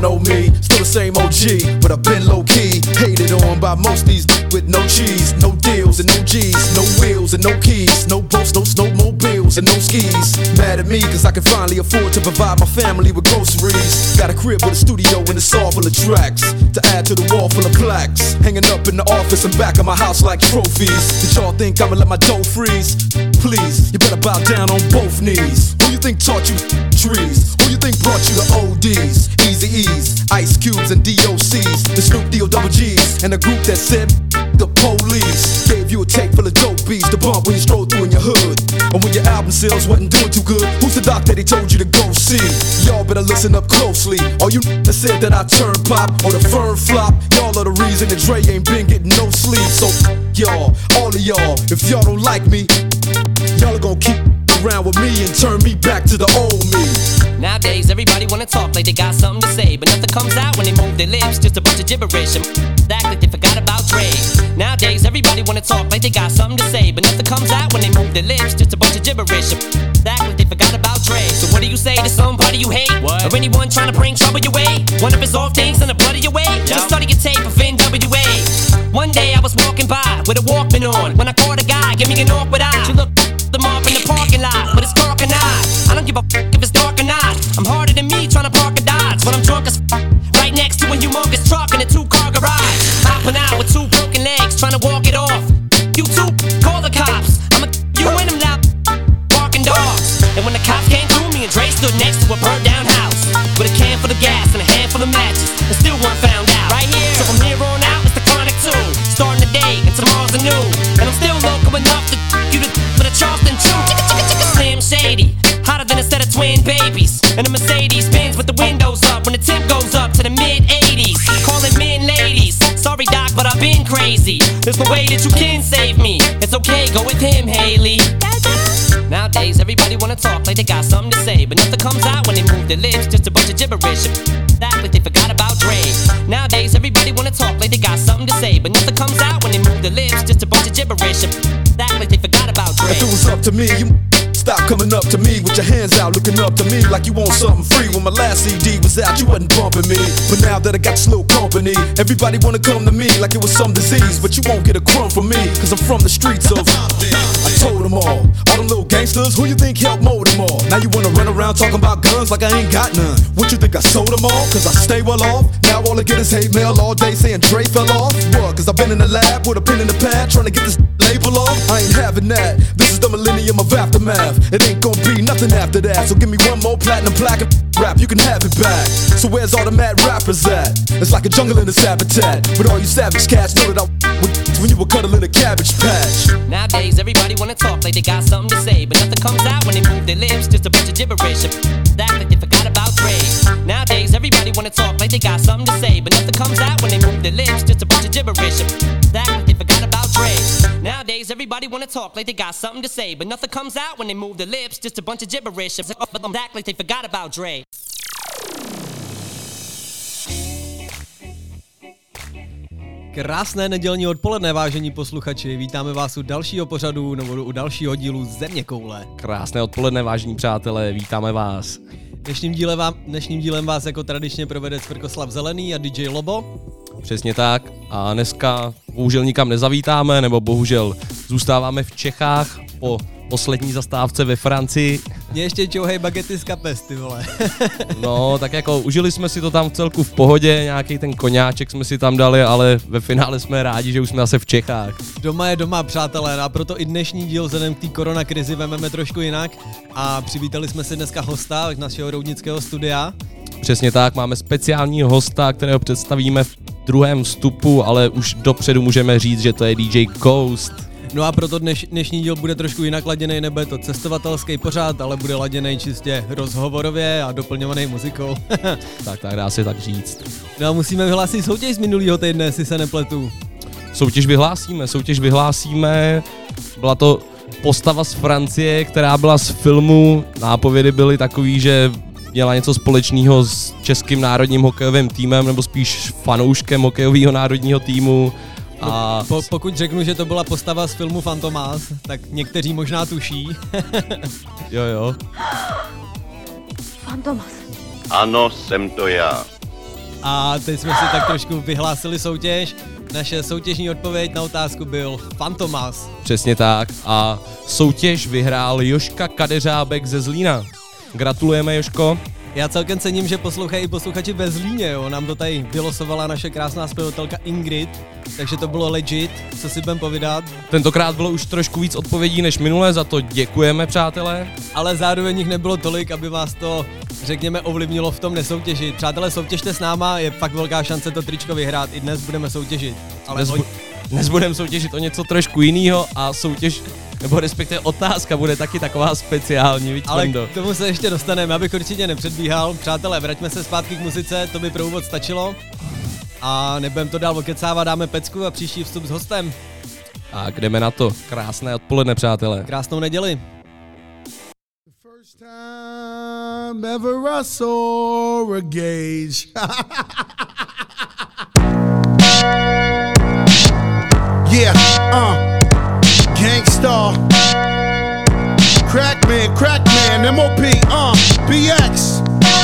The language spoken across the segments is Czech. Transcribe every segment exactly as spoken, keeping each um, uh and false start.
know me, still the same O G, but I've been low-key, hated on by most these with no cheese, no deals and no G's, no wheels and no keys, no boats, no snowmobiles and no skis. Mad at me cause I can finally afford to provide my family with groceries. Got a crib with a studio and it's all full of tracks to add to the wall full of plaques, hanging up in the office and back of my house like trophies. Did y'all think I'ma let my dough freeze? Please, you better bow down on both knees. Who you think taught you trees? Who you think brought you the O Ds? Eazy-E's, Ice Cubes and D O C's, the Snoop D O double G's, and a group that said the police. Gave you a tape full of dope beats to bump when you stroll through in your hood. And when your album sales wasn't doing too good, who's the doc that he told you to go see? Y'all better listen up closely. All you that said that I turn pop or the firm flop, y'all are the reason that Dre ain't been getting no sleep. So y'all, all of y'all, if y'all don't like me, y'all are gonna keep around with me and turn me back to the old me. Nowadays everybody wanna talk like they got something to say, but nothing comes out when they move their lips, just a bunch of gibberish and act like they forgot about Dre. Nowadays everybody wanna talk like they got something to say, but nothing comes out when they move their lips, just a bunch of gibberish and act like they forgot about Dre. So what do you say to somebody you hate? What? Or anyone trying to bring trouble your way? One of his off things in the blood of your way? Yep. Just study your tape of N W A. One day I was walking by with a Walkman on when I caught a guy, give me an awkward eye. She looked them up in the parking lot, but it's dark and I I don't give a f*** if it's dark or not. I'm harder than me trying to park a Dodge, but I'm drunk as f***. Right next to a humongous truck in a two-car garage, hopping out with two broken legs, trying to walk it off. You two, call the cops. I'm a you and them loud barking dogs. And when the cops came through, me and Dre stood next to a burned down house with a can full of gas and a handful of matches, and still weren't found out. Right here, so from here on out, it's the Chronic two, starting the day and tomorrow's a new. And I'm still local enough to you to for the Charleston Chew. Slim Shady, hotter than a set of twin babies, and a Mercedes Benz with the windows up when the temp goes up to the mid eighties. Calling men ladies, sorry doc, but I've been crazy. There's no way that you can save me. It's okay, go with him, Haley. Nowadays everybody wanna talk like they got something to say, but nothing comes out when they move their lips, just a bunch of gibberish. Act like they forgot about Dre. Nowadays everybody wanna talk like they got something to say, but nothing comes out when they move their lips, just a bunch of gibberish. Act like they forgot about Dre. If it was up to me, you stop coming up to me with your hands out, looking up to me like you want something free. When my last C D was out, you wasn't bumping me, but now that I got this little company, everybody wanna come to me like it was some disease. But you won't get a crumb from me, cause I'm from the streets of I told them all, all them little gangsters, who you think helped mold them all? Now you wanna run around talking about guns like I ain't got none. What you think I sold them all? Cause I stay well off. Now all I get is hate mail all day saying Dre fell off. What? Cause I've been in the lab with a pen in the pad trying to get this label off. I ain't having that. This is the millennium of aftermath. It ain't gonna be nothing after that. So give me one more platinum plaque and rap, you can have it back. So where's all the mad rappers at? It's like a jungle in its habitat. With all you savage cats, know that I with when you were cuddling a cabbage patch. Nowadays everybody wanna talk like they got something to say, but nothing comes out when they move their lips, just a bunch of gibberish. Act like they forgot about Dre. Nowadays everybody wanna talk like they got something to say, but nothing comes out when they move their lips, just a bunch of gibberish. Act like they forgot about Dre. Nowadays everybody wanna talk like they got something to say, but nothing comes out when they move their lips, just a bunch of gibberish. Act like they forgot about Dre. Krásné nedělní odpoledne, vážení posluchači, vítáme vás u dalšího pořadu nebo u dalšího dílu Zeměkoule. Krásné odpoledne, vážení přátelé, vítáme vás. Dnešním dílem, vám, dnešním dílem vás jako tradičně provede Cvrkoslav Zelený a D J Lobo. Přesně tak, a dneska bohužel nikam nezavítáme, nebo bohužel zůstáváme v Čechách po poslední zastávce ve Francii. Mě ještě čouhej bagety z kapes, ty vole. No, tak jako užili jsme si to tam v celku v pohodě, nějaký ten koňáček jsme si tam dali, ale ve finále jsme rádi, že už jsme zase v Čechách. Doma je doma, přátelé, a proto i dnešní díl vzhledem k té koronakrizi vememe trošku jinak a přivítali jsme si dneska hosta našeho roudnického studia. Přesně tak, máme speciálního hosta, kterého představíme v druhém vstupu, ale už dopředu můžeme říct, že to je D J Ghost. No a proto dneš, dnešní díl bude trošku jinak laděnej, nebude to cestovatelský pořád, ale bude laděnej čistě rozhovorově a doplňovaný muzikou. Tak, tak dá se tak říct. No a musíme vyhlásit soutěž z minulýho týdne, jestli se nepletu. Soutěž vyhlásíme, soutěž vyhlásíme. Byla to postava z Francie, která byla z filmu. Nápovědy byly takový, že měla něco společného s českým národním hokejovým týmem, nebo spíš fanouškem hokejového národního týmu. A po, pokud řeknu, že to byla postava z filmu Fantomas, tak někteří možná tuší. Jo, jo. Fantomas. Ano, jsem to já. A teď jsme si tak trošku vyhlásili soutěž. Naše soutěžní odpověď na otázku byl Fantomas. Přesně tak a soutěž vyhrál Joška Kadeřábek ze Zlína. Gratulujeme, Joško. Já celkem cením, že poslouchají i posluchači ve Zlíně, jo. Nám to tady vylosovala naše krásná zpěvatelka Ingrid, takže to bylo legit, co si budem povídat. Tentokrát bylo už trošku víc odpovědí než minule, za to děkujeme, přátelé. Ale zároveň jich nebylo tolik, aby vás to, řekněme, ovlivnilo v tom nesoutěžit. Přátelé, soutěžte s náma, je fakt velká šance to tričko vyhrát, i dnes budeme soutěžit. Ale dnes, o... bu- dnes budeme soutěžit o něco trošku jiného a soutěž, nebo respektive otázka bude taky taková speciální, víc. Ale k tomu se ještě dostaneme, abych určitě nepředbíhal. Přátelé, vraťme se zpátky k muzice, to by pro úvod stačilo. A nebudeme to dál okecávat, dáme pecku a příští vstup s hostem. A jdeme na to. Krásné odpoledne, přátelé. Krásnou neděli. First time ever I saw a gauge. Yeah, uh, Gangstar, Crackman, Crackman, M O P, uh, B X,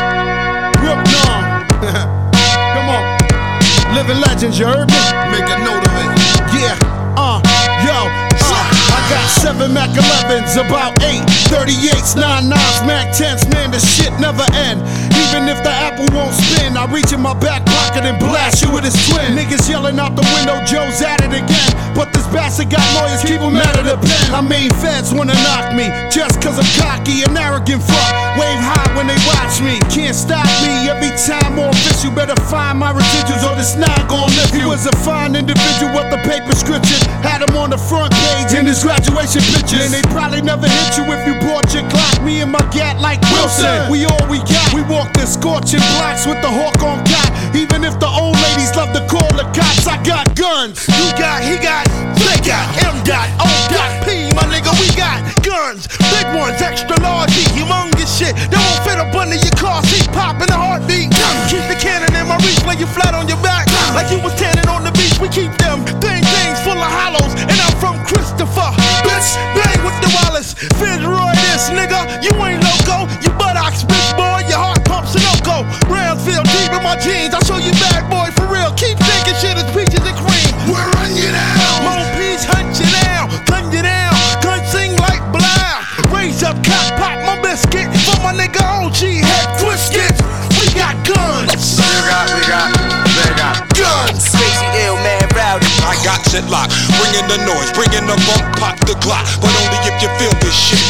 Brook Norm. Come on, living legends, you heard me? Make a note of it. Yeah, uh, yo, uh, I got seven Mac elevens, about eight thirty-eights, nine nines, Mac tens, man, the shit never end. Even if the apple won't spin, I reach in my back pocket and blast you with his twin. Niggas yelling out the window, Joe's at it again. But this bastard got lawyers, keep him out of the pen. I mean, feds wanna knock me, just cause I'm cocky and arrogant fuck. Wave high when they watch me, can't stop me. Every time more fish, you better find my residuals or this nine gon' lift you. He was a fine individual with the paper scripture. Had him on the front page in his graduation pictures. And they probably never hit you if you brought your Glock. Me and my gat like Wilson, we all we got. We walk the scorching blocks with the hawk on cock. Even if the old ladies love to call the cops, I got guns. You got, he got, they got, M dot, O dot, P, my nigga, we got guns. Big ones, extra large, humongous shit. That won't fit up under your car seat, pop in a heartbeat. Keep the cannon in my reach, lay you flat on your back. Like you was tanning on the beach, we keep them thing things full of hollows. And I'm from Christopher, bitch, bang with the Wallace. Fitzroy this, nigga, you ain't loco. You buttocks, bitch boy, your heart pumps Sunoco. Brownsville, deep in my jeans, I'll show you bad boy for real. Keep thinking shit is peaches and cream. We're running you down. More peach, hunt you down, gun you down. Gun sing like blah. Raise up, cock, pop my biscuit. For my nigga O G, head twisted. We got guns. You got, we got, they got Guns. crazy ill man rowdy. I got shit locked, bringing the noise, bringing the bump, pop the Glock, but only if you feel this shit.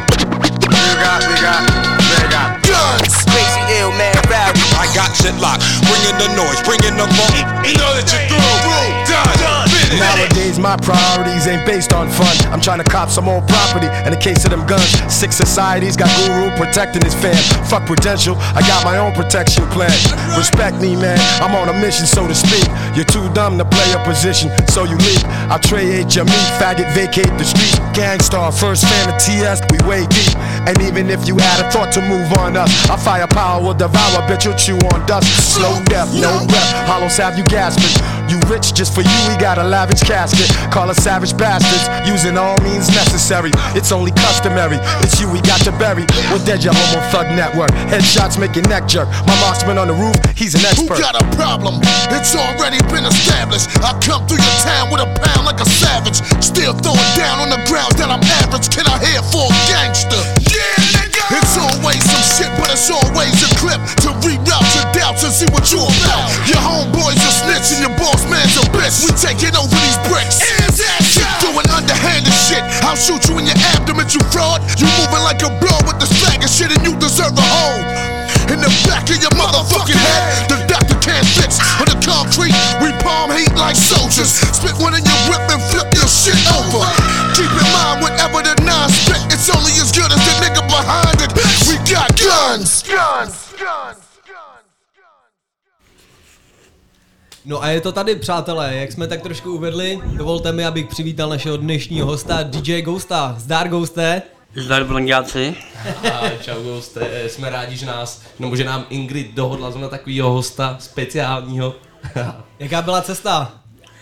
You got, we got, they got Guns. crazy ill man rowdy. I got shit locked, bringing the noise, bringing the bump. You know that you're through, through, done, done. Nowadays my priorities ain't based on fun. I'm trying to cop some more property. In the case of them guns, six societies got guru protecting his fam. Fuck Prudential, I got my own protection plan. Respect me, man, I'm on a mission, so to speak. You're too dumb to play a position, so you leave. I trade your meat, faggot, vacate the streets. Gangstar, first fan of T S, we way deep. And even if you had a thought to move on us, our firepower will devour, bitch, you'll chew on dust. Slow death, no breath, hollows have you gasping. You rich just for you, we got a lavish casket. Call us savage bastards, using all means necessary. It's only customary, it's you we got to bury. We're dead, your homo thug network. Headshots make your neck jerk. My marksman on the roof, he's an Who expert. got a problem? It's already been established. I come through your town with a pound like a savage. Still throwing down on the grounds that I'm average. Can I hear for a gangster? Yeah, nigga! It's always some shit, but it's always a clip to reroute your doubts and see what you about. Your homeboys a snitch and your boss man's a bitch. We taking over these bricks. Keep doing underhanded shit. I'll shoot you in your abdomen, you fraud. You moving like a blow with the swagger shit and you deserve a hole in the back of your motherfucking head. The doctor can't fix. On the concrete, we palm heat like soldiers. Spit one in your whip and flip your shit over. Keep in mind, whatever the nine spit, it's only as good as the nigga behind it. We got guns. Guns. Guns. No a je to tady, přátelé, jak jsme tak trošku uvedli, dovolte mi, abych přivítal našeho dnešního hosta, D J Ghosta. Zdar, Ghoste. Zdar, blonďáci. Čau, Ghoste, jsme rádi, že nás, nebo že nám Ingrid dohodla zrovna takovýho hosta speciálního. Jaká byla cesta?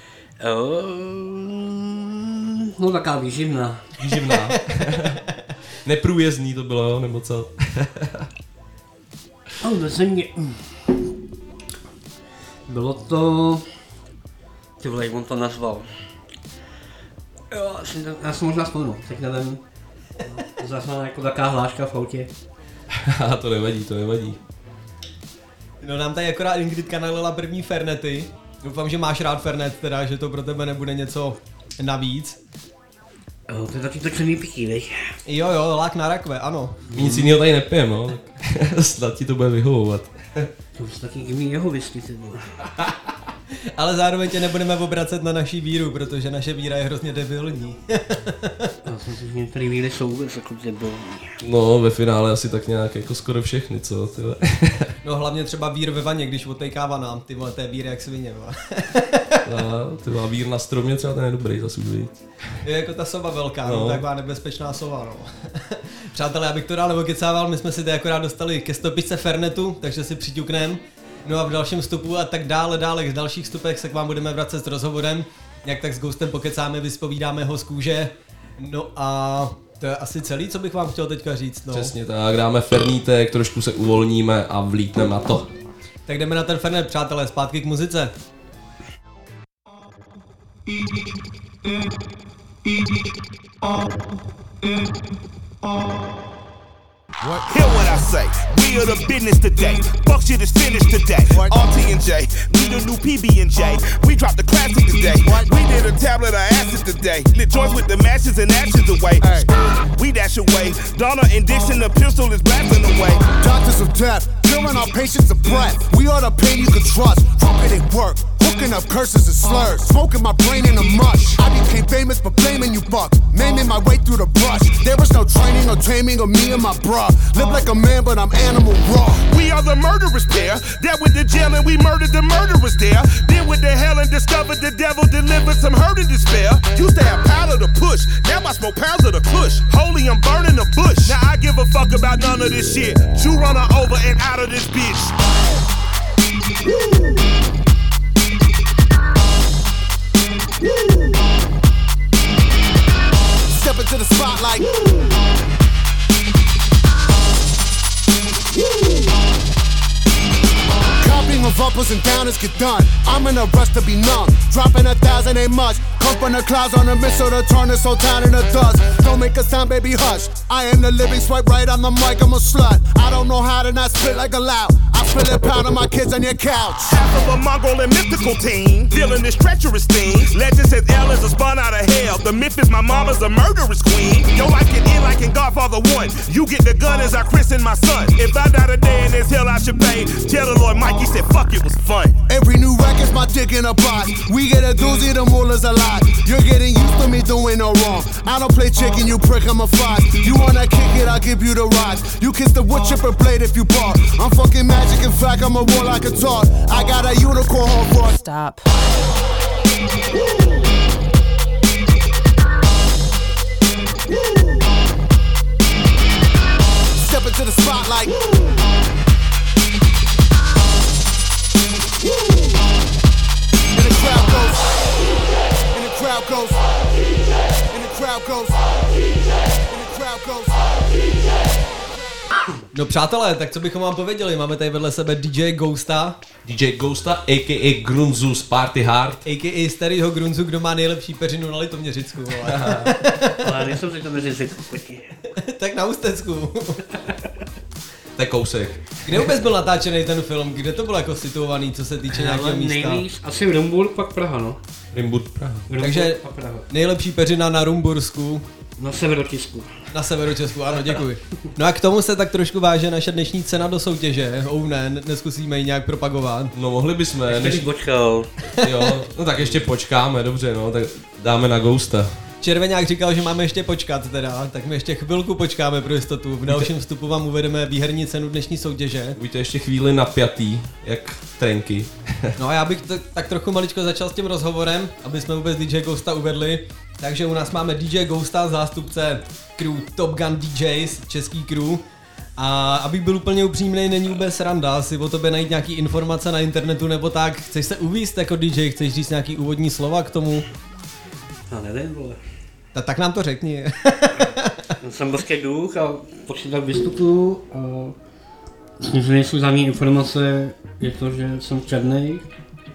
Um, no taká výživná. Výživná. Neprůjezdný to bylo, jo, nebo co? No, to se mě... Bylo to... Ty vole, jak on to nazval. Jo, já si, já si možná vzpomenu, tak nevím. Zazná jako taková hláška v autě. To nevadí, to nevadí. No nám tady akorát Ingridka nalila první fernety. Doufám, že máš rád fernet, teda, že to pro tebe nebude něco navíc. Jo, to je taky to černý pití, viď? Jo jo, lák na rakve, ano. Nic jiného tady nepijem, no. Snad ti to bude vyhovovat. To už taky mý jeho whisky, ty vole. Ale zároveň tě nebudeme obracet na naší víru, protože naše víra je hrozně debilní. Já jsem si, že některé víry jsou vůbec jako debilní. No, ve finále asi tak nějak jako skoro všechny, co? Tyhle. No hlavně třeba vír ve vaně, když odtejkává nám, ty vole, to je vír jak svině, vole. No, ty má vír na stromě, třeba ten je dobrý zase už. Je jako ta sova velká, no. No, taková nebezpečná sova, no. Přátelé, já bych to dál nevokecával, my jsme si tady akorát dostali ke stopičce fernetu, takže si přiťuknem. No a v dalším vstupu a tak dále, dále, v dalších vstupech se k vám budeme vracet s rozhovorem. Jak tak s Ghostem pokecáme, vyspovídáme ho z kůže. No a to je asi celý, co bych vám chtěl teďka říct, no. Přesně tak, dáme fernítek, trošku se uvolníme a vlítneme na to. Tak jdeme na ten fernet, přátelé, zpátky k muzice. What? Hear what I say, we are the business today. Fuck shit is finished today. What? R T and J, we the new P B and J. We dropped the classic today. What? We did a tablet of acid today. Lit joints with the matches and actions away. Hey. We dash away. Donna and Dixon, the pistol is blasting away. Doctors of death, killing our patients of breath. We are the pain you can trust. Trumpet it work. Hooking up curses and slurs, smoking my brain in a mush. I became famous for blaming you bucks, maiming my way through the brush. There was no training or taming of me and my bruh. Live like a man, but I'm animal raw. We are the murderous pair that went to jail and we murdered the murderers there. Then went to hell and discovered the devil delivered some hurt and despair. Used to have powder to push, now I smoke pounds of the kush. Holy, I'm burning the bush. Now I give a fuck about none of this shit. You run her over and out of this bitch. Woo. Step into the spotlight. Copying of uppers and downers get done. I'm in a rush to be numb. Dropping a thousand ain't much. Come from the clouds on a missile to turn this whole town into dust. Don't make a sound, baby, hush. I am the living swipe right on the mic, I'm a slut. I don't know how to not spit like a loud. I spill it pound on my kids on your couch. Half of a Mongol and mythical team, dealing this treacherous thing. Legend says L is a spun out of hell. The myth is my mama's a murderous queen. Yo, I can end like in Godfather one. You get the gun as I christen my son. If I die today in this hell, I should pay. Tell the Lord Mikey said, fuck, it was fun. Every new record's my dick in a box. We get a doozy, the mullah's a lot. You're getting used to me doing no wrong. I don't play chicken, you prick, I'm a fox. You wanna kick it, I'll give you the rocks. You kiss the wood chipper blade if you bark. I'm fucking magic, in fact, I'm a warlock and talk. I got a unicorn horn for. Stop. Step into the spotlight. And the crowd goes. And the crowd goes. And the crowd goes. And the crowd goes. No přátelé, tak co bychom vám pověděli, máme tady vedle sebe D J Ghosta. D J Ghosta, a k a. Grunzus Party Hard. A k a starýho Grunzu, kdo má nejlepší peřinu na Litoměřicku, vole. Ale nejsem si to Litoměřicku, pojď. Tak na Ústecku. To je kousek. Kde vůbec byl natáčený ten film? Kde to bylo jako situovaný, co se týče nějakého místa? Nejvíc asi Rumburg, pak Praha, no. Rumburg, Praha. Rumburg, takže Praha. Nejlepší peřina na Rumbursku. Na Severočesku. Na Severočesku, ano, děkuji. No a k tomu se tak trošku váže naše dnešní cena do soutěže. Oh ne, neskusíme ji nějak propagovat. No mohli bychom. Ještě než... počkal. Jo, no tak ještě počkáme, dobře, no, tak dáme na Ghosta. Červeňák říkal, že máme ještě počkat teda, tak my ještě chvilku počkáme pro jistotu. V dalším vstupu vám uvedeme výherní cenu dnešní soutěže. Buďte ještě chvíli napjatý, jak trenky. No a já bych t- tak trochu maličko začal s tím rozhovorem, aby jsme vůbec D J Ghosta uvedli. Takže u nás máme D J Ghosta, zástupce crew Top Gun D Js, český crew. A abych byl úplně upřímnej, není vůbec sranda si o tobě najít nějaký informace na internetu nebo tak. Chceš se uvíct jako D J, chceš říct nějaký úvodní slova k tomu? Já nevím, vole. Ta, tak nám to řekni. Jsem božský duch a počítat vystupuju a myslím, že nejsou za mě informace, je to, že jsem černej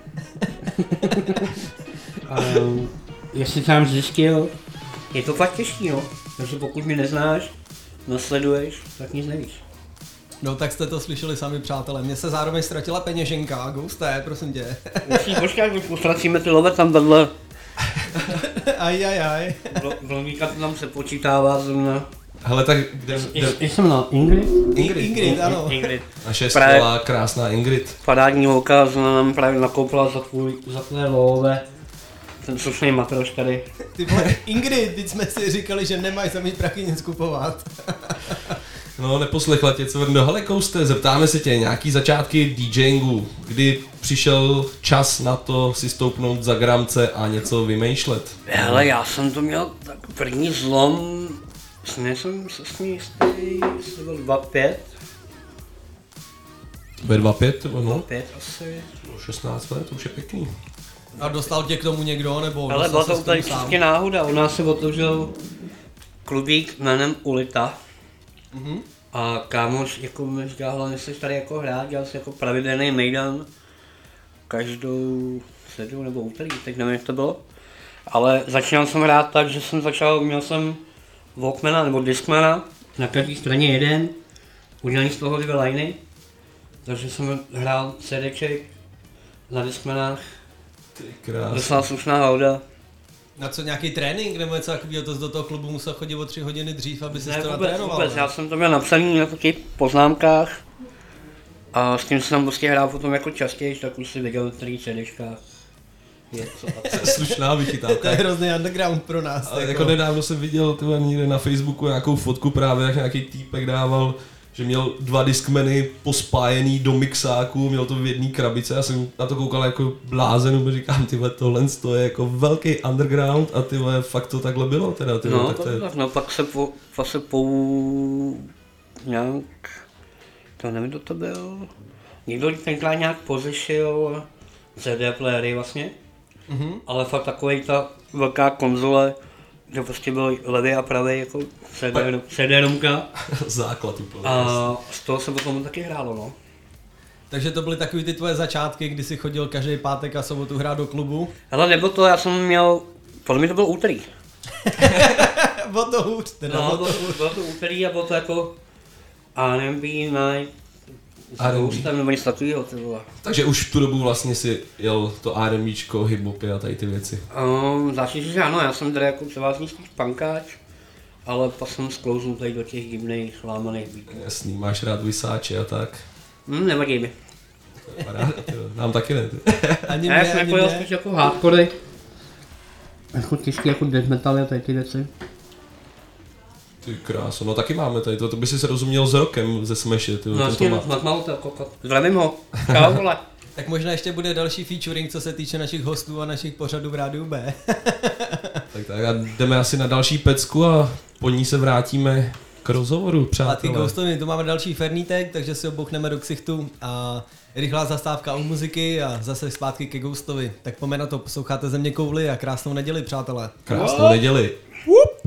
um, jestli tam zjistil, je to fakt těžký, no. Takže pokud mě neznáš, nasleduješ, tak nic nevíš. No tak jste to slyšeli sami, přátelé. Mně se zároveň ztratila peněženka, Ghoste, prosím tě. Musíš počkat, když ustracíme ty love tam vedle. Aj, aj, aj. Vlníka to tam se počítává zrovna. Hele, tak kde... Jak jsem na Ingrid? Ingrid, Ingrid, ano. Ingrid. Naše skvělá, krásná Ingrid. Parádní holka, zrovna nám právě nakoupila za, tvůj, za tvé love. Ten slušný matroš tady. Ty vole, Ingrid, teď jsme si říkali, že nemáš za mý prachy nic kupovat. No, neposlechla tě, co vrno. Hele, Ghoste, zeptáme se tě, nějaký začátky DJingu, kdy přišel čas na to si stoupnout za gramce a něco vymýšlet? Hele, já jsem to měl tak první zlom, nejsem se s ní jistý, jestli byl dva pět. Ve dva pět, nebo no? dva pět asi. šestnáct let, to už je pěkný. A dostal tě k tomu někdo, nebo? Ale byla to tady vždycky náhoda, u nás se otevřel klubík jménem Ulita. Mm-hmm. A kámoš jako mi říkal, hlavně jsi tady jako hrát, dělal jsi jako pravidelný mejdan každou středu nebo úterý, teď nevím, jak to bylo. Ale začínal jsem hrát tak, že jsem začal, měl jsem Walkmana nebo Discmana, na každé straně jeden, udělaný z toho dvě liney, takže jsem hrál CDček na Discmanách, docela slušná hauda. Na co, nějaký trénink nebo něco takového, to do toho klubu musel chodit o tři hodiny dřív, aby si ne, to vůbec, natrénoval? Vůbec, já jsem to měl napsaný na takových poznámkách a s tím jsem tam prostě hrál potom jako častěji, tak už si viděl tři CDčka. Je co a co. Slušná vychytávka. To je hrozný underground pro nás. Ale jako nedávno jsem viděl tyhle někde na Facebooku nějakou fotku právě, jak nějaký týpek dával, že měl dva Discmany pospájený do mixáku, měl to v jedné krabice, já jsem na to koukal jako blázen, říkám, tyhle, tohle to je jako velký underground a tyhle, fakt to takhle bylo teda, tyhle, no, tak to je... tak, no pak se po, pak se po nějak, to nevím, kdo to byl, někdo tenkrát nějak pořešil C D playery vlastně, mm-hmm. ale fakt takovej ta velká konzole, že prostě byl levý a pravý jako C D romka. Základ úplně. A z toho se potom taky hrálo, no. Takže to byly takový ty tvoje začátky, kdy jsi chodil každý pátek a sobotu hrát do klubu? Hele, nebo to, já jsem měl, podle mě to bylo úterý. Bylo to hůř, teda no, bylo to hůř. Bylo to úterý a bylo to jako R and B night. R and B. Tam nebo něco takového, to bylo. Takže už v tu dobu vlastně si jel to RMBčko, hiphopy a tady ty věci. Um, Začít, že ano, já jsem tady jako převázný spíš punkáč, ale pak jsem sklouznul tady do těch divných, lámaných beatů. Jasný, máš rád Vysáče a tak. Hm, nevadí mi. Nám taky ne. Ani já mě, jsem ani jako mě. spíš jako hardcore. Jako těžký jako death metal a tady ty věci. Ty kráso, no taky máme tady to, to by si se rozuměl s rokem ze Smashe, ty. No jasně, Matmau to kokot. Zdravím ho. Čau, vole. Tak možná ještě bude další featuring, co se týče našich hostů a našich pořadů v Rádiu B. Tak tak a jdeme asi na další pecku a po ní se vrátíme k rozhovoru, přátelé. A ty Ghostovi, tu máme další fernítek, takže si obouchneme do ksichtu a rychlá zastávka u muziky a zase zpátky ke Ghostovi. Tak pojďme na to, posloucháte Země kouli a krásnou neděli, přátelé. Krásnou neděli. Whoop.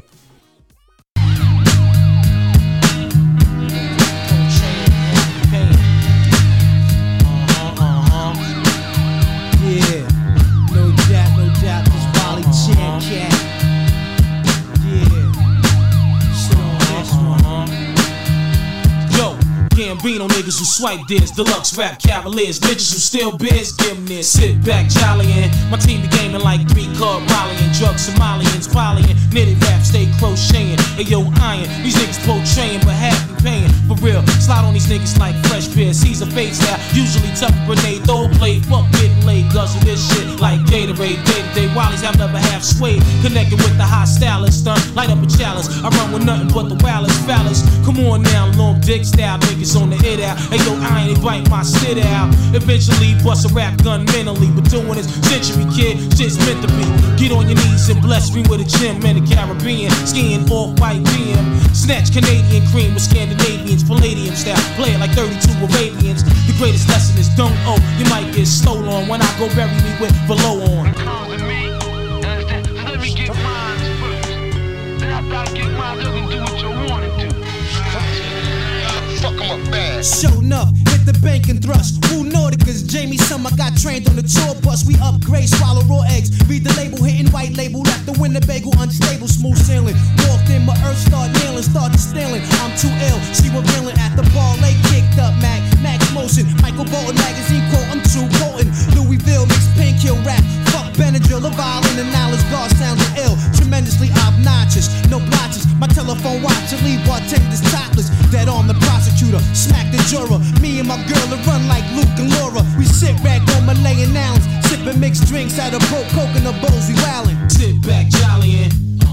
Gambino niggas who swipe this, deluxe rap cavaliers, bitches who steal biz, give them this. Sit back, jollyin', my team be gaming like three card volleying, drug Somalians, volleying, knitted rap, stay crocheting. Ayo, iron, these niggas portraying, but half be paying. For real, slide on these niggas like fresh beer, Caesar face out, usually tough grenade, throw play, fuck getting laid, guzzle this shit like Gatorade, day to day, Wallies have never half swayed, connected with the hot stylist, stunt, light up a chalice, I run with nothing but the wildest phallus. Come on now, long dick style niggas on the hit out. Hey yo, I ain't bite my shit out. Eventually bust a rap gun mentally, but doing this century kid, shit's meant to be. Get on your knees and bless me with a gym in the Caribbean, skiing off white B M. Snatch Canadian cream with Scandinavians, Palladium style, play it like thirty-two Arabians. The greatest lesson is don't owe, you might get stole on when I go bury me with below on. Let me get mine first, then after I get mine, you can do what you want to do. Fuck 'em up bad. Show enough, hit the bank and thrust. Who Nordica's Jamie him, I got trained on the tour bus. We upgrade, swallow raw eggs. Read the label, hitting white label. Left the Winnebago unstable, smooth sailing. Walked in, my earth start nailing, started stealing. I'm too ill, she revealing at the bar. Late kicked up, Mac, Max Motion. Michael Bolton magazine quote, I'm too potent. Louisville mixed pink kill rap. Fuck Benadryl, a violin and knowledge guard sounding ill. Tremendously obnoxious, no blotches. My telephone watch and leave bartenders topless. Dead on the prosecutor, smack the juror. Me and my girl will run like Luke and Laura. We sit back on Malayan Islands, sipping mixed drinks out of broke coconut bowls. We wildin'. Sit back, jollyin'.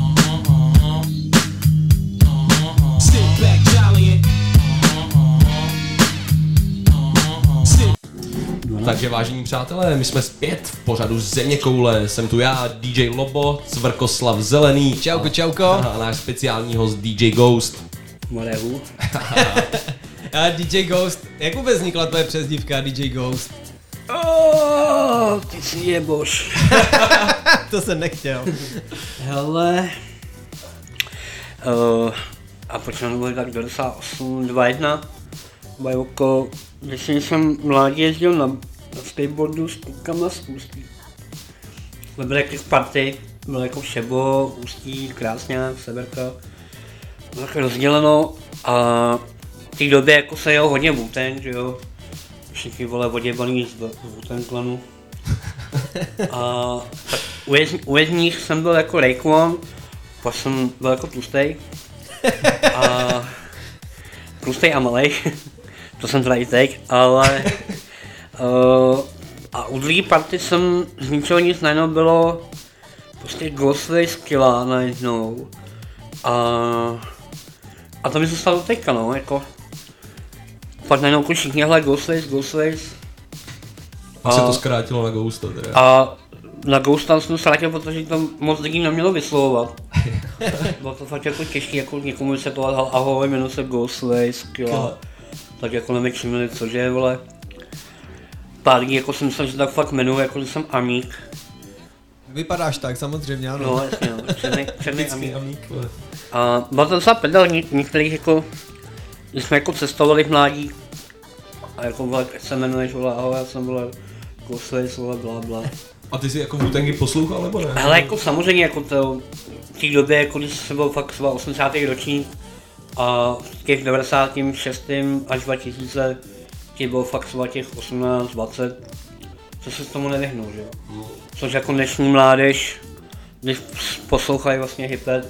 Sit back, jollyin'. Takže vážení přátelé, my jsme zpět v pořadu Zeměkoule. Jsem tu já, D J Lobo, Cvrkoslav Zelený. Čauko, čauko. A náš speciální host D J Ghost. Morehu. A D J Ghost, jak vůbec vznikla tvoje přezdívka D J Ghost? Oh, ty si jeboš. To jsem nechtěl. Hele. Uh, a počínám bylo tak devadesát osm, dvacet jedna. Bajoko, když jsem mládí jezdil na, na skateboardu s klukama z Ústí. Jsme byli jak party, bylo jako Šebo, Ústí, Krásňák, Severka. Bylo tak rozděleno a v té době jako se jel hodně Wu-Tang, že jo. Všichni vole oděbaný z Wu-Tang klanu. A tak u, jez, u jezdních jsem byl jako Rayquan, pak jsem byl jako tlustej. A tlustej a malej. To jsem teda i teď, ale uh, a u druhé party jsem z ničeho nic najednou bylo prostě Ghostface Killah najednou a, a to mi zůstalo teďka no, jako fakt najednou jako všichni hele Ghostface, Ghostface A se to zkrátilo na Ghosta teda. A na Ghosta jsem zkrátil, protože to moc lidí nemělo vyslovovat. Bylo to fakt jako těžké, jako někomu vysvětlovat, ahoj, jmenuji se Ghostface Killah. Tak jako nevykřimili, cože je, vole. Pár lidí jako jsem myslel, že tak fakt jmenuji, jako že jsem Amík. Vypadáš tak, samozřejmě, ano. No, jasně, no, černý, černý Amík. Amík. A bylo to docela pedal, některých jako, když jsme jako cestovali v mládí. A jako, vole, jak se jmenuješ, vole, ahoj, já jsem, vole, Ghostface, vole, blá, blá. A ty jsi jako Wu-Tangy poslouchal, nebo ne? Hele, jako samozřejmě, jako to, v té době, jako když jsem byl fakt třeba osmdesátý ročník, a v těch devadesátém šestém až dva tisíce ti bylo fakt třeba těch osmnáct dvacet, co se tomu nevyhnou, že jo. Mm. Což jako dnešní mládež, když poslouchají vlastně hip-hop.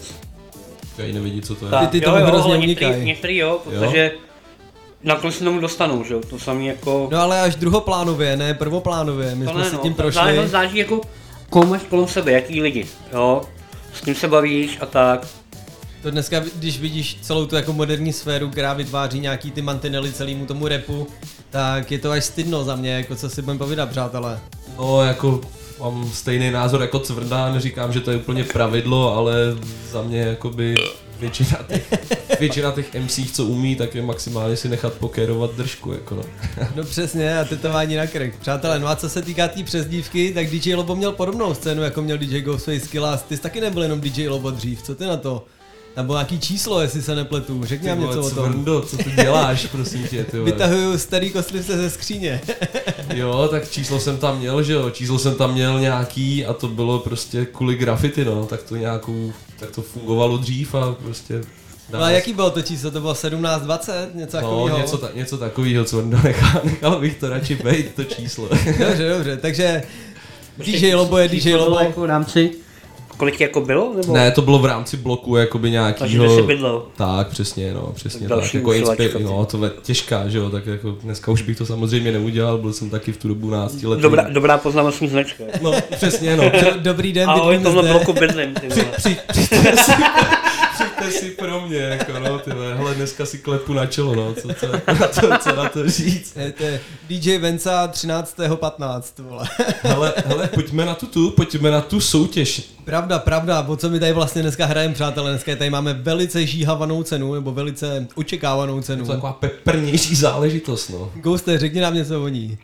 Ty nevidí, co to je. Ty, ty tomu hrozně unikají. Některý jo, protože jo? nakonec se tomu dostanou, že jo, to samý jako... No ale až druhoplánově, ne prvoplánově, my to jsme ne, si tím no, prošli. To záleží jako, koho máš kolem sebe, jaký lidi, jo, s kým se bavíš a tak. To dneska, když vidíš celou tu jako moderní sféru, která vytváří nějaký ty mantinely celému tomu rapu, tak je to až stydno za mě, jako co si budem povídat, přátelé. No, jako mám stejný názor jako Cvrda, neříkám, že to je úplně pravidlo, ale za mě jakoby většina těch, většina těch M C, co umí, tak je maximálně si nechat pokérovat držku, jako no. No přesně, a tetování na krk. Přátelé, no a co se týká té přezdívky, tak D J Lobo měl podobnou scénu, jako měl D J Ghostface Killah. Ty jsi taky nebyl jenom D J Lobo dřív, co ty na to? Tam bylo nějaký číslo, jestli se nepletu, řekni nám něco o tom. Cvrndo, co ty děláš, prosím tě, ty vole. Vytahuju starý kostlivce ze skříně. Jo, tak číslo jsem tam měl, že jo, číslo jsem tam měl nějaký a to bylo prostě kvůli graffiti, no, tak to nějakou, tak to fungovalo dřív a prostě... No a jaký bylo to číslo, to bylo sedmnáct dvacet, něco takového? No, něco, ta, něco takového, co nechal, nechal bych to radši bejt, to číslo. Dobře, dobře, takže D J Lobo je D J Lobo. Jako v rámci, kolik jako bylo? Nebo? Ne, to bylo v rámci bloku, jakoby nějakýho... Takže jsi bydlel. Tak, přesně, no, přesně tak. tak, jako inspirace, no, to je těžká, že jo, tak jako dneska už bych to samozřejmě neudělal, byl jsem taky v tu dobu náctiletý. Dobrá, dobrá poznámostní značka. No, přesně, no. Dobrý den, ahoj, v tomhle bloku bydlím, ty vole. Při, při, přijďte si, přijďte si pro mě, jako no, ty vole, hele, dneska si klepu na čelo, no, co, co, na to, co na to říct. Je to D J Venca třináctého patnáctého vole. Hele, hele, pojďme na tu tu, pojďme na tu soutěž. Pravda, pravda, o co my tady vlastně dneska hrajeme, přátelé, dneska tady máme velice žíhavanou cenu, nebo velice očekávanou cenu. Je to taková peprnější záležitost, no. Ghoste, řekni nám něco o ní.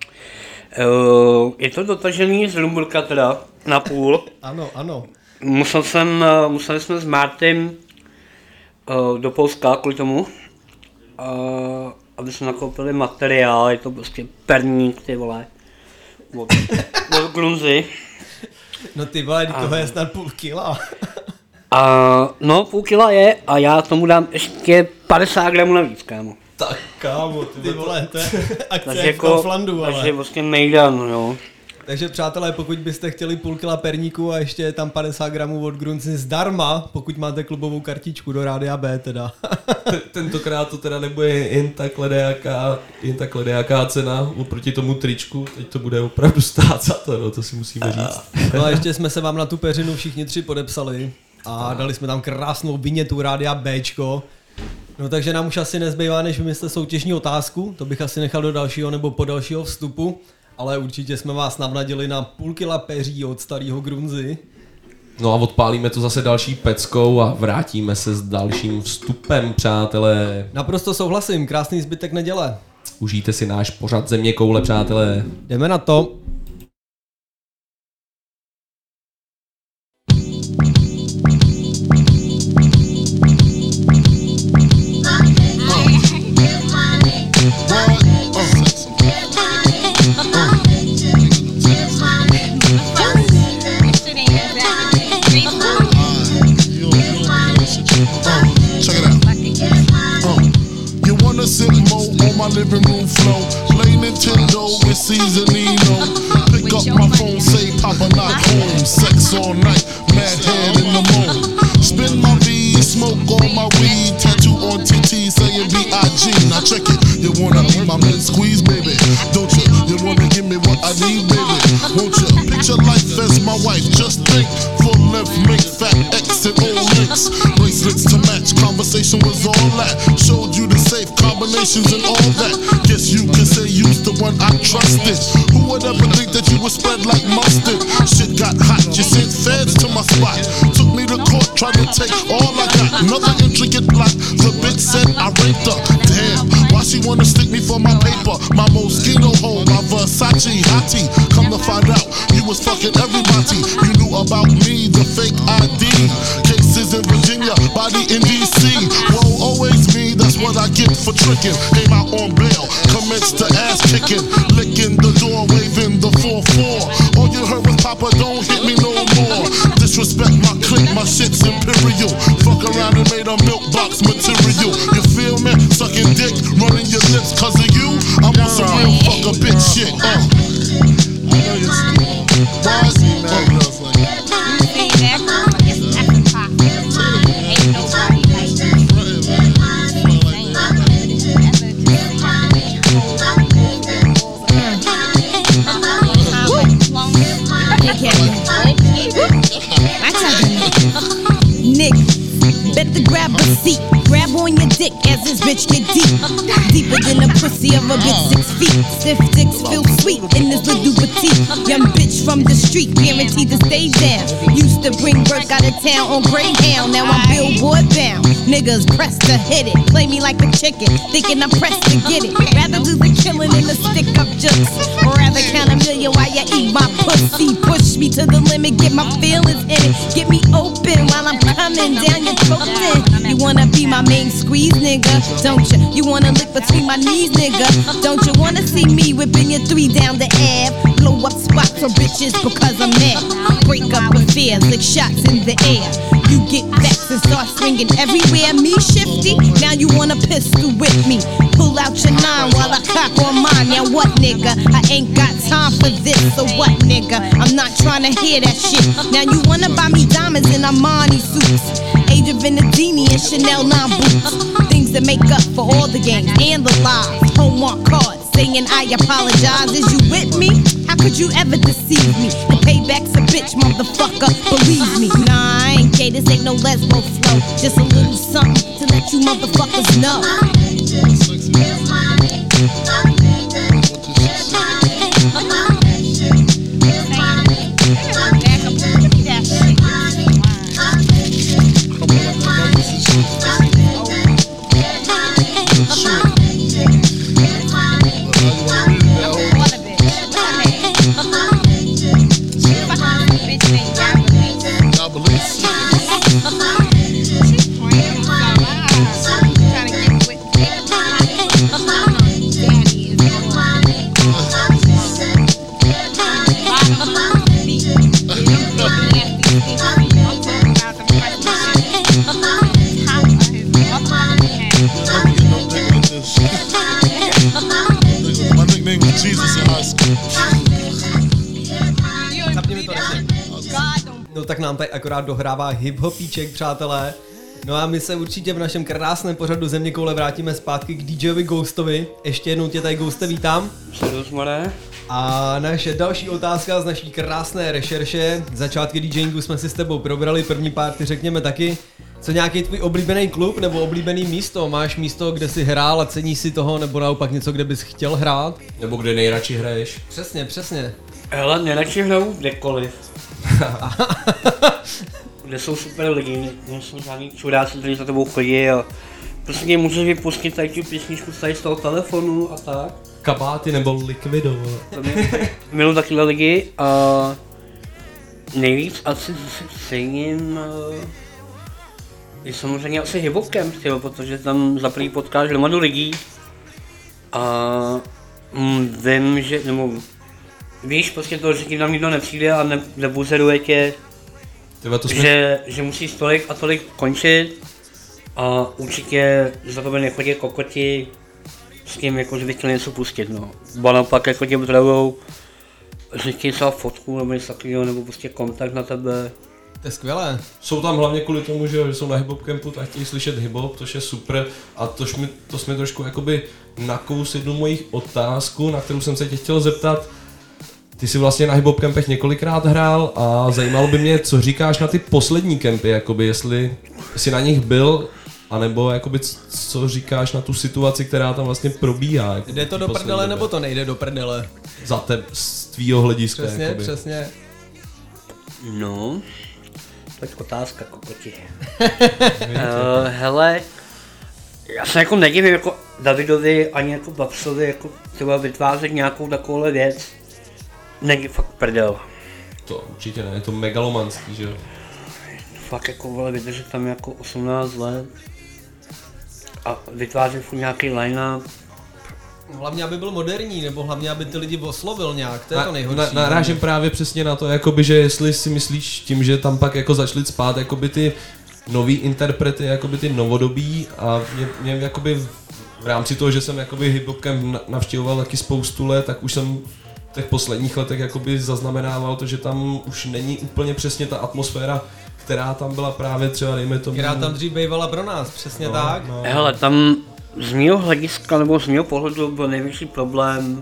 Uh, je to dotažený z Lumburka teda, na půl. Ano, ano. Musel jsem, museli jsme s Martym uh, do Polska kvůli tomu, uh, aby jsme nakoupili materiál, je to prostě perník, ty vole. od, od Grunzy. No ty vole, toho je snad půl kila. A, no, půl kila je a já tomu dám ještě padesát gramů navíc, kámo. Tak kámo, ty, ty vole, to je akce takže jak jako, v Flandu, ale. Takže vlastně mejdan, jo. Takže přátelé, pokud byste chtěli půl kila perníku a ještě je tam padesát gramů od Grunzy zdarma, pokud máte klubovou kartičku do Rádia B teda. Tentokrát to teda nebude jen takhle nejaká, jen takhle nejaká cena oproti tomu tričku, teď to bude opravdu stát za to, no, to si musíme říct. No a ještě jsme se vám na tu peřinu všichni tři podepsali a dali jsme tam krásnou vinětu Rádia Bčko. No takže nám už asi nezbývá, než vymyslet soutěžní otázku, to bych asi nechal do dalšího nebo po dalšího vstupu. Ale určitě jsme vás navnadili na půl kila peří od starého Grunzy. No a odpálíme to zase další peckou a vrátíme se s dalším vstupem, přátelé. Naprosto souhlasím, krásný zbytek neděle. Užijte si náš pořad Země koule, přátelé. Jdeme na to. Living room flow, play Nintendo with Seasonino. Pick up my phone, say Papa not home. Sex all night, mad head in the moon. Spin my V, smoke all my weed. Tattoo on T T saying B I G. Now check it, you wanna be my man squeeze, baby? Don't you? You wanna give me what I need, baby? Won't you? Picture life as my wife, just think. Full length, make fat X and O links. Bracelets to match, conversation was all that. Showed you the safe combinations and all that. Guess you can say you's the one I trusted. Who would ever think that you would spread like mustard? Shit got hot, you sent feds to my spot. Took me to court, tried to take all I got. Another intricate plot, the bitch said I raped her. Damn, why she wanna stick me for my paper? My Moschino hole, my Versace hottie. Come to find out, you was fucking everybody. You knew about me, the fake I D. Cases in Virginia, body in D C. Whoa, always me, that's what I get for tricking. Came out on bail, commenced to ass kicking. Licking the door, waving the four four. All you heard was Papa, don't hit me no more. Disrespect my clique, my shit's imperial. Fuck around and made a milk box material. You feel me? Sucking dick, running your lips cause of you. I'm on some real fuck a bitch shit. Uh. I know you're still. Why is he mad at us like that? Nick, better grab a seat. Grab on your dick as this bitch get deep. Deeper than the pussy of a bitch six feet. Stiff dicks feel sweet in this little petite. Young bitch from the street, guaranteed to stay down. Used to bring work out of town on Greyhound. Now I'm billboard bound. Niggas pressed to hit it. Play me like a chicken, thinking I'm pressed to get it. Rather do the killing than the stick up jokes. Or rather count a million while you eat my pussy. Push me to the limit, get my feelings in it. Get me open while I'm coming down your throat. You wanna be my main squeeze, nigga, don't you? You wanna lick between my knees, nigga, don't you? Wanna see me whipping your three down the Ave? Blow up spots for bitches because I'm mad. Break up affairs like shots in the air. You get vexed and start swinging everywhere. Me shifty, now you wanna pistol with me. Pull out your nine while I cock on mine. Now what, nigga? I ain't got time for this. So what, nigga? I'm not trying to hear that shit. Now you wanna buy me diamonds in Armani suits, Age of Venedini and Chanel nine boots. Things that make up for all the games and the lies. Homework cards saying I apologize. Is you with me? How could you ever deceive me? The payback's a bitch, motherfucker, believe me. Nah, I ain't gay, this ain't no lesbo flow. Just a little something to let you motherfuckers know. no tak nám tady akorát dohrává hip-hopíček, přátelé. No a my se určitě v našem krásném pořadu Zeměkoule vrátíme zpátky k DJovi Ghostovi. Ještě jednou tě tady, Ghoste, vítám. A naše další otázka z naší krásné rešerše. Začátky DJingu jsme si s tebou probrali, první párty řekněme taky. Co nějaký tvůj oblíbený klub nebo oblíbený místo? Máš místo, kde jsi hrál a cení si toho, nebo naopak něco, kde bys chtěl hrát? Nebo kde nejradši hraješ? Přesně, přesně. Hele, nejradši hraju kdekoliv. Kde jsou super lidi, nejsou žádný čuráci, kteří za tebou chodí a prostě mě můžeš vypustit tady tu písničku tady z toho telefonu a tak. Kabáty nebo Liquido. Miluji takové lidi a nejvíc asi cením je samozřejmě asi hip-hopkem, protože tam za první potkáš hromadu lidí a mm, vím, že, nebo víš prostě to, že tím tam nikdo nepřijde a ne, nebuzeruje tě, jsme... že, že musíš tolik a tolik končit a určitě za tebe nechodí kokoti s tím, jako, že bych chtěl něco pustit, no. Ba naopak jako tě budou, že chtějí třeba fotku nebo něco takového, nebo prostě kontakt na tebe. To je skvělé. Jsou tam hlavně kvůli tomu, že jsou na hip-hop campu, tak chtějí slyšet hip-hop, což je super a tož mi, to jsme trošku jakoby nakous jednu mojich otázku, na kterou jsem se tě chtěl zeptat. Ty jsi vlastně na hip-hop campech několikrát hrál a zajímalo by mě, co říkáš na ty poslední campy, jakoby jestli jsi na nich byl, anebo jakoby co říkáš na tu situaci, která tam vlastně probíhá. Jako jde to do prdele, nebo to nejde do prdele? Za te, z tvýho hlediska. Přesně, jakoby. přesně. No, tak otázka, kokoti. uh, hele, já se jako nedivím jako Davidovi ani jako Babsovi jako třeba vytvářet nějakou takovouhle věc. Není fakt prdel. To určitě ne, je to megalomanský, že jo? Fakt jako vole, vydržet tam jako osmnáct let a vytvářet furt nějaký line-up. Hlavně, aby byl moderní, nebo hlavně, aby ty lidi oslovil nějak, to je na, to nejhorší. Na, narážím právě přesně na to, jakoby, že jestli si myslíš tím, že tam pak jako začali spát jakoby ty nový interprety, jakoby ty novodobí a mě, mě jakoby v rámci toho, že jsem jakoby hip-hop camp navštěvoval taky spoustu let, tak už jsem v těch posledních letech jakoby zaznamenával to, že tam už není úplně přesně ta atmosféra, která tam byla právě třeba, dejme tomu... Která tam dřív bývala pro nás, přesně no, tak. No. Hele, tam z mého hlediska nebo z mého pohledu byl největší problém,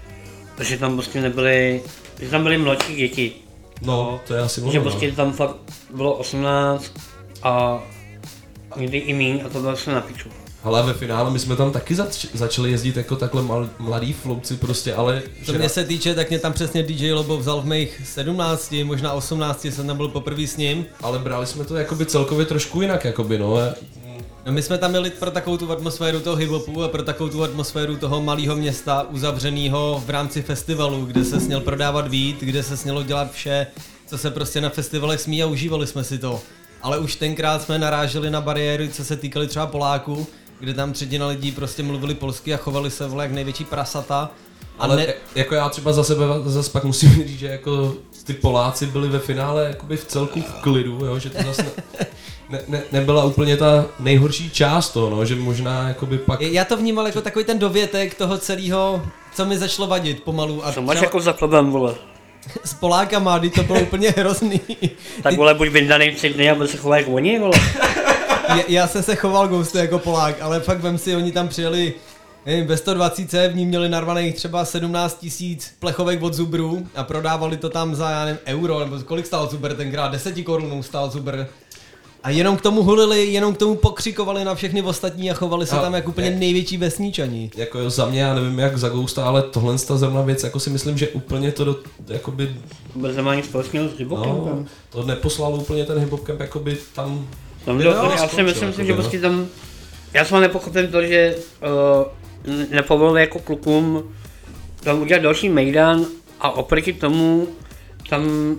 že tam prostě nebyly, že tam byly mladší děti. No, to je asi možná. Že prostě tam fakt bylo osmnáct a někdy i míň a to bylo se na piču. Ale ve finále my jsme tam taky zač- začali jezdit jako takhle mal- mladý flouci prostě, ale... Co mě se týče, tak mě tam přesně D J Lobo vzal v mých sedmnácti, možná osmnácti, jsem tam byl poprvé s ním. Ale brali jsme to jakoby celkově trošku jinak, jakoby no. No my jsme tam měli pro takovou tu atmosféru toho hip-hopu a pro takovou tu atmosféru toho malého města uzavřenýho v rámci festivalu, kde se směl prodávat víc, kde se smělo dělat vše, co se prostě na festivalech smí a užívali jsme si to. Ale už tenkrát jsme naráželi na bariéry, co se týkaly třeba Poláků, kde tam třetina lidí prostě mluvili polsky a chovali se vole jak největší prasata. Ale ne... jako já třeba za sebe zase pak musím říct, že jako ty Poláci byli ve finále jakoby v celku v klidu, jo, že to zase ne, ne, ne, nebyla úplně ta nejhorší část toho, no, že možná jakoby pak... Já to vnímal jako takový ten dovětek toho celého, co mi začalo vadit pomalu. A co máš jako za problém, vole? S Polákama, kdy to bylo úplně hrozný. Tak vole, buď vyndaný tři dny a byl se chovat jako oni, vole. Já, já jsem se choval Ghostu jako Polák, ale fakt vem si, oni tam přijeli nevím, ve sto dvacet v ní měli narvaných třeba sedmnáct tisíc plechovek od zubrů a prodávali to tam za, já nevím, euro, nebo kolik stál zubr tenkrát, deset korun stál zubr. A jenom k tomu hulili, jenom k tomu pokřikovali na všechny ostatní a chovali se a tam jako úplně je, největší vesničani. Jako za mě, já nevím jak za Ghosta, ale tohle je ta zrovna věc, jako si myslím, že úplně to do, jakoby... Vůbec nemá nic společného s hip-hopem. No, to neposlalo úplně ten hip-hop camp, jakoby tam... tam do, no, já si myslím, jako že prostě tam... Já jsem nepochopil to, že uh, nepovolili jako klukům tam udělat další mejdan a oproti tomu tam,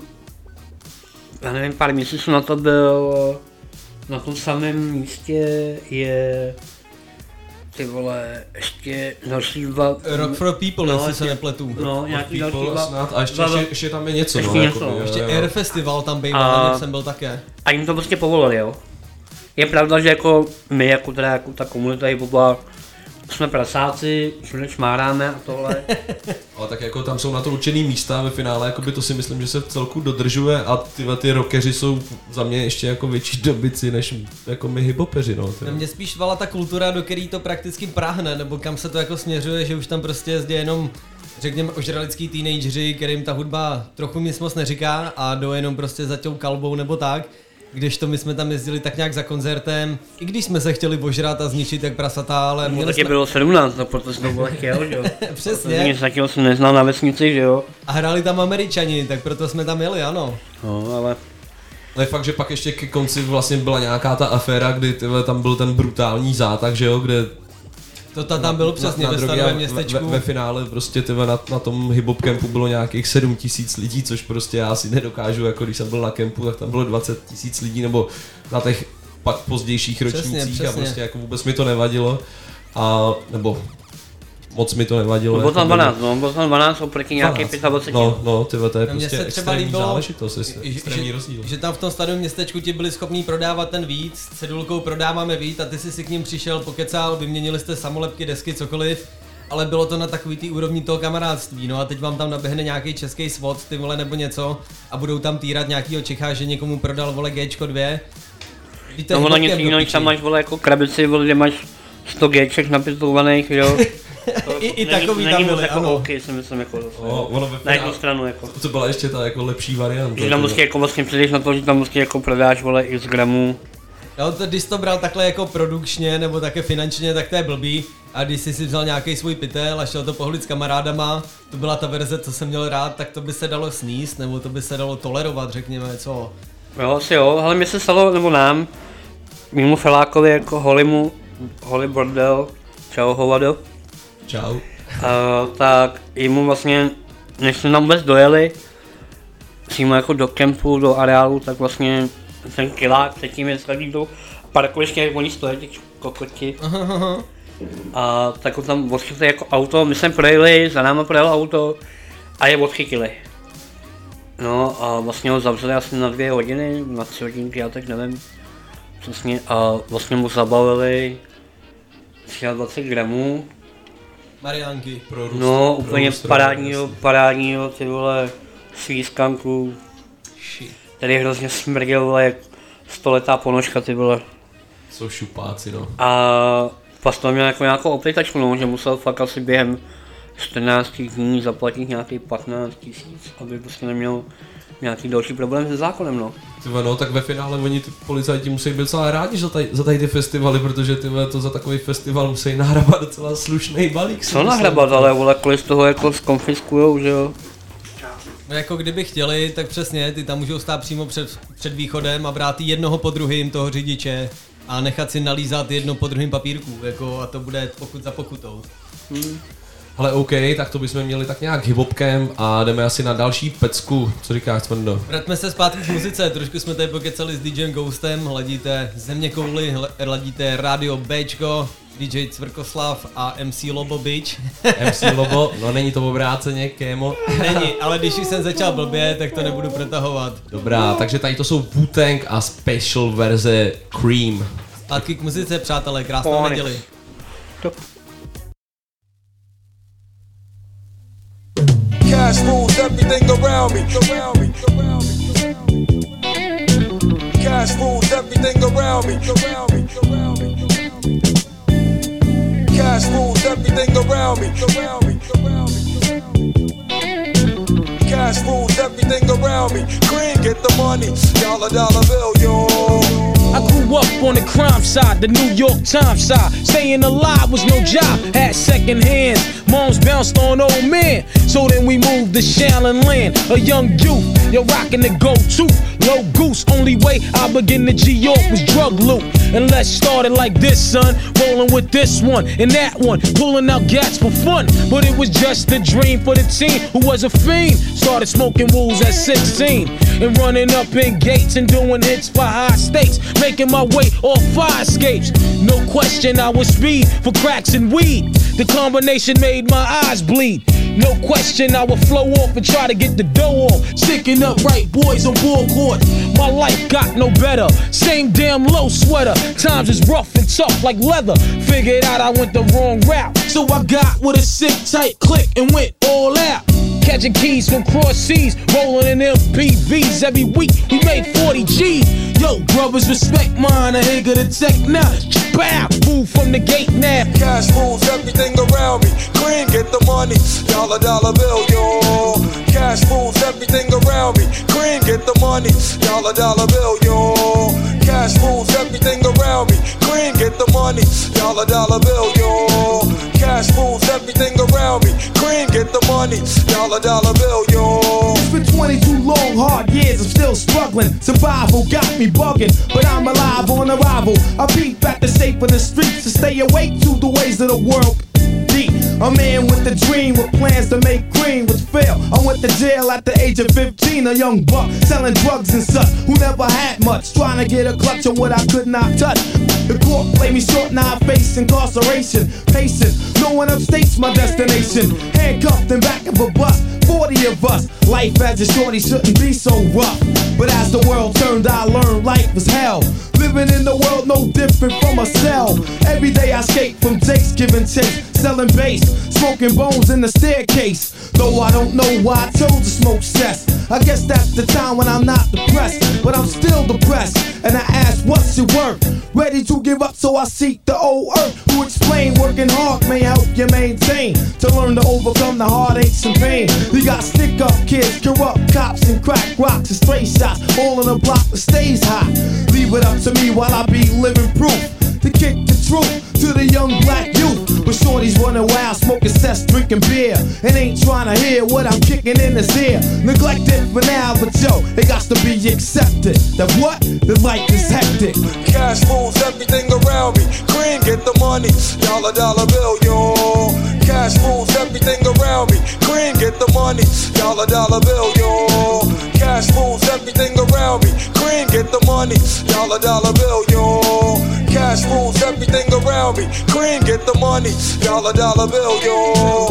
já nevím, pár měsíců na to byl, na tom samém místě je, ty vole, ještě další dva... Rock for People, no, jestli se nepletu. No, nějaký další dva... Snad, a ještě, dva, ještě, ještě tam je něco, ještě no, něco. Jakoby, ještě jo, Air jo. Festival tam býval, jak jsem byl také. A jim to prostě povolili, jo. Je pravda, že jako my, jako teda jako ta komunita hip-hopa, jsme prasáci, všude šmáráme a tohle. Ale tak jako tam jsou na to určený místa ve finále, jako by to si myslím, že se v celku dodržuje a ty, ty rockeři jsou za mě ještě jako větší dobyci než jako my hiphopeři, no. Na mě spíš vala ta kultura, do který to prakticky práhne, nebo kam se to jako směřuje, že už tam prostě jezdí jenom, řekněme, ožralický teenageři, kterým ta hudba trochu nic moc neříká a jdou jenom prostě za tou kalbou nebo tak. Když to my jsme tam jezdili tak nějak za koncertem, i když jsme se chtěli ožrat a zničit jak prasata, ale no, měli taky jsme... bylo sedmnáct, no, protože to bylo chtěl, že jo. Přesně. Nic takového jsem neznal na vesnici, že jo. A hráli tam Američani, tak proto jsme tam jeli, ano. No, ale... Ale fakt, že pak ještě ke konci vlastně byla nějaká ta aféra, kdy tyhle, tam byl ten brutální zátah, že jo, kde... To ta tam bylo přesně ve stanovém městečku. Ve, ve finále prostě tyhle, na, na tom hip-hop kempu bylo nějakých sedm tisíc lidí, což prostě já si nedokážu, jako když jsem byl na kempu, tak tam bylo dvacet tisíc lidí, nebo na těch pak pozdějších ročnících přesně, přesně. A prostě jako vůbec mi to nevadilo. A, nebo moc mi to nevadilo. Bylo tam dvanáct, no, bylo tam dvanáct oproti nějaký dvacet pět. No, no, tyhle, to je no, prostě extrémní záležitost, extrémní rozdíl. Že tam v tom stanovém městečku ti byli schopní prodávat ten víc, s cedulkou prodáváme víc a ty jsi si k ním přišel, pokecal, vyměnili jste samolepky, desky, cokoliv, ale bylo to na takový tý úrovni toho kamarádství, no a teď vám tam naběhne nějaký český svod, ty vole, nebo něco a budou tam týrat nějakýho Čecha, že někomu prodal, vole, Gčko dvě. Víte, no ono nic jiného, tam máš, vole, jako krabici, vole, kde máš sto Gček napistolovaných, jo. To, I, i takový tam byly, jako ano. OK, si myslím, jako o, ono na jednu stranu, jako. To byla ještě ta jako lepší varianta. Že tam musí jako vlastně přijdeš na to, že tam musí jako prodáš, vole, x gramů. Jo, to, když to bral takhle jako produkčně nebo také finančně, tak to je blbý. A když jsi si vzal nějaký svůj pytel a šel to pohlit s kamarádama, to byla ta verze, co jsem měl rád, tak to by se dalo sníst, nebo to by se dalo tolerovat, řekněme, co. Jo, asi jo, ale mi se stalo, nebo nám, mimo felákovi jako holimu, holi bordel, čau hovado. Čau. Uh, tak jemu vlastně, než jsme tam vůbec dojeli, přímo jako do kempu, do areálu, tak vlastně ten kilák předtím je skladí do parkoviště, jak oni stojí, těch kokoti. A tak ho tam odchytli jako auto, my jsme projeli, za náma projelo auto a je odchytili. No a vlastně ho zavřeli asi na dvě hodiny, na tři hodinky, já tak nevím. Přesně, a vlastně mu zabavili dvacet tři gramů. Mariánky. Pro růst, no, pro úplně růst parádního, parádního, ty vole, svískanku. Tady hrozně smrděl, vole, jak stoletá ponožka, ty vole. Jsou šupáci, no. A pas to měl jako nějakou oplitačku, no, že musel fakt asi během čtrnáct dní zaplatit nějaký patnáct tisíc, aby prostě neměl nějaký další problém se zákonem, no. Tyve, no, tak ve finále oni ty policajti musí být docela rádi za tady, za tady ty festivaly, protože tyve, to za takový festival musí nahrabat docela slušný balík. Co nahrabat, ale vole, kolik z toho jako zkonfiskujou, že jo? No jako kdyby chtěli, tak přesně, ty tam můžou stát přímo před, před východem a brát jednoho po druhým toho řidiče a nechat si nalízat jedno po druhým papírku, jako a to bude pokud za pokutou. Hmm. Ale OK, tak to bychom měli tak nějak hip-hopkem a jdeme asi na další pecku, co říkáš, Cvrndo? Vraťme se zpátky k muzice, trošku jsme tady pokecali s DJem Ghostem, hladíte Země kouli, hladíte Radio Bčko, D J Cvrkoslav a M C Lobo Bitch. M C Lobo, no není to obráceně, kémo. Není, ale když už jsem začal blbě, tak to nebudu protahovat. Dobrá, takže tady to jsou Wu-Tang a special verze Cream. Zpátky k muzice, přátelé, krásnou neděli. Cash rules everything around me. Cash rules everything around me. Cash rules everything around me. Cash rules everything around me. Green, get the money. Dollar, dollar bill, yo. I grew up on the crime side, the New York Times side. Staying alive was no job, had second hands. Moms bounced on old men, so then we moved to Shaolin Land. A young youth, you're rocking the go-to. Low goose, only way I begin to G-York was drug loot. And let's start it like this, son. Rolling with this one and that one, pulling out gats for fun. But it was just a dream for the teen who was a fiend. Started smoking wools at sixteen and running up in gates and doing hits for high stakes. Making my way off fire escapes. No question I was speed for cracks and weed. The combination made my eyes bleed. No question, I would flow off and try to get the dough off. Sticking up right boys on ball court. My life got no better. Same damn low sweater. Times is rough and tough like leather. Figured out I went the wrong route. So I got with a sick tight click and went all out. Catching keys from cross seas, rolling in M P Vs. Every week we made forty G's. Yo, brothers, respect mine. I ain't gonna tech now. Bow, move from the gate now. Cash rules everything around me. Green, get the money. Dollar, dollar bill, yo. Cash rules everything around me. Green, get the money. Dollar, dollar bill, yo. Cash rules everything around me. Green, get the money. Dollar, dollar bill, yo. Cash rules everything around me. Green, get the money. Dollar, dollar bill, yo. It's been twenty-two long, hard years, I'm still struggling. Survival got me bugging, but I'm alive on arrival. I peep at the shape of the streets to stay awake to the ways of the world. Deep. A man with a dream with plans to make green was fail. I went to jail at the age of fifteen, a young buck selling drugs and such who never had much, trying to get a clutch on what I could not touch. The court played me short, now I face incarceration. Patience, no one upstates my destination. Handcuffed in back of a bus, forty of us. Life as a shorty shouldn't be so rough. But as the world turned, I learned life was hell. Living in the world no different from a cell. Every day I escape from Jake's giving chase, selling bass, smoking bones in the staircase. Though I don't know why I chose to smoke cess. I guess that's the time when I'm not depressed, but I'm still depressed. And I ask, what's it worth? Ready to give up, so I seek the old earth, who explain working hard may help you maintain, to learn to overcome the heartaches and pain. You got stick up kids, corrupt cops, and crack rocks and stray shots, all in a block that stays hot. Leave it up to me while I be living proof to kick the truth to the young black youth. But shorties running wild, smoking cess, drinking beer, and ain't trying to hear what I'm kicking in his ear. Neglected for now, but yo, it got to be accepted that what? The life is hectic. Cash rules everything around me. Green, get the money. Dollar, dollar bill, yo. Cash rules everything around me. Green, get the money. Dollar, dollar bill, yo. Cash rules everything around me. Green, get the money. Dollar, dollar bill, yo. Cash rules everything around me. Green, get the money. Dollar, dollar bill, yo.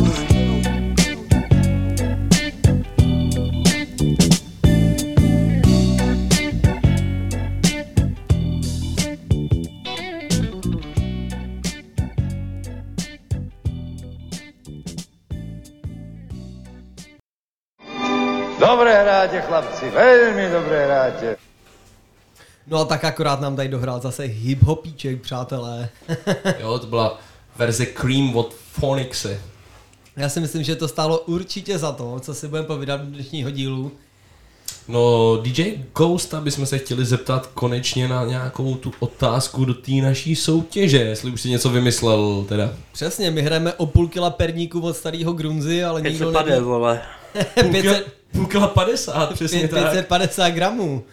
Dobré hráte, chlapci, velmi dobré hráte. No a tak akorát nám tady dohrál zase hip-hopíček, přátelé. Jo, to byla verze Cream od Phonixe. Já si myslím, že to stálo určitě za to, co si budeme povídat do dnešního dílu. No, D J Ghosta bychom se chtěli zeptat konečně na nějakou tu otázku do té naší soutěže, jestli už si něco vymyslel teda. Přesně, my hrajeme o půl kila perníku od starého Grunzy, ale nikdo neví. pět set padesát, vole. Půl kila padesát, přesně tak. pět set padesát gramů.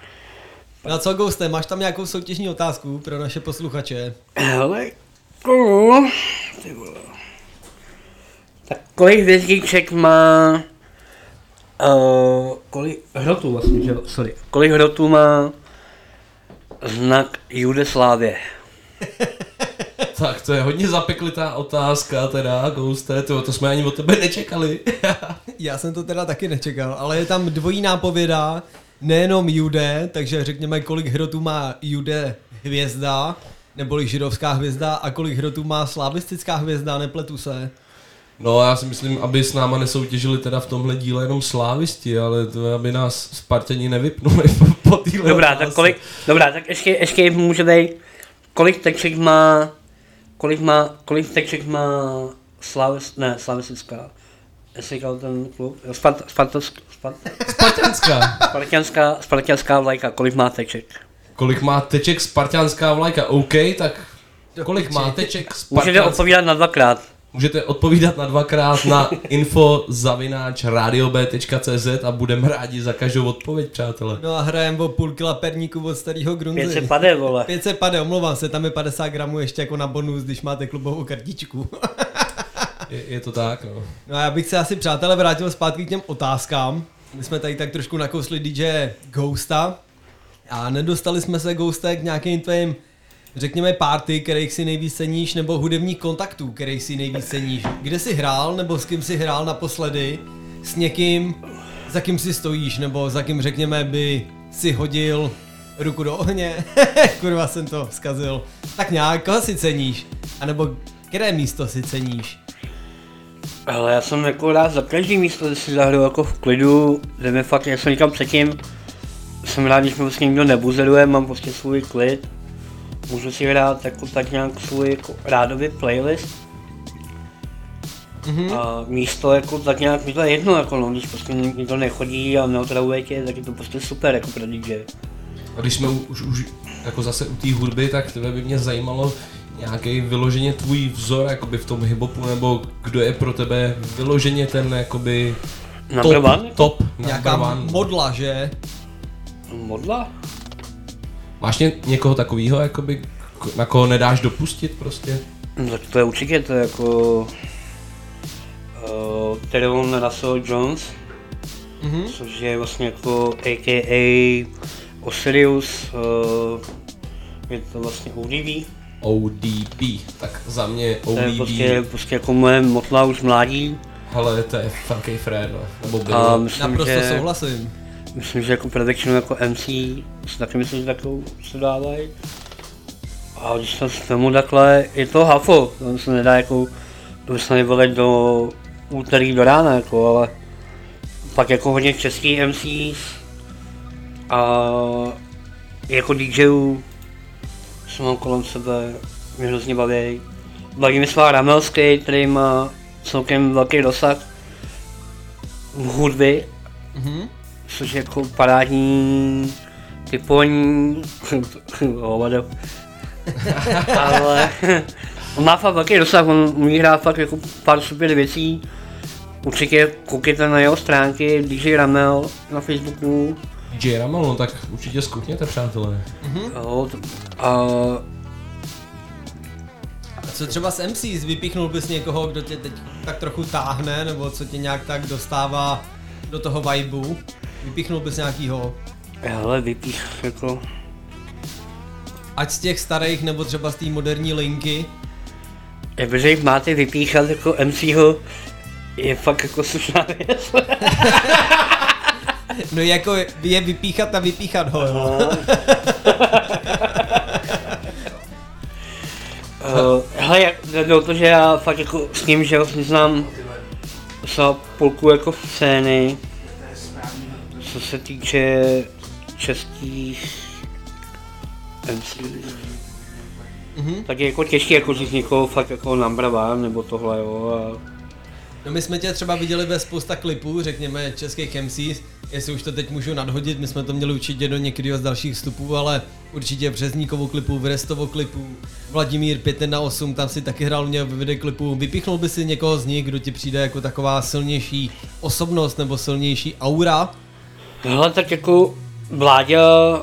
Na co, Ghoste, máš tam nějakou soutěžní otázku pro naše posluchače? Hele, kolu, ty vole. Tak kolik hvězdíček má, uh, kolik hrotů vlastně, že jo, sorry, kolik hrotů má znak Judeslávě? Tak to je hodně zapeklitá otázka teda, Ghoste, to, to jsme ani od tebe nečekali. Já jsem to teda taky nečekal, ale je tam dvojí nápověda, nejenom Jude, takže řekněme, kolik hrotů má Jude hvězda, neboli židovská hvězda, a kolik hrotů má slavistická hvězda, nepletu se. No já si myslím, aby s náma nesoutěžili teda v tomhle díle jenom slávisti, ale to aby nás Spartani nevypnuli po téhle Dobrá, otázce. tak kolik, dobrá, tak ještě, ještě můžete, kolik teček má, kolik má, kolik teček má slavis, ne, slavistická, jestli říkal ten klub, Spart, Spartovsk, Spart, Spartanská. Spartanská, Spartanská vlajka, kolik má teček? Kolik má teček spartianská vlajka, OK, tak kolik má teček spartianská... Můžete odpovídat na dvakrát. Můžete odpovídat na dvakrát na info zavináč radio b tečka cé zet a budeme rádi za každou odpověď, přátelé. No a hrajeme o půl kila perníku od starého Grunzy. pět set padesát, vole. pět set padesát, omlouvám se, tam je padesát gramů ještě jako na bonus, když máte klubovou kartičku. je, je to tak, no. No a já bych se asi, přátelé, vrátil zpátky k těm otázkám. My jsme tady tak trošku nakousli D J Ghosta a nedostali jsme se, Ghoste, k nějakým tvým řekněme, party, kterých si nejvíc ceníš, nebo hudebních kontaktů, kterých si nejvíc ceníš? Kde jsi hrál, nebo s kým jsi hrál naposledy? S někým, za kým si stojíš, nebo za kým, řekněme, by si hodil ruku do ohně? Kurva, jsem to zkazil. Tak nějak, koho si ceníš? A nebo které místo si ceníš? Ale já jsem jako rád za každý místo, kde si zahraju jako v klidu, kde mi fakt, jak jsem říkal předtím, jsem rád, když mi vlastně nikdo nebuzeruje, mám prostě svůj klid. Můžu si hrát jako tak nějak svůj jako rádový playlist. Mm-hmm. A místo jako tak nějak mi to je jedno, jako no, když prostě nikdo nechodí a neotravuje tě, tak je to prostě super jako pro dý džej. A když jsme už, už jako zase u té hudby, tak tebe by mě zajímalo nějaký vyloženě tvůj vzor jakoby v tom hiphopu, nebo kdo je pro tebe vyloženě ten jakoby top, one? top nějaká one. modla, že? Modla? Máš ně, někoho takového, jakoby, na koho nedáš dopustit prostě? No, tak to je určitě, to je jako uh, Teron Russell Jones, mm-hmm. což je vlastně jako A K A Osiris, uh, je to vlastně O D B. O D B, tak za mě O D B. To je prostě, prostě jako moje motla už mládí. Ale to je velký frér, no. Nebo bylo. Myslím, naprosto že, souhlasím. Myslím, že jako production jako M C si taky myslím, že takovou se dávají. A když to vezmu takhle, je to hafo, to se nedá jako, to by se nebylo do úterý do rána, jako, ale pak jako hodně český M Cs a jako DJů jsem mám kolem sebe, mě hrozně baví. Baví mi svá Ramelský, který má celkem velký dosah v hudby, mm-hmm. což je jako parádní typoní hovado. Ale on má fakt velký dosah, on umí hrát fakt jako pár super věcí. Určitě koukejte na jeho stránky D J Ramel na Facebooku. D J Ramel, no tak určitě zkoukněte, přátelé. Mm-hmm. Jo, a... a co třeba s M Cs, vypíchnul bys někoho, kdo tě teď tak trochu táhne, nebo co tě nějak tak dostává do toho vibu? Vypíchnul bys nějakýho? Hele, vypích jako... Ať z těch starých, nebo třeba z té moderní linky? Jakože jich máte vypíchat jako M C ho, je fakt jako slušná věc. No jako je vypíchat a vypíchat ho, jo. uh, hele, jde o to, že já fakt jako s ním, že vlastně znám za půlku jako scény, co se týče českých M C. Mm-hmm. Tak je jako těžké jako říct někoho fakt jako number one nebo tohle, jo. A... No my jsme tě třeba viděli ve spousta klipů, řekněme českých M Cs, jestli už to teď můžu nadhodit, my jsme to měli určitě do některého z dalších vstupů, ale určitě v Březníkovu klipu, v Restovo klipu, Vladimír pět jedna osm, tam si taky hrál mě v videoklipu. Vypíchnul by si někoho z nich, kdo ti přijde jako taková silnější osobnost nebo silnější aura? Hele, tak jako Vláďa,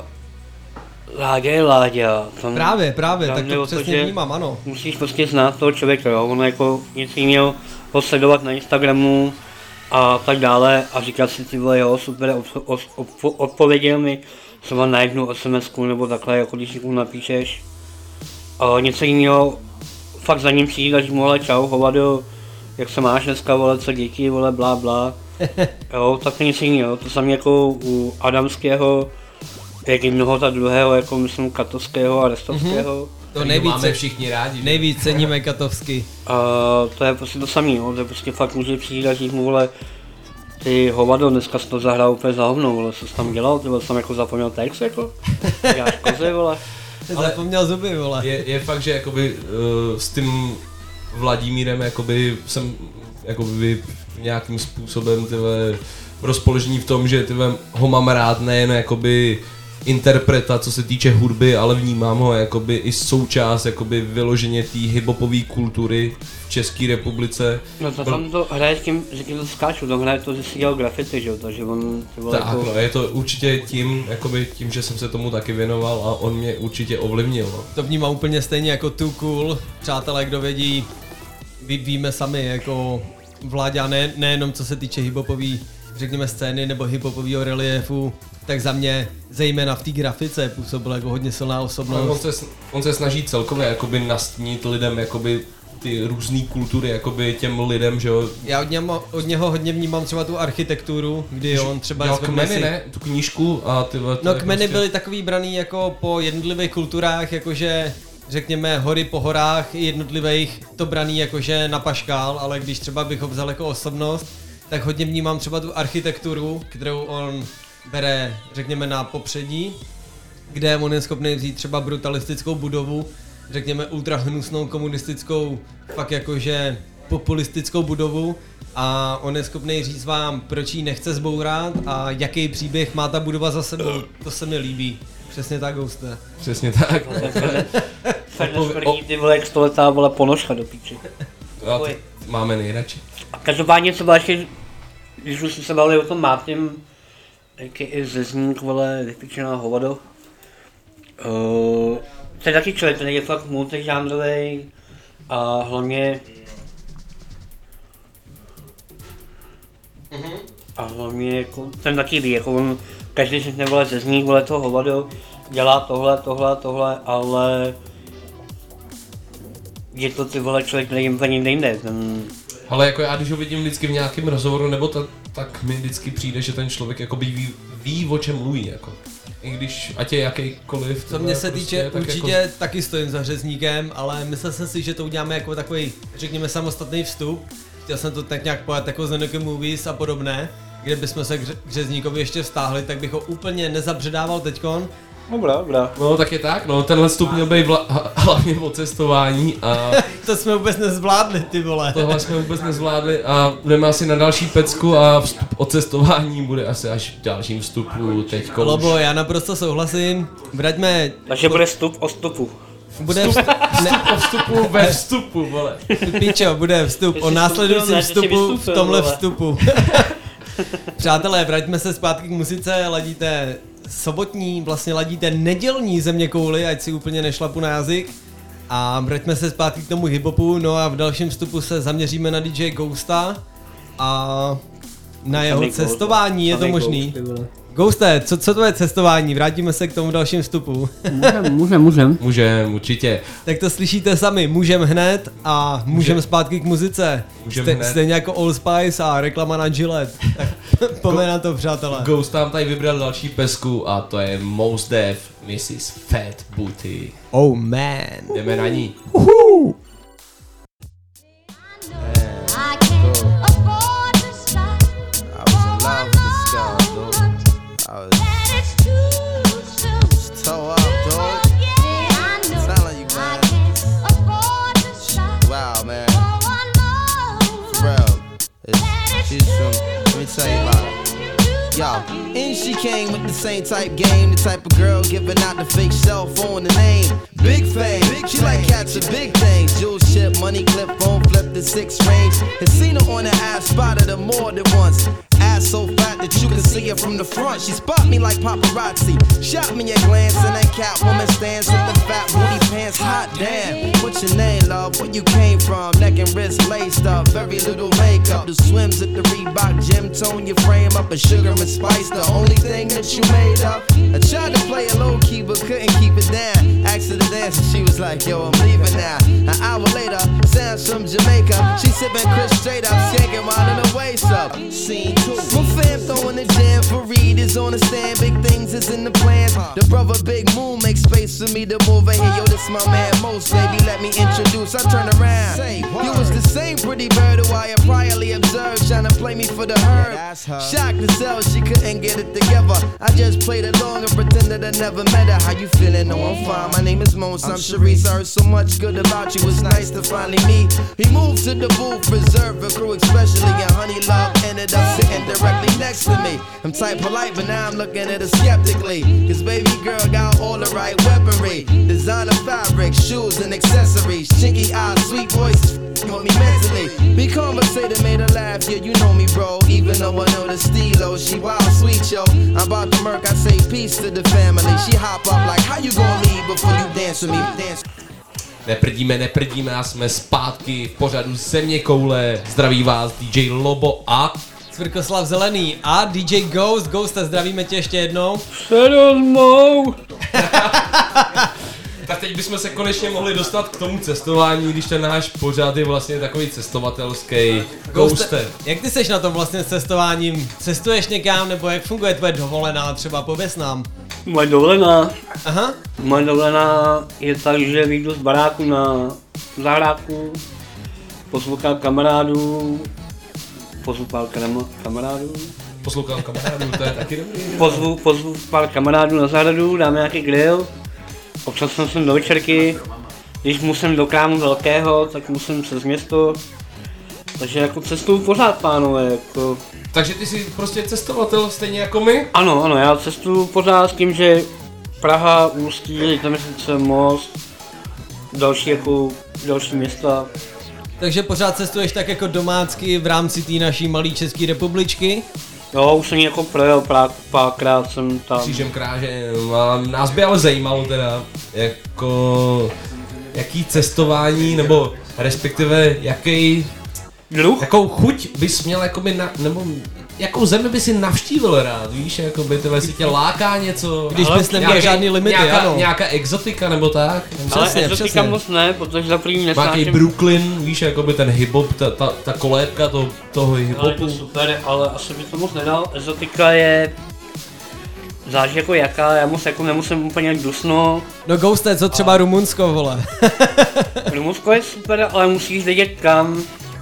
Láďa je Láďa. Tam, právě, právě, tam tak to přesně vnímám, ano. Musíš prostě znát toho člověka, jo, ono jako něco jiného ho sledovat na Instagramu a tak dále a říkat si ty vole, jo, super, od, od, od, odpověděl mi třeba na jednu es em esku nebo takhle, jako když někomu napíšeš. A něco jiného, fakt za ním přijít a říct mu, hele, čau, hovado, jak se máš dneska, vole, co děti, vole, blá, blá. Jo, tak to něco jiného, to samé jako u Adamského, jak i mnoho ta druhého, jako myslím Katovského a Restovského. Mm-hmm. To nejvíc máme všichni rádi. Nejvíc ceníme Katovsky. A to je prostě to samé, to je prostě fakt může přijít a říct mu, vole, ty hovado, dneska jsi to zahrál úplně za hovno, vole, co jsi tam dělal, ty vole, jsi tam jako zapomněl text, jako, děláš kozy, vole. Ale zapomněl zuby, vole. Je, je fakt, že jakoby uh, s tím Vladimírem jakoby jsem jakoby nějakým způsobem tyhle rozpoložení v tom, že tyhle ho mám rád nejen jakoby interpreta, co se týče hudby, ale vnímám ho jakoby i součást jakoby vyloženě té hiphopové kultury v České republice. No to tam to hraje s tím, že tím to skáču, tam hraje to, že si dělal grafity, že jo, takže on... Tak jako... no, je to určitě tím, jakoby tím, že jsem se tomu taky věnoval a on mě určitě ovlivnil. No. To vnímám úplně stejně jako Too Cool, přátelé, kdo vědí, ví, víme sami, jako Vláďa, ne, nejenom co se týče hiphopový řekněme, scény nebo hiphopového reliefu, tak za mě zejména v té grafice působil jako hodně silná osobnost. On se, on se snaží celkově jakoby nastínit lidem jakoby ty různé kultury jakoby těm lidem, že jo. Já od něho, od něho hodně vnímám třeba tu architekturu, kdy on třeba... Dělal kmeny, si... ne? Tu knížku a ty... No kmeny prostě... byly takový braný jako po jednotlivých kulturách, jakože řekněme hory po horách jednotlivých to braný jakože na paškál, ale když třeba bych ho vzal jako osobnost, tak hodně vnímám třeba tu architekturu, kterou on bere, řekněme, na popředí, kde on je schopný vzít třeba brutalistickou budovu, řekněme ultra hnusnou komunistickou, fakt jakože populistickou budovu a on je schopný říct vám, proč ji nechce zbourat a jaký příběh má ta budova za sebou. To se mi líbí. Přesně tak, Ghoste. Přesně tak. Ferneš první, ty vole, jak stoletá, vole, ponožka do píči. Máme nejradši. A každopádně třeba ještě, když už jsme se bavili o tom Mátněm, jak je i Zezník, vole, vypíčená hovado. Uh, to je taky člověk, ten je fakt multižánrovej a hlavně mm-hmm. a hlavně jako, ten taky ví, jako on, každý si nevole Zezník, vole toho hovado, dělá tohle, tohle, tohle, ale je to ty vole člověk, který jim úplně nejde. Ten... Ale jako já, když ho vidím vždycky v nějakém rozhovoru, nebo ta, tak mi vždycky přijde, že ten člověk jakoby ví, ví, o čem mluví, jako. I když, ať je jakýkoliv. Co mě se prostě, týče, tak určitě jako... taky stojím za Řezníkem, ale myslel jsem si, že to uděláme jako takový, řekněme, samostatný vstup. Chtěl jsem to tak nějak pojat jako z Zeneke Movies a podobné, kde bychom se k Řezníkovi ještě vztáhli, tak bych ho úplně nezabředával teďkon. Dobrá, dobrá. No tak je tak, no tenhle vstup měl být vla, hlavně o cestování a... To jsme vůbec nezvládli, ty vole. Tohle jsme vůbec nezvládli a budeme asi na další pecku a vstup o cestování bude asi až v dalším vstupu teďko. Lobo, já naprosto souhlasím, vraťme... Takže bude vstup o vstupu. Bude vstup, ne, vstup o vstupu ve vstupu, vole. Píčo, bude vstup o následujícím vstupu v tomhle vstupu. Přátelé, vraťme se zpátky k muzice, ladíte sobotní, vlastně ladíte nedělní Zeměkouli, ať si úplně nešlapu na jazyk. A vraťme se zpátky k tomu hiphopu, no a v dalším vstupu se zaměříme na D J Ghosta a na jeho cestování, je to možný? Ghoste, co, co to je cestování? Vrátíme se k tomu dalším vstupu. Můžem, můžem, můžem. Můžem, určitě. Tak to slyšíte sami, můžem hned a můžem zpátky k muzice. Můžem Ste, hned. Stejně jako Old Spice a reklama na Gillette. Tak pojďme na to, přátelé. Ghost tam tady vybral další pesku a to je Mos Def, missus Fat Booty. Oh man. Jdeme na ní. Uhu. Yo, and she came with the same type game, the type of girl giving out the fake cell phone, the name Big Fame. She like catching big things, jewel ship, money clip, phone flip, the six range. Has seen her on the ass, spotted her more than once. Ass so fat that you can see her from the front. She spot me like paparazzi, shot me a glance, and that Catwoman stands with the fat booty pants. Hot damn, what's your name, love? Where you came from? Neck and wrist laced up, very little makeup. The swims at the Reebok gym, tone your frame up, and sugar and spice, the only thing that you made up. I tried to play it low key, but couldn't keep it down. Asked her to dance, and she was like, yo, I'm leaving now. An hour later, sounds from Jamaica. She sipping Chris straight up, skanking while in her waist up. Scene two. My fam throwing the jam for Reed is on the stand. Big things is in the plans. The brother Big Moon makes space for me to move in here. Yo, this my man Most, baby, let me introduce. I turn around. You was the same pretty bird who I had priorly observed, trying to play me for the herd. Shocked to sell, she couldn't get it together. I just played along and pretended I never met her. How you feeling? No, I'm fine. My name is Mons. I'm Sharice. I heard so much good about you. It's nice to finally meet. He moved to the booth, reserved for crew, especially. And Honey Love ended up sitting directly next to me. I'm type polite, but now I'm looking at her skeptically. Cause baby girl got all the right weaponry. Designer fabric, shoes and accessories. Chinky eyes, sweet voice, want me mentally. Be conversated, made her laugh, yeah, you know me, bro. Even though I know the stilo, she wild sweet, yo. I'm about to murk, I say peace to the family. She hop up like, how you gonna leave before you dance with me? Dance. Neprdíme, neprdíme a jsme zpátky v pořadu Zeměkoule. Zdraví vás D J Lobo a Svrkoslav Zelený a D J Ghost. Ghosta, zdravíme tě ještě jednou. Sedmou. Tak teď bychom se konečně mohli dostat k tomu cestování, když ten náš pořad je vlastně takový cestovatelský. Ghoste. Jak ty seš na tom vlastně s cestováním? Cestuješ někam, nebo jak funguje tvoje dovolená? Třeba pověs nám. Moje dovolená? Aha. Moje dovolená je tak, že vyjdu z baráku na zahrádku, poslouchám kamarádů, poslouchám kamarádů. Poslouchám kamarádů, to je taky dobrý. Pozvu, pozvu pár kamarádů na zahradu, dáme nějaký grill. Občas jsem do večerky, když musím do krámu velkého, tak musím přes město. Takže jako cestuju pořád, pánové, jako... Takže ty jsi prostě cestovatel stejně jako my? Ano, ano, já cestuju pořád s tím, že Praha, Ústí, Litoměřice, Most, další jako, další města. Takže pořád cestuješ tak jako domácky v rámci té naší malé České republičky? Jo, už jsem jako projel pár, párkrát jsem tam. Křížem krážem, a nás by ale zajímalo teda, jako, jaký cestování, nebo respektive jaký, druh? Jakou chuť bys měl jakoby na, nebo jakou zemi by si navštívil rád, víš, jakoby tyhle si tě láká něco. Když bys neměl žádný limity, nějaká, ano. Nějaká exotika nebo tak. Ale přesně, exotika přesně. Moc ne, protože za první nesnáším. Nějaký Brooklyn, víš, jakoby ten hip-hop, ta, ta, ta kolébka to, toho hip-hopu. Ale to super, ale asi by to moc nedal. Exotika je... Záleží jako jaká, já moc jako nemusím úplně dusno. No Ghoste, co třeba a... Rumunsko, vole. Rumunsko je super, ale musíš vědět kam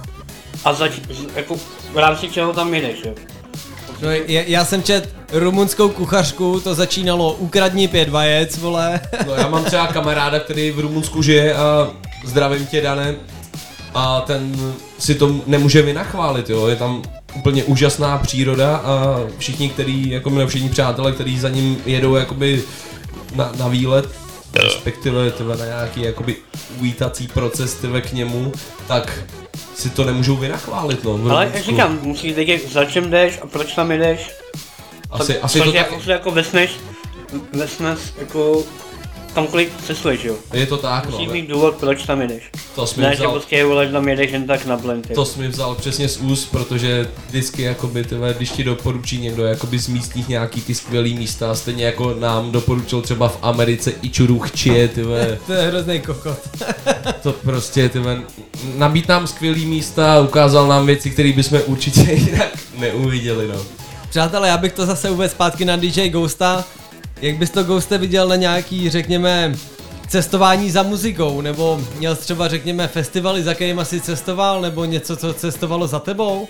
a zač, jako v rámci čeho tam jedeš, jo. No, já, já jsem čet rumunskou kuchařku, to začínalo ukradni pět vajec, vole. No, já mám třeba kamaráda, který v Rumunsku žije a zdravím tě, Dane. A ten si to nemůže vynachválit, jo, je tam úplně úžasná příroda a všichni, který, jako my všichni přátelé, kteří za ním jedou jakoby na, na výlet, respektive tyhle na nějaký jakoby uvítací proces tyhle k němu, tak si to nemůžou vynachválit, no. Ale jak říkám, musíš vědět, za čem jdeš a proč tam jdeš. Asi, tak, asi to tak... jako, jako vesneš, vesneš jako kamkoliv cestuješ, jo. Je to tak, musíš no. mít důvod, proč tam jdeš. To jsi ne, mi vzal... že prostě vole, tam jedeš jen tak na blend. To jsi mi vzal přesně z úst, protože vždycky jakoby, tyhle, když ti doporučí někdo jakoby z místních nějaký ty skvělý místa, stejně jako nám doporučil třeba v Americe Ičuruchčie, tyhle. To je hrozný kokot. To prostě, tyhle, nabít nám skvělý místa, ukázal nám věci, které bychom určitě jinak neuviděli, no. Přátelé, já bych to zase uvedl zpátky na D J Ghosta. Jak bys to, Ghoste, viděl na nějaký, řekněme, cestování za muzikou, nebo měl třeba, řekněme, festivaly, za kterýma jsi cestoval, nebo něco, co cestovalo za tebou?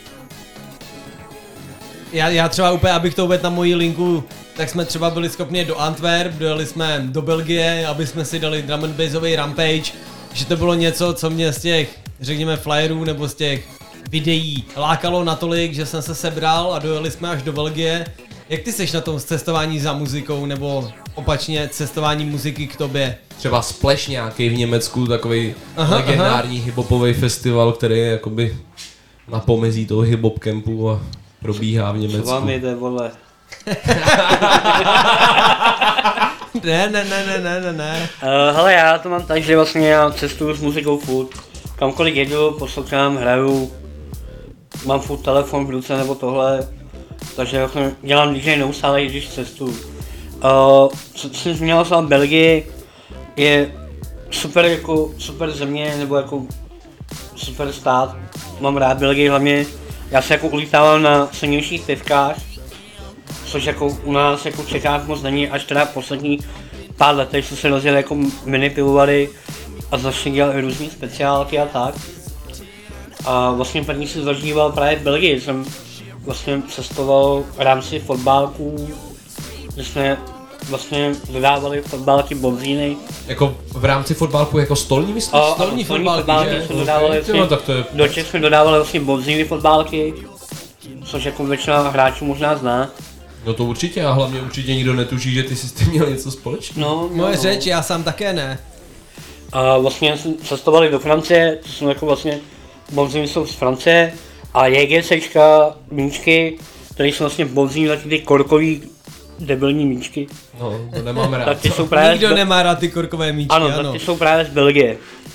Já, já třeba úplně, abych to uvedl na moji linku, tak jsme třeba byli schopni do Antwerp, dojeli jsme do Belgie, aby jsme si dali drum and bassový Rampage, že to bylo něco, co mě z těch, řekněme, flyerů nebo z těch videí lákalo natolik, že jsem se sebral a dojeli jsme až do Belgie. Jak ty seš na tom cestování za muzikou, nebo opačně cestování muziky k tobě? Třeba Splash nějaký v Německu, takový legendární hiphopový festival, který je jakoby na pomezí toho hiphop campu a probíhá v Německu. Co vám jde, vole? ne, ne, ne, ne, ne, ne, ne. Uh, hele, já to mám tak, že vlastně já cestuju s muzikou furt. Kamkoliv jedu, poslouchám, hraju, mám furt telefon v ruce nebo tohle. Takže vlastně dělám D J neustále, když cestuju. Uh, co jsem zmínil v Belgii, je super jako super země, nebo jako super stát. Mám rád Belgii hlavně. Já se jako ulítával na silnějších pivkách, což jako u nás jako v Čechách moc není, až teda poslední pár letech jsme se rozjeli jako mini pivovary a začali dělat různý speciálky a tak. A vlastně první si zažíval právě v Belgii, jsem vlastně cestoval v rámci fotbálků, kde jsme vlastně dodávali fotbálky bonzíny. Jako v rámci fotbálku jako stolní myslíš? A, stolní fotbálky, fotbálky jsme okay. dodávali vlastně, no, tak to je... do Čech jsme dodávali vlastně bonzíny fotbálky, což jako většina hráčů možná zná. No to určitě a hlavně určitě nikdo netuší, že ty jsi s tím měl něco společného. No, Moje no. řeč, já sám také ne. A vlastně jsme cestovali do Francie, to jsou jako vlastně bonzíny jsou z Francie a JGCčka, míčky, které jsou vlastně bonzíny taky ty korkový debilní míčky. No, to nemám rád. Tak ty jsou právě Nikdo z... nemá rád ty korkové míčky, ano. ano. Tak ty jsou právě z Belgie.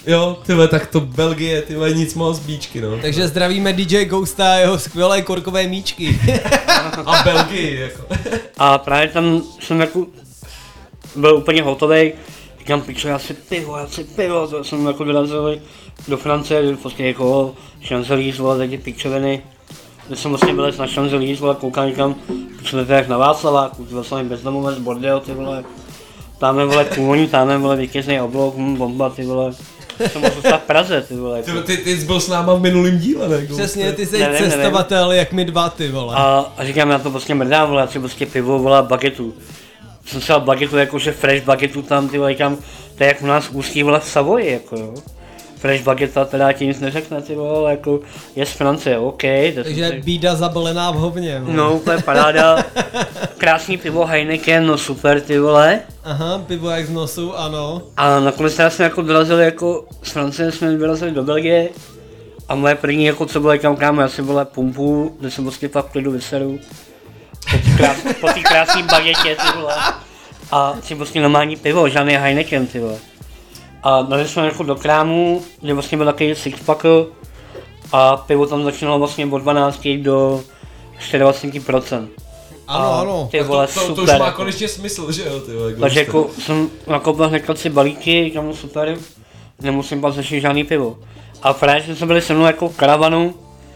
Jo, tyhle, tak to Belgie, tyhle, nic moc, bíčky, no. Takže zdravíme D J Ghosta a jeho skvělé korkové míčky. A Belgii, jako. A právě tam jsem jako byl úplně hotovej. Říkám, pičo, já si pivo, já si pivo, to jsem jako vyrazil do Francie, prostě jako Champs-Élysées, vole, tady pičoviny. Když jsem vlastně byl na Champs-Élysées, vole, koukám, říkám, pičo, to jak na Václaváku, ty jsem bezdomovec, bordel, ty vole. Táme, vole, kůň, táme, vole, vítězný oblouk, hm, bomba, ty vole. Jsem mohl zůstat v Praze, ty vole. Ty, ty, ty jsi byl s náma v minulým díle, ne? Přesně, ty jsi nevím, cestovatel, nevím. Jak my dva, ty vole. A, a říkám, já to prostě mrdám, vole, já si prostě pivo, vole, bagetu. Jsem si dal bagetu, jakože fresh bagetu tam, ty vole, říkám, to je jak u nás ústí, vole, v Savoji, jako jo. Fresh bageta teda ti nic neřekne, ty vole, ale jako je z Francie, OK. Takže si... bída zabalená v hovně. Vole. No, úplně paráda. Krásný pivo Heineken, no super, ty vole. Aha, pivo jak z nosu, ano. A nakonec teda jsme jako dorazili jako z Francie, jsme vyrazili do Belgie. A moje první jako co bylo, kam kámo, já si vole pumpu, kde jsem prostě fakt v klidu vyseru. Po té krás, krásné bagetě, ty vole. A si prostě normální pivo, žádný Heineken, ty vole. A dali jsme jako do krámu, kde vlastně byl takový sixpack a pivo tam začínalo vlastně od dvanácti do dvacet čtyři procent. Ano, ano. Ty vole, to, to, super. to už má jako. konečně smysl, že jo, ty vole. Takže jako jsem nakoupil hnedka si balíky, říkám super, nemusím pak začít žádný pivo. A právě jsme byli se mnou jako v karavanu,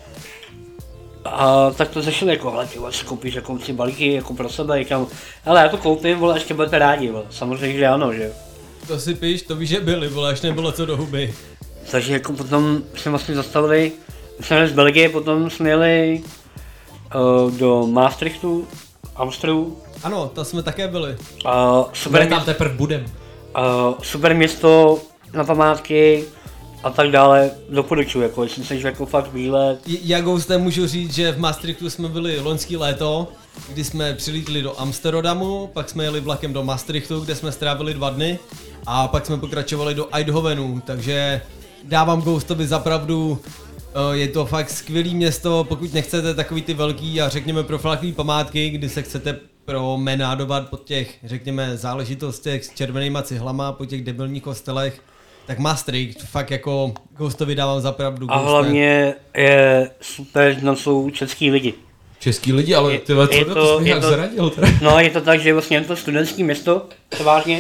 a tak to zašli jako, hele ty vole, si koupíš jako si balíky jako pro sebe, říkám, hele já to koupím, vole, ještě budete rádi, vole, samozřejmě, že ano, že. To si píš, to víš, že byli, vole, až nebylo co do huby. Takže jako potom jsme vlastně zastavili, jsme jeli z Belgie, potom jsme jeli uh, do Maastrichtu, Amsterdamu. Ano, tam jsme také byli. Uh, super tam teprve budem. Uh, super město na památky a tak dále, doporučuji, jako jestli chceš jako fakt výlet. Já Ghoste můžu říct, že v Maastrichtu jsme byli loňský léto, kdy jsme přilítli do Amsterdamu, pak jsme jeli vlakem do Maastrichtu, kde jsme strávili dva dny a pak jsme pokračovali do Eindhovenu, takže dávám Ghostovi za pravdu, je to fakt skvělý město, pokud nechcete takový ty velký a řekněme profláklý památky, kdy se chcete promenádovat po těch, řekněme, záležitostech s červenýma cihlama, po těch debilních kostelech, tak Maastricht, fakt jako Ghostovi dávám za pravdu. A hlavně je super, že tam jsou český lidi. Český lidi, ale ty co, to, to jsi nějak to, zradil teda. No, je to tak, že vlastně je to studentský město, převážně.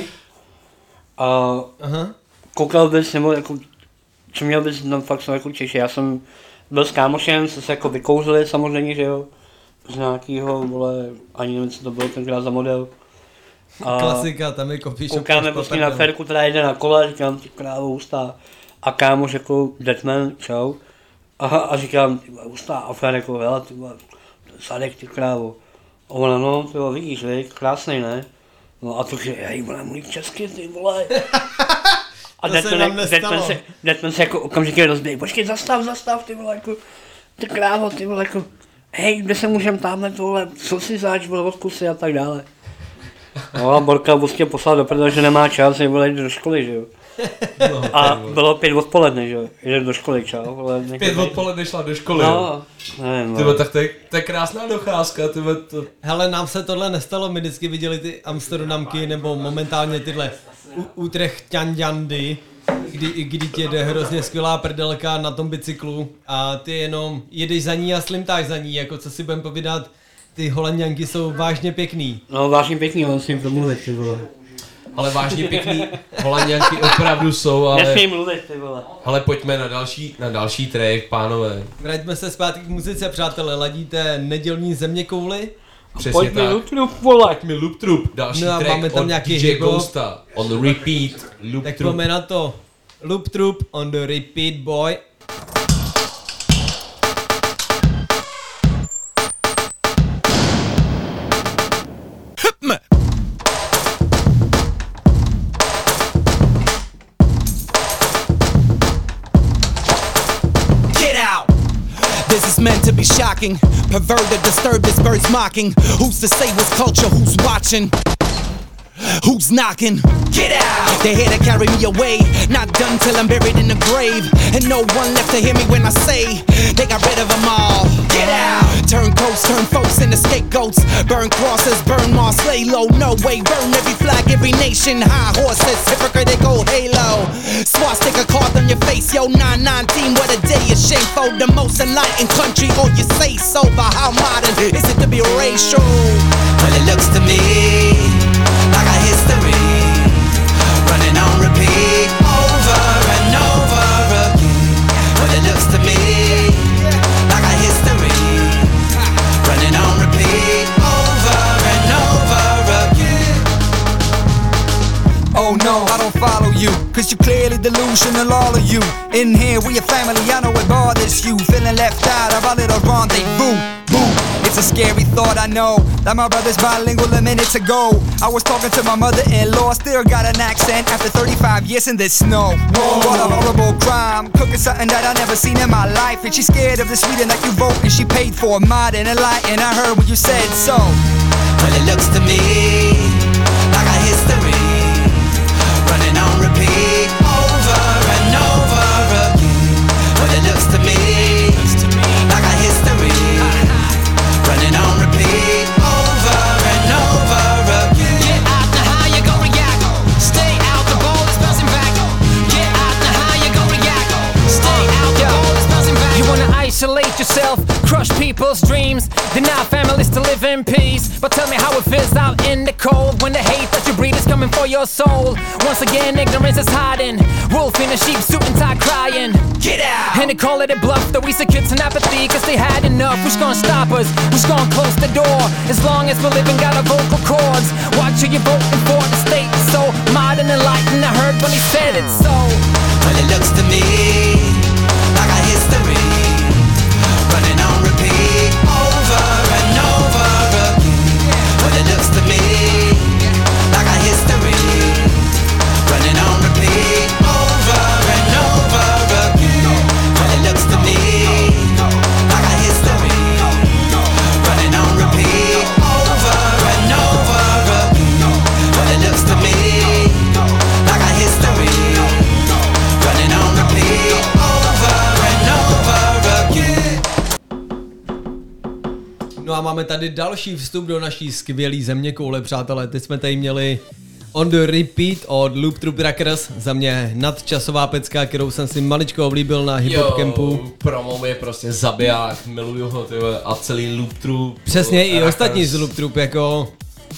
A aha. Koukal bys, nebo jako, co měl bys, no fakt jsou jako Češi, já jsem byl s kámošem, se se jako vykouzli samozřejmě, že jo. Z nějakýho, vole, ani nevím, co to bylo tenkrát za model. A klasika, tam je coffee shop. Koukáme prostě na Ferku, která jede na kole, říkám, ty krávo, hustá. A kámoš jako Deadman, čau. A, a říkám, ty vole, hustá. A Fer jako, hele, ty vole, sadek, ty krávo. A ona, no, ty vole, vidíš, víš, krásnej, ne? No a to, že, hej, vole, mluví česky, ty vole. A Deadman se jako okamžitě rozběh, počkej, zastav, zastav, ty vole, jako, ty krávo, ty vole, jako, hej, kde se můžem tamhle, tohle, co si zač, vole, odkusy a tak dále. No a Borka prostě poslal do prdele, že nemá čas, je vole jít do školy, že jo. No, a bylo pět odpoledne, že jo, jde do školy, čau. Vole, pět odpoledne šla do školy, no, jo. Nevím, tyhle, tak to je, to je krásná docházka, tyhle to... Hele, nám se tohle nestalo, my vždycky viděli ty Amsterdamky, nebo momentálně tyhle Utrechťanďandy, kdy, kdy ti jde hrozně skvělá prdelka na tom bicyklu a ty jenom jedeš za ní a slimtáš za ní, jako co si budem povídat, ty Holanďanky jsou vážně pěkný. No vážně pěkný, on si jim to mluvit, ty vole. Ale vážně pěkný Holanďanky opravdu jsou, ale... Nesmím mluvit, ty vole. Ale pojďme na další, na další track, pánové. Vraťme se zpátky k muzice, přátelé, ladíte nedělní zeměkouly? Přesně Pojď tak. mi Loop Troop, vole. Pojď mi Loop Troop, další no track máme tam od nějaký D J Ghosta, on the repeat, Loop tak Troop. pojďme na to. Loop Troop on the repeat, boy. Meant to be shocking, perverted, disturbed, this bird's mocking. Who's to say what's culture, who's watching? Who's knocking? Get out! They're here to carry me away. Not done till I'm buried in the grave. And no one left to hear me when I say they got rid of them all. Get out! Turn coats, turn folks into scapegoats. Burn crosses, burn Mars, lay low. No way, burn every flag, every nation. High horses, hypocritical halo. Swastika carved on your face, yo. nine nineteen, what a day of shame for the most enlightened country. Or you say so, but how modern is it to be racial? Well, it looks to me like a history running on repeat over and over again. Well, it looks to me like a history running on repeat over and over again. Oh no, I don't follow you, cause you clearly delusional, all of you. In here, we a family, I know it bothers you. Feeling left out of our little rendezvous. Boom. It's a scary thought, I know, that my brother's bilingual a minute ago. I was talking to my mother-in-law, still got an accent after thirty-five years in this snow. What a horrible crime, cooking something that I never seen in my life. And she's scared of the Sweden that you vote, and she paid for modern and light. And I heard what you said, so well, it looks to me like a history running on repeat over and over again. Well, it looks to me like a history running on repeat over and over again. Get out the how you gon' react. Stay out, the ball is bouncing back. Get out the how you gon' react. Stay out, the ball is bouncing back. You wanna isolate yourself, crush people's dreams, deny families to live in peace. But tell me how it feels out in the cold when the hate that you breathe is coming for your soul. Once again, ignorance is hiding. Wolf in a sheep suit and tie crying. Get out! And they call it a bluff, that we said kids in apathy, cause they had enough. Who's gonna stop us? Who's gonna close the door? As long as we're living, got our vocal cords. Watch who you're voting for, the state is so modern and enlightened. I heard when he said it so. Well, it looks to me like a history running on repeat over and over again. Well, it looks to me like a history running on repeat over and over again. Well, it looks to me like a history running on repeat over and over again. Well, it looks to me like a history running on repeat over and over again. No a máme tady další vstup do naší skvělé země koule, přátelé. Teď jsme tady měli On the Repeat od Loop Troop Rockers, za mě nadčasová pecka, kterou jsem si maličko oblíbil na Hip Hop Campu. Promo je prostě zabiják, miluju ho, tyhle, a celý Loop Troop. Přesně, i Rockers. Ostatní z Loop Troop, jako...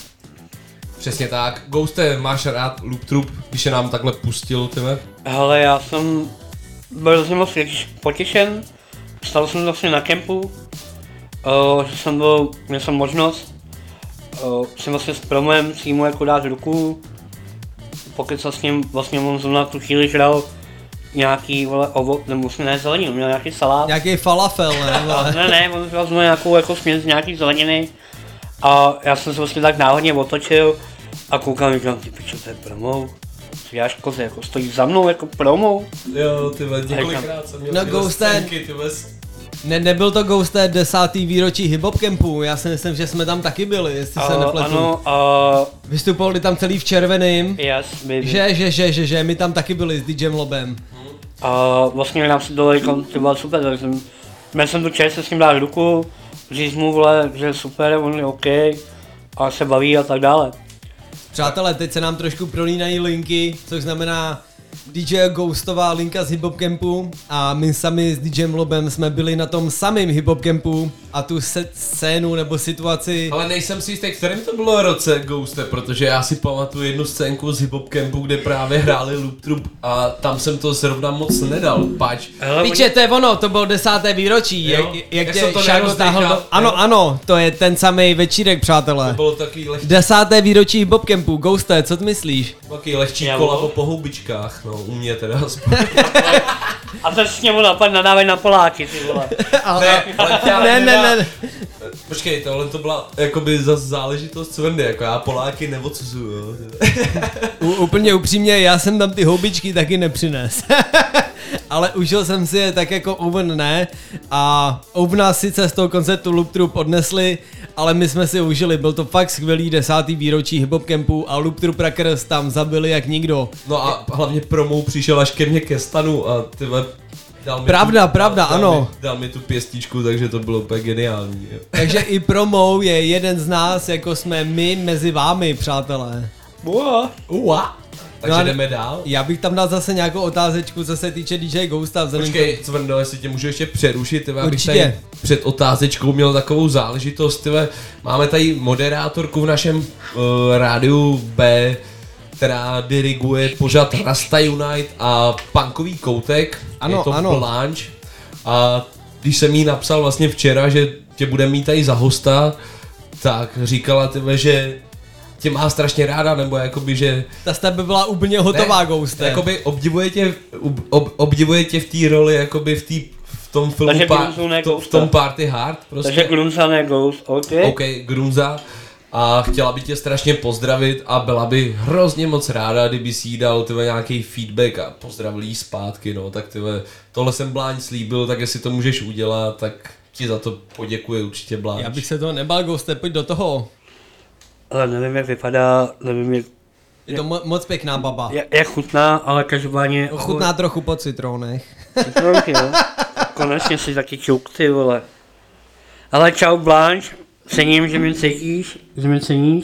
Přesně tak. Ghoste, máš rád Loop Troop, když je nám takhle pustil, tyhle? Hele, já jsem byl z něho moc potěšen, stal jsem vlastně na kempu, uh, že jsem byl, měl jsem možnost, uh, jsem vlastně s promem si mu jako dát ruku, pokud jsem s ním vlastně on zrovna tu chvíli žral nějaký, vole, ovo, nebo vlastně ne zeleninu, měl nějaký salát. Nějaký falafel, ne? Vole. ne, ne, on žral zrovna nějakou jako směs nějaký zeleniny a já jsem se vlastně tak náhodně otočil a koukám, říkám, ty pičo, to je promou. Jáš koze, jako stojí za mnou jako promou. Jo, tyhle, několikrát jsem měl no, Ghoste, ne, nebyl to Ghoste desátý výročí Hip Hop Campu, já si myslím, že jsme tam taky byli, jestli uh, se nepletu. Ano, uh, vystupovali tam celý v červeným. Yes, baby. Že, že, že, že, že, my tam taky byli s DJem Lobem. A uh, vlastně nám si dole říkal, ty byla super, tak jsem, měl jsem tu čest se s ním dát ruku, říct mu, vole, že je super, on je OK, a se baví a tak dále. Přátelé, teď se nám trošku prolínají linky, což znamená D J Ghostová linka z Hip Hop Campu a my sami s DJem Lobem jsme byli na tom samém Hip Hop Campu a tu scénu nebo situaci... Ale nejsem si jistý, kterým to bylo roce, Ghoste, protože já si pamatuju jednu scénku z Hip Hop Campu, kde právě hráli Loop Troop a tam jsem to zrovna moc nedal, pač. Píče, to je ono, to bylo desáté výročí, jo, jak, jak, jak tě Šáko táhl do... Ano, ano, to je ten samý večírek, přátelé. To bylo takový lehčí... Desáté výročí Hip Hop Campu, Ghoste, co ty myslíš? Takový lehčí kolabo po houbičkách, no, u mě teda. A to s němu napad nadávají na Poláky, ty vole. Ale, ne, ne, ne, ne. Počkej, tohle to byla jakoby za záležitost Cvendy, jako já Poláky neodsuzuju, jo. U, úplně upřímně, já jsem tam ty houbičky taky nepřines. ale užil jsem si je tak jako Oven ne a Oven nás sice z toho koncertu Loop Troop odnesli, ale my jsme si užili, byl to fakt skvělý desátý výročí Hip Hop Campu a Loop Troop Rackers tam zabili jak nikdo. No a hlavně promou přišel až ke mně ke stanu a tyhle dal mi Pravda, tu, pravda, dal ano. Mi, dal mi tu pěstičku, takže to bylo úplně geniální. Jo. Takže i promou je jeden z nás, jako jsme my mezi vámi, přátelé. Ua. Ua. Takže no jdeme dál. Já bych tam dal zase nějakou otázečku, co se týče D J Ghosta. Počkej, Cvrndo, jestli tě můžu ještě přerušit, tyhle, abych Určitě. tady před otázečkou měl takovou záležitost, tyhle, máme tady moderátorku v našem uh, rádiu B, která diriguje pořad Rasta Unite a punkový koutek, Ano, je to ano. Blanche. A když jsem jí napsal vlastně včera, že tě bude mít tady za hosta, tak říkala tyhle, že tě má strašně ráda, nebo jakoby, že... Ta z tebe byla úplně hotová, Ghoste. Jakoby obdivuje tě, ob, obdivuje tě v té roli, jakoby v, tý, v tom filmu, Takže pa, Grunzu ne v, to, v Ghosta. tom Party Hard prostě. Takže Grunza ne Ghost, OK. OK, Grunza. A chtěla by tě strašně pozdravit a byla by hrozně moc ráda, kdyby si jí dal tyhle nějaký feedback a pozdravil jí zpátky, no, tak tyhle, tohle jsem Bláň slíbil, tak jestli to můžeš udělat, tak ti za to poděkuji určitě, Bláň. Já bych se toho nebál, Ghoste, pojď do toho. Ale nevím, jak vypadá, nevím, jak... Je to mo- moc pěkná baba. Jak, jak chutná, ale každopádně... Chutná trochu po citronech. Citronky, jo. Konečně si taky čuk, ty vole. Ale čau Blanche, cením, že mě cítíš, že mě ceníš.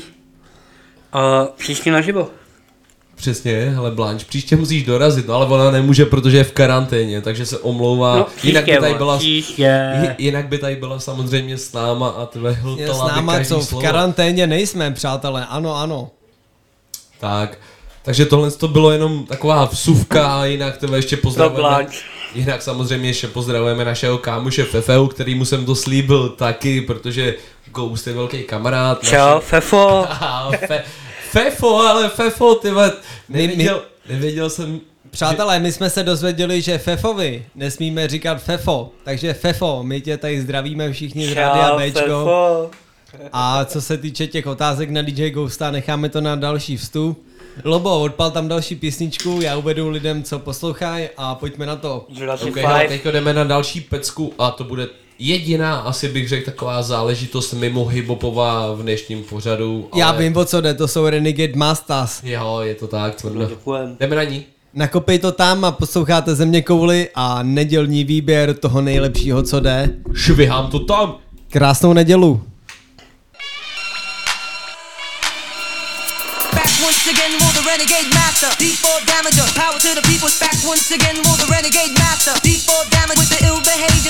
A příště naživo. Přesně, hele Blanche, příště musíš dorazit, no ale ona nemůže, protože je v karanténě, takže se omlouvá. No, jinak, by příště, tady byla, příště. jinak by tady byla samozřejmě s náma a tyhle Je hltala s by náma, každý co v slovo. karanténě nejsme, přátelé, ano, ano. Tak, takže tohle to bylo jenom taková vsuvka a jinak tebe ještě pozdravujeme. Jinak samozřejmě ještě pozdravujeme našeho kámoše Fefeu, kterýmu jsem to slíbil taky, protože Ghost je velký kamarád. Čau, naši... Fefo. Fe, Fefo, ale Fefo, tyhle, nevěděl, nevěděl jsem... Přátelé, my jsme se dozvěděli, že Fefovi nesmíme říkat Fefo, takže Fefo, my tě tady zdravíme všichni z Rádia Bčko. Fefo. A co se týče těch otázek na D J Ghosta, necháme to na další vstup. Lobo, odpal tam další písničku, já uvedu lidem, co poslouchají a pojďme na to. Ok, hele, teďko jdeme na další pecku a to bude jediná, asi bych řekl, taková záležitost mimo hiphopová v dnešním pořadu. Já ale... vím, o co jde, to jsou Renegade Masters. Jo, je to tak, tvrdlo. Děkujem. Jdeme na ní. Nakopej to tam a posloucháte Země kouli a nedělní výběr toho nejlepšího, co jde. Švihám to tam. Krásnou nedělu. Once again, will the renegade master. D four damager, power to the people's back. Once again, will the renegade master. D four damage with the ill behavior.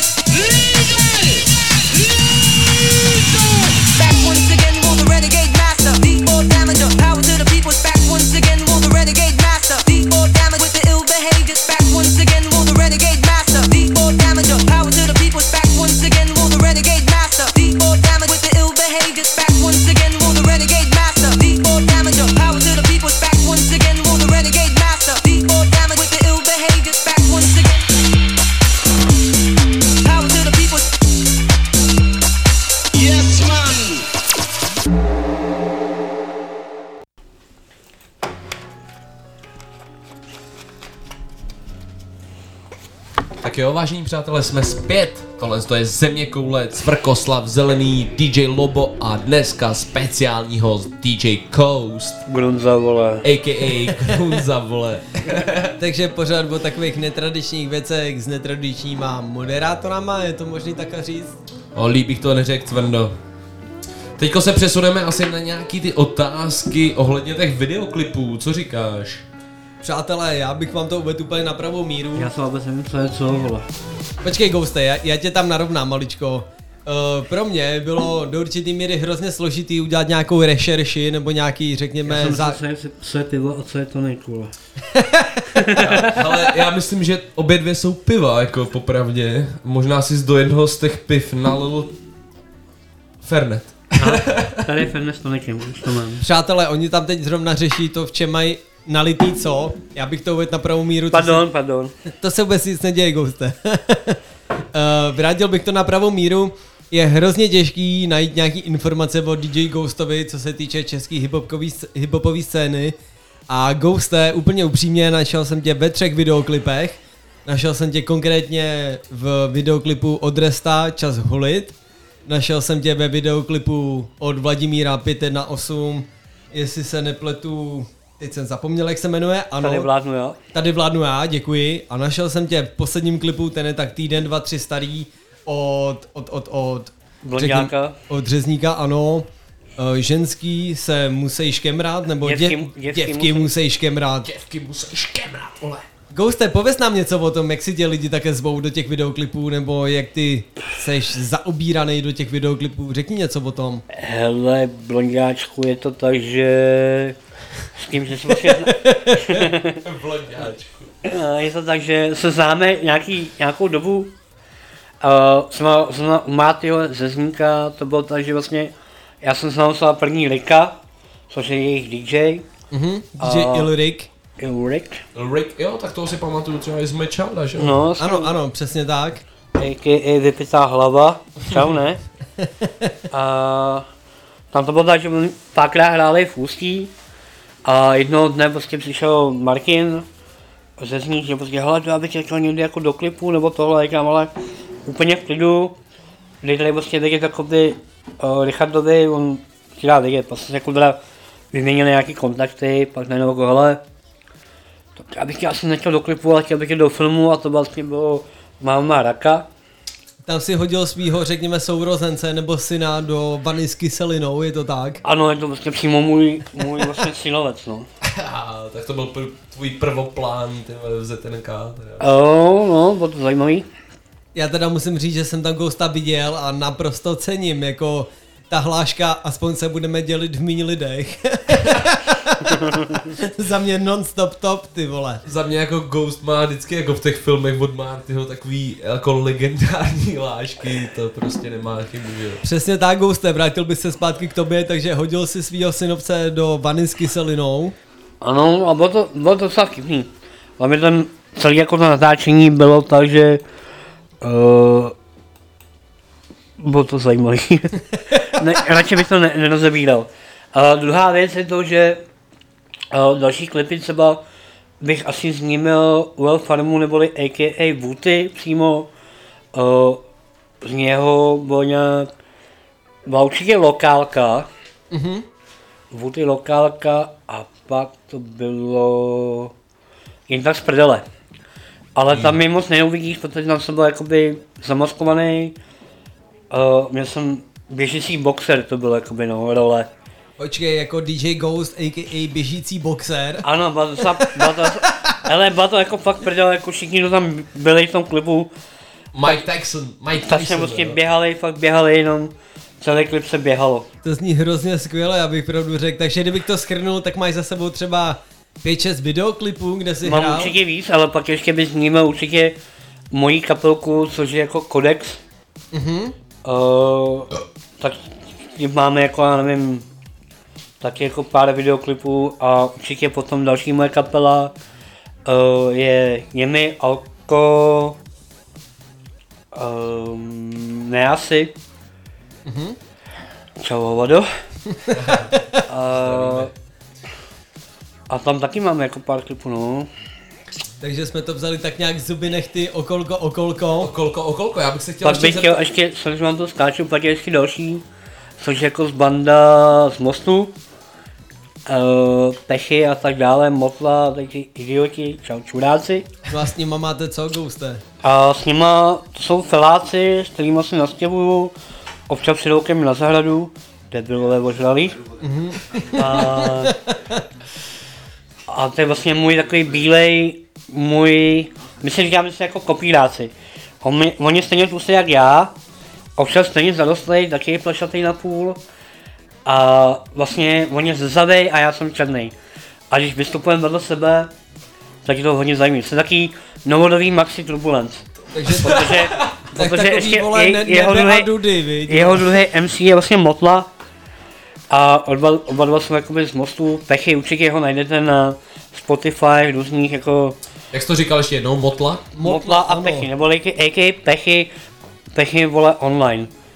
Back once again, will the renegade master. D four damager, power to the people's back. Once again, will the renegade master. D four damage with the ill behavior. Back once again, will the renegade master. D four damager, power to the people's back. Once again, will the renegade master. D four damage with the ill behavior. Back once again, will the renegade master. D four damager, power to the people's back. Once again, will the renegade master. D four damage with the ill behavior. Back once again. Power to the people's. Yes, man. Tak jo, vážení přátelé, jsme zpět. Tohle to je Země koule, Cvrkoslav Zelený, D J Lobo a dneska speciální host D J Coast. Grunza, vole. A K A Grunza, vole. Takže pořád o takových netradičních věcech s netradičníma moderátorama, je to možný takhle říct? O, líp bych to neřekl, Cvrndo. Teďko se přesuneme asi na nějaký ty otázky ohledně těch videoklipů, co říkáš? Přátelé, já bych vám to uvedl úplně na pravou míru. Já se vůbec nevím, co je co, vole. Počkej, Ghoste, já, já tě tam narovnám maličko. Uh, pro mě bylo do určitý míry hrozně složitý udělat nějakou rešerši nebo nějaký, řekněme... Já jsem za... za... co, je, co je pivo a co je to nejkule. Ale já myslím, že obě dvě jsou piva, jako popravdě. Možná si do jednoho z těch piv nalil Fernet. A tady je Fernet s tonikem, už to mám. Přátelé, oni tam teď zrovna řeší to, v čem mají nalitý co. Já bych to uvedl na pravou míru. Pardon, se, pardon. To se vůbec nic neděje, Ghoste. uh, vrátil bych to na pravou míru. Je hrozně těžký najít nějaký informace o D J Ghostovi, co se týče české hiphopové scény. A Ghoste, úplně upřímně, našel jsem tě ve třech videoklipech. Našel jsem tě konkrétně v videoklipu od Resta Čas holit. Našel jsem tě ve videoklipu od Vladimíra pět jedna osm, jestli se nepletu, teď jsem zapomněl, jak se jmenuje, ano. Tady vládnu já. Tady vládnu já, děkuji. A našel jsem tě v posledním klipu, ten je tak týden, dva, tři starý, od, od, od, od, Blonďáka. řekni, od Řezníka, ano. Uh, ženský se musí škemrát, nebo Děvky- děv, děvky děvky musí- musí škemrát. Děvky musí škemrát, vole. Ghoste, pověz nám něco o tom, jak si tě lidi také zvou do těch videoklipů, nebo jak ty seš zaobíraný do těch videoklipů, řekni něco o tom. Hele, blonďáčku, je to tak, že s tím, že se vlastně... Blonďáčku. Je to tak, že se známe nějaký, nějakou dobu. Uh, jsme, jsme u Mátyho ze Zníka, to bylo tak, že vlastně já jsem znal svá první Rika, což je jejich D J. Mhm, D J Uh, Ilrik. Ilrik. Rick, jo, tak toho si pamatuju třeba i z Mečalda, že jo? No, ano, ano, přesně tak. A K A vypitá hlava, čau, ne? A tam to bylo tak, že oni párkrát hráli v Ústí a jednoho dne prostě přišel Martin ze Zník, že prostě hele, já bych tě chtěl někdy jako do klipu nebo tohle, říkám, ale úplně v klidu, kdy tady prostě vidět jakoby uh, Richardovi, on ti dá vidět, prostě se jako teda vyměnili nějaký kontakty, pak najednou jako hele, to já bych tě asi nechtěl do klipu, ale chtěl bych tě do filmu a to vlastně bylo Máma Raka. Tam si hodil svýho, řekněme, sourozence nebo syna do vany s kyselinou, je to tak? Ano, je to vlastně přímo můj, můj vlastně synovec, no. Tak to byl pr- tvůj prvoplán, ty vole, v Z N K. Oh, no, bylo to zajímavý. Já teda musím říct, že jsem tam Ghosta viděl a naprosto cením, jako ta hláška, aspoň se budeme dělit v méně lidech. Za mě non-stop top, ty vole. Za mě jako Ghost má vždycky jako v těch filmech od Martyho takový jako legendární hlášky, to prostě nemá chybu, že jo. Přesně tak, Ghoste, vrátil bych se zpátky k tobě, takže hodil si svýho synovce do vany s kyselinou. Ano, a bylo to, bylo to docela vtipný. Hlavně ten celý jako to natáčení bylo tak, že uh, bylo to zajímavý. ne, radši bych to ne, nerozebíral. Uh, druhá věc je to, že uh, další klipy třeba bych asi zmínil U L Farmu neboli A K A Wooty přímo. Uh, z něho bylo nějak, byla určitě lokálka. Mhm. Wooty lokálka a pak to bylo jen tak z prdele. Ale tam mi moc neuvidíš, protože tam jsem byl jakoby zamaskovaný. Uh, měl jsem běžící boxer, to bylo jakoby no, role. Počkej, jako D J Ghost, a k a běžící boxer. Ano, byla to, byla to, ale byla to jako fakt prdele, jako všichni, kdo tam byli v tom klipu. Mike Tyson, Mike Tak Tyson. jsme prostě běhali, fakt běhali, jenom celý klip se běhalo. To zní hrozně skvěle, já bych pravdu řekl. Takže kdybych to shrnul, tak máš za sebou třeba pět šest videoklipů, kde si Mám hrál. určitě víc, ale pak ještě bych zmínil určitě moji kapelku, což je jako Codex. Mhm. Uh, tak tím máme jako, já nevím, taky jako pár videoklipů a určitě potom další moje kapela uh, je Jemi, Alko, um, Neasi. Mhm. Čau hovado. uh, a tam taky máme jako pár klipů, no. Takže jsme to vzali tak nějak zuby nechty, okolko, okolko. Okolko, okolko, já bych se chtěl Pak ještě bych chtěl zeptat- ještě, sorry, že vám to skáču, pak je ještě další, což je jako z banda z Mostu, uh, Pechy a tak dále, Motla, taky idioti, čau čuráci. No a s nima máte co, Ghoste? A s nima to jsou feláci, s kterými se nastěhuju, občas přijdou ke mně na zahradu, debilové ožralí. Mhm. A, a to je vlastně můj takový bílej, můj, my se říkáme se jako kopíráci. On, on je stejně tlustý jak já, občas stejně zarostlej, taky je plešatý na půl. A vlastně on je zrzavej a já jsem černý. A když vystupujeme vedle sebe, tak je to hodně zajímavé. Jsem taký novodobý Maxi Turbulence. Takže, protože, tak protože takový, ještě vole, je, ne, jeho, nebe a druhý, dudy, viď? jeho druhý M C je vlastně Motla. A oba, oba dva jsou jakoby z Mostu. Pechy, určitě ho najdete na Spotify, různých jako... Jak jsi to říkal ještě jednou, Motla? Motla a ano. Pechy, nebo A K A Pechy, Pechy vole online.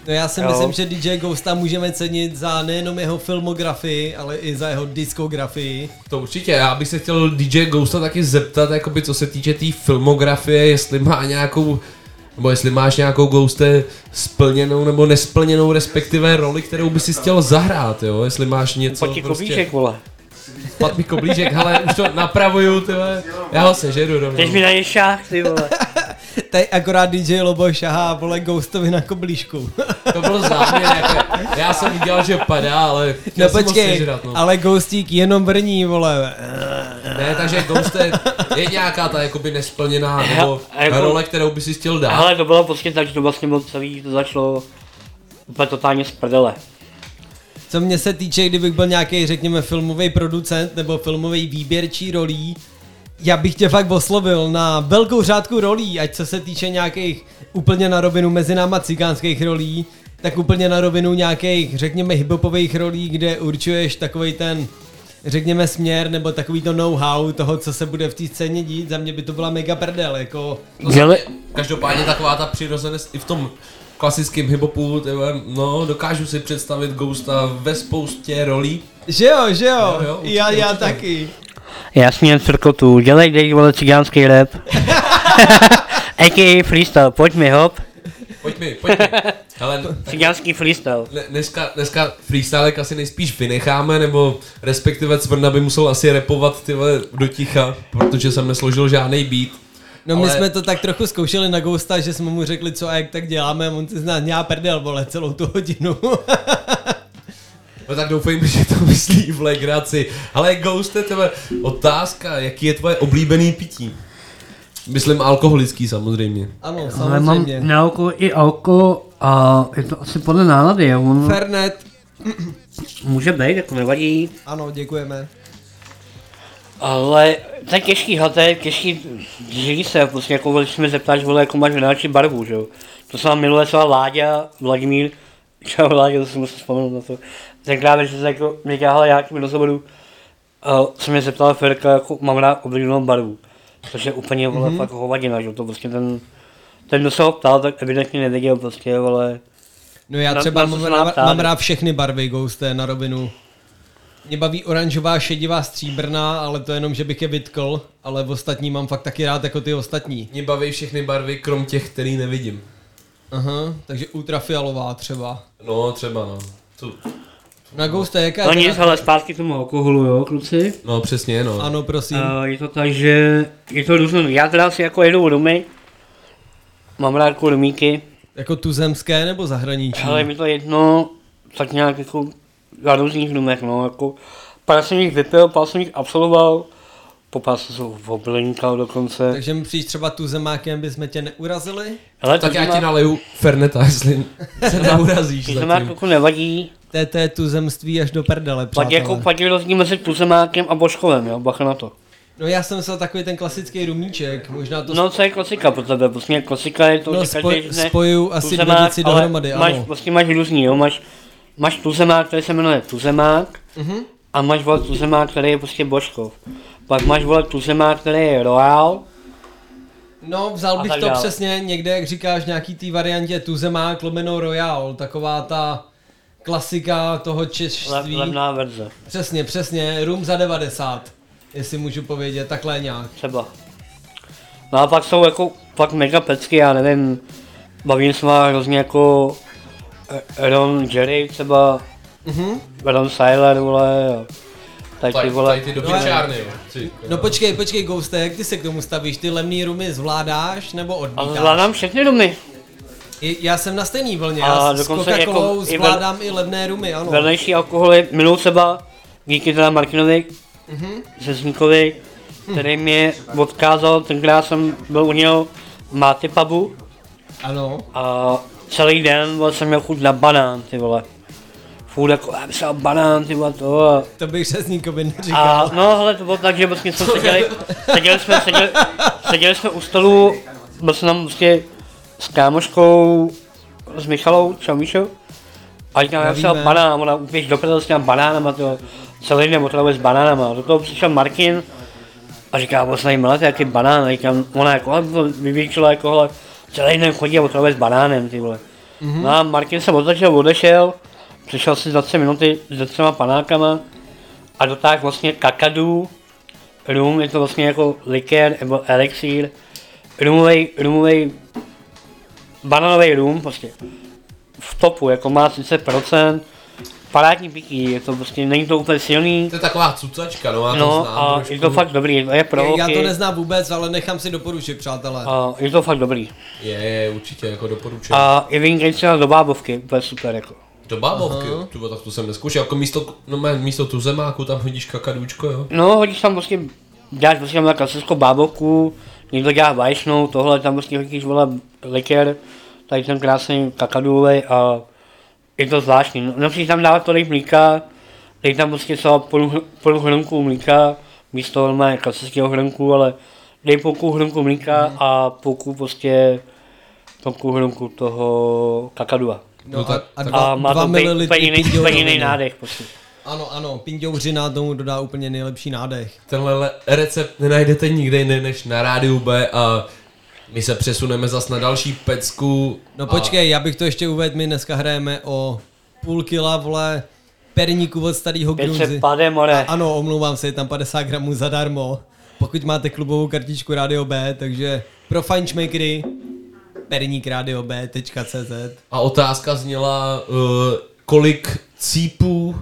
No já si Jo. myslím, že D J Ghosta můžeme cenit za nejenom jeho filmografii, ale i za jeho diskografii. To určitě, já bych se chtěl D J Ghosta taky zeptat, jakoby co se týče té tý filmografie, jestli má nějakou, nebo jestli máš nějakou Ghoste splněnou nebo nesplněnou, respektive roli, kterou by si chtěl zahrát, jo, jestli máš něco Pojď prostě... koblížek, vole. Pat mi koblížek, hele, už to napravuju, ty vole, já ho sežeru rovnou. Teď mi na něj šách, ty vole. Tady akorát D J Lobo šahá, vole, Ghostovi na koblížku. To byl záměr, jako, já jsem viděl, že padá, ale No chtěl jsem ho počkej, sežrat, no. ale Ghostík jenom brní, vole. Ne, takže Ghost je, je nějaká ta jakoby nesplněná nebo jako- role, kterou by si chtěl dát. Ale to bylo prostě tak, že to vlastně bylo celý, to začalo úplně totálně z prdele. Co mě se týče, kdybych byl nějaký, řekněme, filmový producent nebo filmový výběrčí rolí, já bych tě fakt oslovil na velkou řádku rolí, ať co se týče nějakých úplně na rovinu mezi náma cikánských rolí, tak úplně na rovinu nějakých, řekněme, hiphopových rolí, kde určuješ takovej ten, řekněme, směr nebo takový to know-how toho, co se bude v té scéně dít. Za mě by to byla mega prdel, jako... Děle... Každopádně taková ta přirozenost i v tom klasickém hiphopu, tyhle, no, dokážu si představit Ghosta ve spoustě rolí. Že jo, že jo, jo, jo určitě, já, já určitě. taky. Já smějem cirkotu, dělej, dej, vole, cigánský rap. A K A freestyle, pojď mi, hop. Pojď mi, pojď mi. Hele, cigánský freestyle. Ne, dneska, dneska freestylek asi nejspíš vynecháme, nebo respektive Cvrna by musel asi rapovat tyhle do ticha, protože jsem nesložil žádný beat. No ale... my jsme to tak trochu zkoušeli na Ghosta, že jsme mu řekli co a jak tak děláme a on si z nás nějak prdel, vole, celou tu hodinu. No tak doufejme, že to myslí v legraci. Ale Ghoste, tebe otázka, jaký je tvoje oblíbený pití? Myslím alkoholický samozřejmě. Ano, Ale mám samozřejmě. na alko i alko a je to asi podle nálady, jo. On... Fernet. Může být, jako nevadí. Ano, děkujeme. Ale to je těžký, hele, to je těžký, žijí se, prostě jako, když se mi zeptáš, vole, jako máš vynáčí barvu, že jo. To jsem vám minule třeba Láďa, Vladimír, čau Láďa, to si musím vzpomenout na to. Tenkrát, že se jako, mě káhla já tím rozhovoru, a se mě zeptala Ferka, jako mám rád oblíbenou barvu. Což je úplně, vole, Mhm. fakt hovadina, že jo, to prostě ten, ten, kdo se ho ptal, tak evidentně nevěděl prostě, vole. No já na- třeba na co mám, se má mám, ptát. mám rád všechny barvy Ghoste na rovinu. Mě baví oranžová, šedivá, stříbrná, ale to jenom, že bych je vytkl, ale v ostatní mám fakt taky rád jako ty ostatní. Mě baví všechny barvy, krom těch, který nevidím. Aha, takže ultrafialová třeba. No, třeba no. Tu. Na Ghoste, jaká No je nic, teda- ale zpátky k tomu alkoholu, jo, kluci. No přesně, no. Ano, prosím. Uh, je to tak, že je to různé. Já teda si jako jedu rumy, mám rád jako rumíky, Jako tuzemské nebo zahraniční? ale je mi to jedno, tak nějak jako na různých rumech, no, jako pár jsem jich vypil, pár jsem jich absolvoval, popál jsem se v oblinkal dokonce. Takže mi přijít třeba tuzemákem, bychom tě neurazili? Ale Tak já tuzemák- ti naleju Ferneta, jestli se neurazíš Tuzemák zatím. jako nevadí, To je, to je tuzemství až do prdele, pak přátelé. jako pak je rozdíl mezi tuzemákem a božkovem, jo, bacha na to. No já jsem myslel takový ten klasický rumíček, možná to... No co je klasika pro tebe, prostě klasika je to, No, že každý spoj- řekne spojuju asi dvě tuzemák, věci ale dohromady, máš, ano. Vlastně máš různý, jo, máš, máš tuzemák, který se jmenuje tuzemák, Mhm. a máš vole tuzemák, který je prostě božkov. Pak máš vole tuzemák, který je royal, No, vzal A bych tak to dále. přesně někde, jak říkáš, nějaký té variantě Tuzemák lomeno Royal, taková ta klasika toho le, češství. levná verze, Přesně, přesně, rum za devadesát, jestli můžu povědět, takhle nějak. třeba. No a pak jsou jako fakt mega pecky, já nevím, bavím se má hrozně jako eh, Ron Jerry třeba, Mhm. Ron Siler, vole, a tady ty Tady, vole. tady ty do pičárny, jo. Ty, No počkej, počkej, Ghoste, jak ty se k tomu stavíš? Ty levný rumy zvládáš nebo A odmítáš? zvládám všechny rumy. I- Já jsem na stejný vlně, A já s dokonce Coca-Colou jako i vel- zvládám i levné rumy, ano. Vedlejší alkoholy, miluji třeba, díky teda Martinovi, Mhm. Řezníkovi, který mě odkázal, tenkrát jsem byl u něho v Máty pubu Ano. a celý den vole, jsem měl chuť na banán, ty vole. Furt jako, já bych dal banán, ty vole, to a... To bych Řezníkovi neříkal. A no, hele, to bylo tak, že vlastně jsme seděli, seděli jsme, seděli, seděli jsme u stolu, byl jsem tam prostě s kámoškou, s Michalou, čau Míšo, a říkám, já jsem dal Zdravíme. banán, ona úplně do prdele s těma banánama, to celý den otravuje s banánama, do toho přišel Martin a říká, vlastně tady máte jaký banán, a říkám, ona jako, ale vyvětšila jako, hele, celý den chodí a otravuje s banánem, ty vole. Mm-hmm. No a Martin se otočil, odešel, přišel si za tři minuty se třema panákama a dotáhl vlastně kakadu, rum, je to vlastně jako likér nebo elixír, rumovej, rumovej, bananový rum, prostě v topu, jako má třicet procent, parádní pití, je to prostě, není to úplně silný. To je taková cucačka, no, já no, to znám a trošku. je to fakt dobrý, je pro Já holky. to neznám vůbec, ale nechám si doporučit, přátelé. A je to fakt dobrý. Je, je, určitě, jako doporučuji. A je vynikají třeba do bábovky, to je super, jako. Do bábovky, tuba, tak to jsem neskoušel, jako místo, no mé, místo tuzemáku tam hodíš kakadůčko, jo? No, hodíš tam prostě, děláš prostě tam klasickou bábovku, někdo dělá vaječnou, tohle tam prostě hodíš, vole, likér, tady ten krásný kakadůvej a je to zvláštní. No, nepříš tam dávat tolik mlíka, dej tam prostě třeba půl, půl hrnku mlíka, místo normálně klasického hrnku, ale dej půlku hrnku mlíka mm. a půlku prostě půlku hrnku toho kakadua. No a, a, dva, a má dva to mililitry úplně jiný nádech prostě. Ano, ano, pinďouřina tomu dodá úplně nejlepší nádech. Tenhle recept nenajdete nikde jinde než na Rádiu B a my se přesuneme zas na další pecku. No počkej, já bych to ještě uvedl, my dneska hrajeme o půl kila, vole, perníku od starého Grunzy. Ano, omlouvám se, je tam padesát gramů zadarmo, pokud máte klubovou kartičku Rádio B, takže pro fajnšmejkry perník radio b tečka cé zet. A otázka zněla, uh, kolik cípů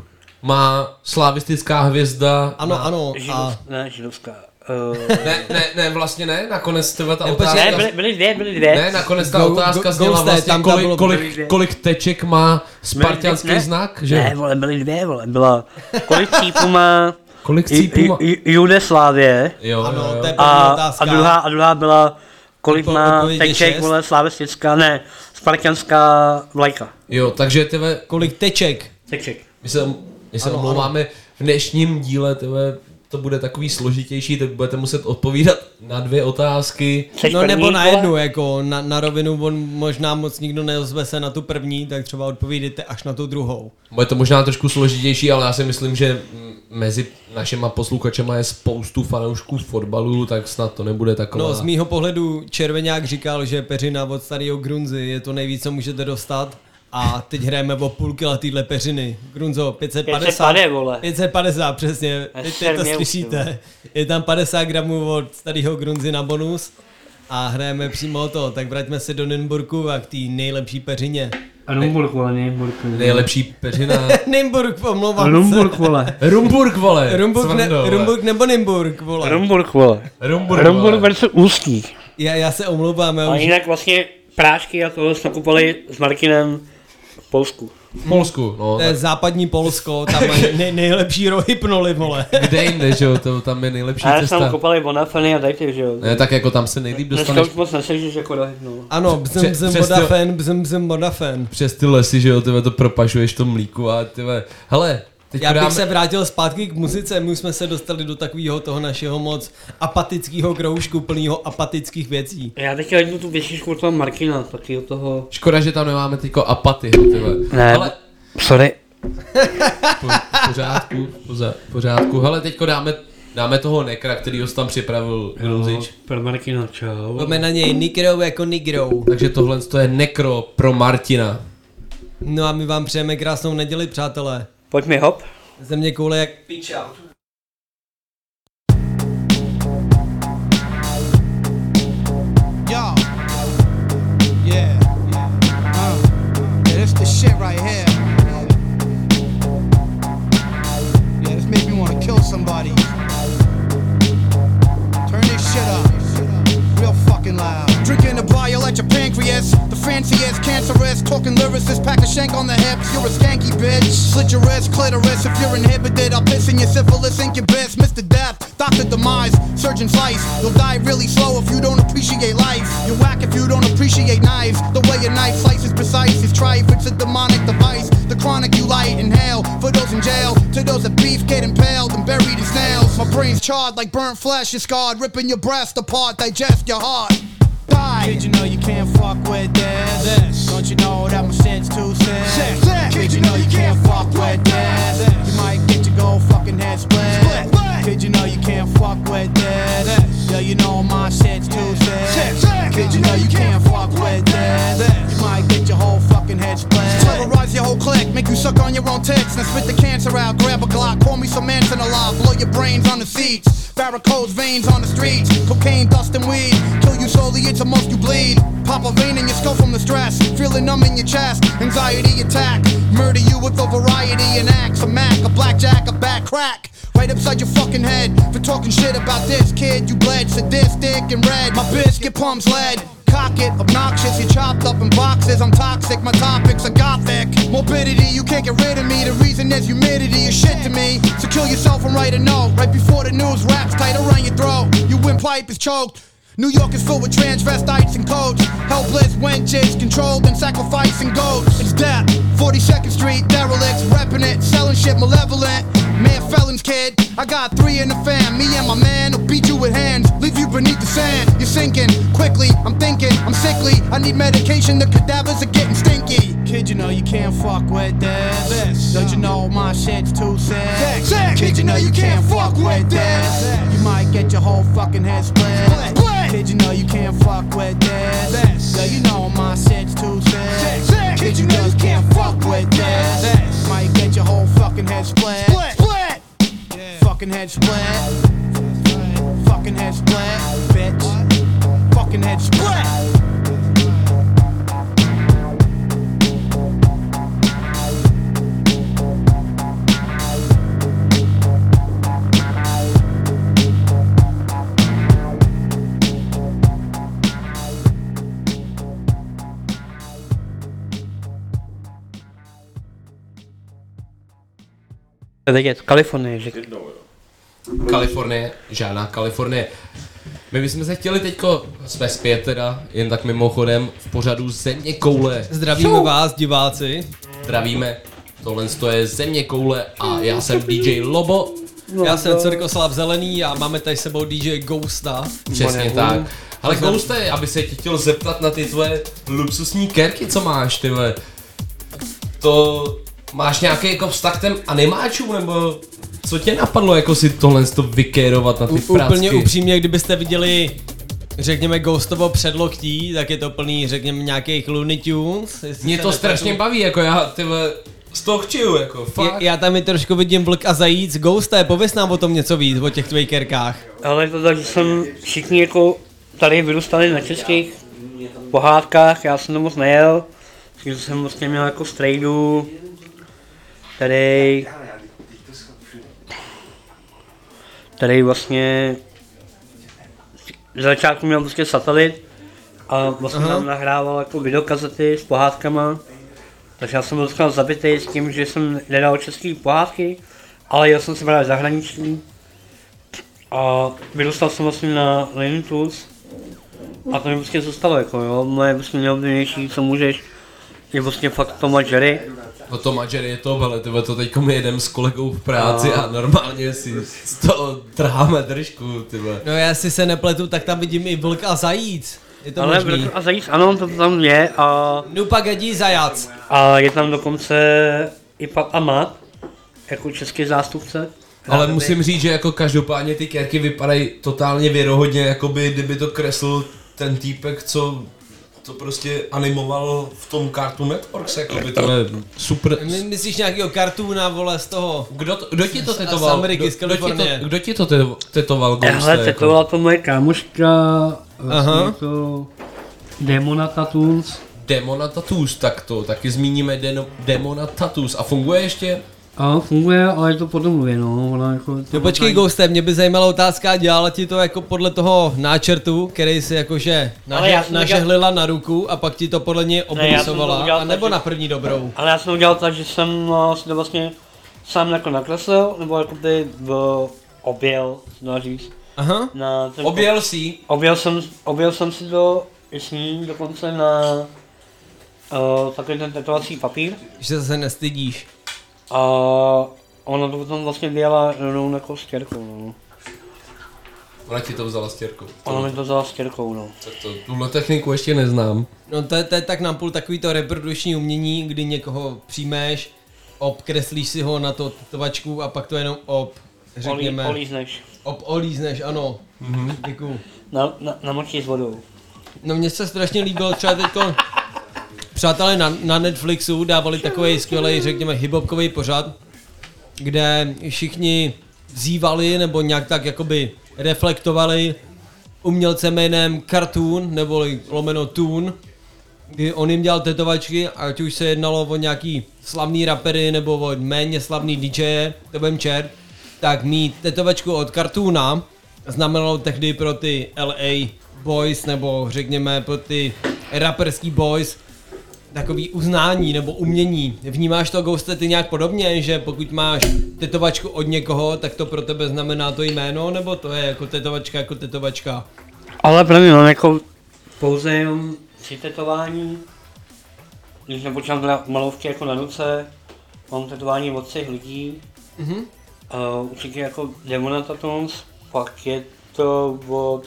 má slavistická hvězda? Ano, na... ano. A... Ne, židovská. Uh... ne, ne, ne, vlastně ne, nakonec tebe ta ne, otázka... Ne, byly, byly dvě, byly dvě. Ne, nakonec ta go, otázka go, zněla go, vlastně, tam kolik, bylo, kolik, kolik teček má spartianský ne, znak, že? Ne, vole, byly dvě, vole, byla... Kolik cípů má... Kolik cípů má... Judeslávie. Jo, ano, jo. to je a, otázka. a, druhá, a druhá byla... Kolik Odpo- má odpověď teček, vole, slavistická, ne, spartianská vlajka. Jo, takže tebe... Kolik teček? Teček. My se, my se omlouváme, v dnešním díle tebe to bude takový složitější, tak budete muset odpovídat na dvě otázky. No nebo na jednu, jako na, na rovinu, on možná moc nikdo neozve se na tu první, tak třeba odpovídejte až na tu druhou. Bude to možná trošku složitější, ale já si myslím, že mezi našima posluchačema je spoustu fanoušků fotbalu, tak snad to nebude taková... No z mýho pohledu Červeňák říkal, že peřina od starého Grunzy je to nejvíc, co můžete dostat. A teď hrajeme o půl kila týhle peřiny. Grunzo, pět set padesát. pět set padesát, přesně. Teď, teď to slyšíte. Je tam padesát gramů od starého Grunzy na bonus. A hrajeme přímo o to. Tak vraťme se do Nymburku a k té nejlepší peřině. A Nymburk, vole, Nymburk. Nejlepší peřina. Nymburk, omlouvám se. Rumburk, vole. Rumburk, vole. Rumburk, ne, Rumburk nebo Nymburk, vole. Rumburk, vole. Rumburk, Rumburk versus Ústí. Já, já se omlouvám. Já a už... jinak vlastně prášky a tohle jsme kupovali s Martinem v Polsku. V Polsku, no. To je západní Polsko, tam mají nej, nejlepší rohypnoly, vole. Kde jinde, že jo, to tam je nejlepší a cesta. A já jsem kopali Bonafeny a dajte, že jo. Ne, tak jako tam se nejlíp dostaneš. Dneska už moc nesežíš jako rohypnou. Ano, bzm bzm Bodafen, bzm bzm Bodafen. Přes ty lesy, že jo, tyhle to propašuješ to mlíku a tyhle, hele. Teď Já bych dáme... se vrátil zpátky k muzice, my jsme se dostali do takového toho našeho moc apatického kroužku, plného apatických věcí. Já teďka jdu tu věšičku od toho Markina, taky od toho... Škoda, že tam nemáme teďko apaty, tyhle. Ne, ale... sorry. Po, pořádku, poza, pořádku. Hele, teďko dáme, dáme toho nekra, který ho tam připravil Grunzič. Pro Markina, čau. Pojďme na něj Nigrou jako Nigrou. Takže tohle to je nekro pro Martina. No a my vám přejeme krásnou neděli, přátelé. Pojď mi hop. Země koule jak piča. Yo. Yeah. Uh. Yeah, this the shit right here. Yeah, this make me want to kill somebody. Turn this shit up. Real fucking loud. Drinking a bile at your pancreas. The fanciest, cancerous. Talking lyricist, pack a shank on the hips. You're a skanky bitch. Slit your wrist, clitoris. If you're inhibited, I'll piss in your syphilis, incubus. Mister Death, Doctor Demise, Surgeon Slice. You'll die really slow if you don't appreciate life. You're whack if you don't appreciate knives. The way a knife slices precise is try if it's a demonic device. The chronic you light, inhale. For those in jail, to those that beef get impaled and buried in snails. My brain's charred like burnt flesh is scarred. Ripping your breast apart, digest your heart. Die. Did you know you can't fuck with this? this? Don't you know that my shit's too sick? sick, sick. Did you know you can't fuck with this? this? You might get your gold fucking head split. split. Did you know you can't fuck with this? this? Yeah, you know my shit's too sick. sick, sick. Did you know you can't fuck with this? this? You might get your whole fucking spit the cancer out, grab a Glock, pour me some Manson alive, blow your brains on the seats. Varicose veins on the streets, cocaine, dust and weed. Kill you slowly, it's the most you bleed. Pop a vein in your skull from the stress, feeling numb in your chest. Anxiety attack, murder you with a variety and acts. A Mac, a blackjack, a back crack. Right upside your fucking head for talking shit about this kid. You bled, sadistic and red. My biscuit pumps lead. Cock it, obnoxious, you chopped up in boxes. I'm toxic, my topics are gothic. Morbidity, you can't get rid of me. The reason there's humidity is shit to me. So kill yourself and write a note. Right before the news wraps tight around your throat. Your windpipe is choked. New York is filled with transvestites and codes. Helpless wenches, controlled and sacrificing goats. It's death, forty-second Street, derelicts, repping it, selling shit malevolent. Man, felons, kid, I got three in the fam. Me and my man will beat you with hands, leave you beneath the sand. You're sinking, quickly, I'm thinking, I'm sickly. I need medication, the cadavers are getting stinky. Kid, you know you can't fuck with this, this. Don't you know my shit's too sick? sick. Kid, you know you can't fuck with this. You might get your whole fucking head split, split. Kid, you know you can't fuck with this. this. Yo, you know my shit's too sick. sick. Kid, you know you can't fuck with this. this. Might get your whole fucking head split. Split. split. Yeah. Fucking head split. Fucking head split, bitch. Fucking head split. Vědět, Kalifornie, že... Kalifornie, žádná Kalifornie. My bychom se chtěli teďko, jsme zpět teda, jen tak mimochodem, v pořadu Země koule. Zdravíme Šou. vás, diváci. Zdravíme, tohle je Země koule a já jsem D J Lobo. Já jsem Cirkoslav Zelený a máme tady s sebou D J Ghosta. Přesně tak. Ale Ghoste, aby se tě chtěl zeptat na ty tvoje luxusní kerky, co máš, tyhle. To... Máš nějaký jako vztah k těm animáčům, nebo co tě napadlo jako si tohle to vykérovat na ty U, pracky? Úplně upřímně, kdybyste viděli, řekněme, Ghostovo předloktí, tak je to plný, řekněme, nějakých Looney Tunes. Mě to strašně baví, jako já tyhle z toho chčiju, jako fakt. Já, já tam i trošku vidím vlk a zajíc. Ghoste, pověz nám o tom něco víc, o těch tvých kerkách. Ale to tak, že jsem všichni jako tady vyrůstali na českých pohádkách, já jsem to moc nejel, takže jsem vlastně měl jako strejdu, tady, tady vlastně z začátku měl prostě satelit a vlastně tam nahrával jako videokazety s pohádkama, takže já jsem byl docela zabitý s tím, že jsem nedal český pohádky, ale jel jsem se právě zahraniční a vyrůstal jsem vlastně na Looney Tunes a to mi prostě zůstalo jako jo, moje vlastně nejoblíbenější, co můžeš, je vlastně fakt Tom a Jerry. No to Jerry je to, ale tyhle to teďko my jedem s kolegou v práci a, a normálně si z toho trháme držku, tyhle. No já si se nepletu, tak tam vidím i vlk a zajíc. Je to ale možný? vlk a zajíc, ano, to tam je a... Nupagadí zajac. A je tam dokonce i Pap a Mat, jako český zástupce. Ale musím říct, že jako každopádně ty kerky vypadají totálně věrohodně, jakoby kdyby to kresl ten týpek, co to prostě animoval v tom Cartoon Networks, jakoby to je super. My, myslíš nějakýho cartoona, vole, z toho? Kdo, to, kdo ti to tetoval? Z Ameriky, z Kalifornie. Kdo, kdo ti to tetoval? Hele, tetovala to moje kámoška, vlastně to Demona Tattoos. Demona Tattoos, tak to taky zmíníme Deno, Demona Tattoos. A funguje ještě? A funguje, ale je to po domluvě, no. Ona jako, no počkej, Ghoste, mě by zajímala otázka, dělala ti to jako podle toho náčrtu, který si jakože naže, nažehlila na ruku a pak ti to podle něj obrusovala, ne, anebo na první dobrou? Ale já jsem to udělal tak, že jsem si to vlastně sám jako nakreslil, nebo jako by v objel, dá říct. Aha, na ten objel si? Objel jsem, objel jsem si to i s ní dokonce na uh, takový ten tetovací papír. Že se nestydíš. A ona to potom vlastně dělala rovnou jako s těrkou, no. Ona ti to vzala s těrkou? Ona mi to vzala s těrkou, no. Tak to, tuhle techniku ještě neznám. No to je, to je tak napůl takový to reprodukční umění, kdy někoho přijmeš, obkreslíš si ho na to tetovačku a pak to jenom ob, řekněme... Olí, olízneš. Ob olízneš, ano. Mhm. Děkuju. Na, na, namočíš s vodou. No mně se strašně líbilo třeba teďko... Přátelé na, na Netflixu dávali takový skvělý, řekněme, hip-hopkový pořad kde všichni vzývali nebo nějak tak jakoby reflektovali umělce jménem Cartoon neboli lomeno Toon, kdy on jim dělal tetovačky, ať už se jednalo o nějaký slavný rapery nebo o méně slavný DJe, to budem čert, tak mít tetovačku od Cartoona znamenalo tehdy pro ty L A boys nebo řekněme pro ty raperský boys takový uznání nebo umění. Vnímáš to, Ghoste, ty nějak podobně, že pokud máš tetovačku od někoho, tak to pro tebe znamená to jméno, nebo to je jako tetovačka jako tetovačka? Ale pro mě mám jako pouze jenom tři tetování. Když nepočítám teda malovky jako na ruce, mám tetování od třech lidí. Mhm. Uh, určitě jako Demona Tattoos, pak je to od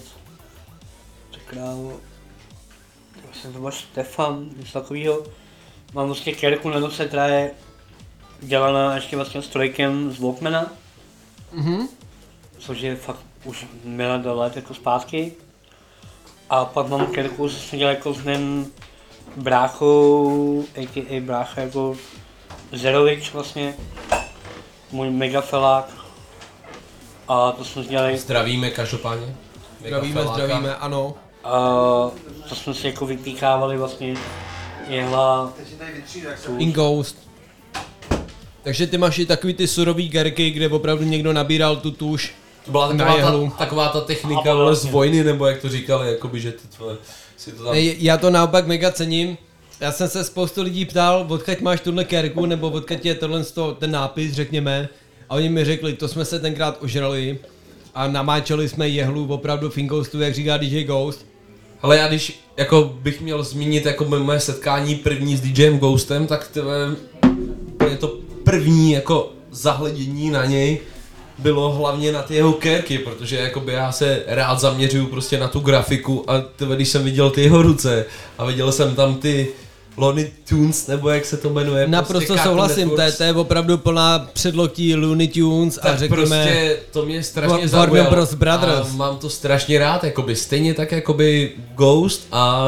krávo, jsem to byl Štefan, něco takovýho. Mám vlastně kérku na ruce, která je dělaná ještě vlastně s trojkem z Walkmana. Mhm. Což je fakt už milé let jako zpátky. A pak mám kérku, co jsem dělal jako s mým bráchou, a k a brácha jako Zerovič vlastně. Můj mega felák. A to jsme dělali... Zdravíme každopádně. Zdravíme, zdravíme, ano. A to jsme si jako vypíkávali vlastně jehla... In Ghost. Takže ty máš i takový ty surový gerky, kde opravdu někdo nabíral tu tuš. To byla taková ta, taková ta technika ale z vojny, nebo jak to říkali, jakoby, že ty tvoje, si to tam... Já to naopak mega cením. Já jsem se spoustu lidí ptal, odkud máš tuhle kerku, nebo odkud je tohle ten nápis, řekněme. A oni mi řekli, to jsme se tenkrát ožrali a namáčeli jsme jehlu opravdu v In Ghostu, jak říká D J Ghost. Ale já když jako bych měl zmínit jako moje setkání první s DJem Ghostem, tak to je to první jako zahledění na něj bylo hlavně na ty jeho kérky, protože jakoby já se rád zaměřuju prostě na tu grafiku a tebe, když jsem viděl ty jeho ruce a viděl jsem tam ty Looney Tunes, nebo jak se to jmenuje. Naprosto prostě souhlasím, to je, to je opravdu plná předloktí Looney Tunes tak a řekněme... prostě to mě strašně zaujalo a mám to strašně rád, jakoby stejně tak jakoby Ghost a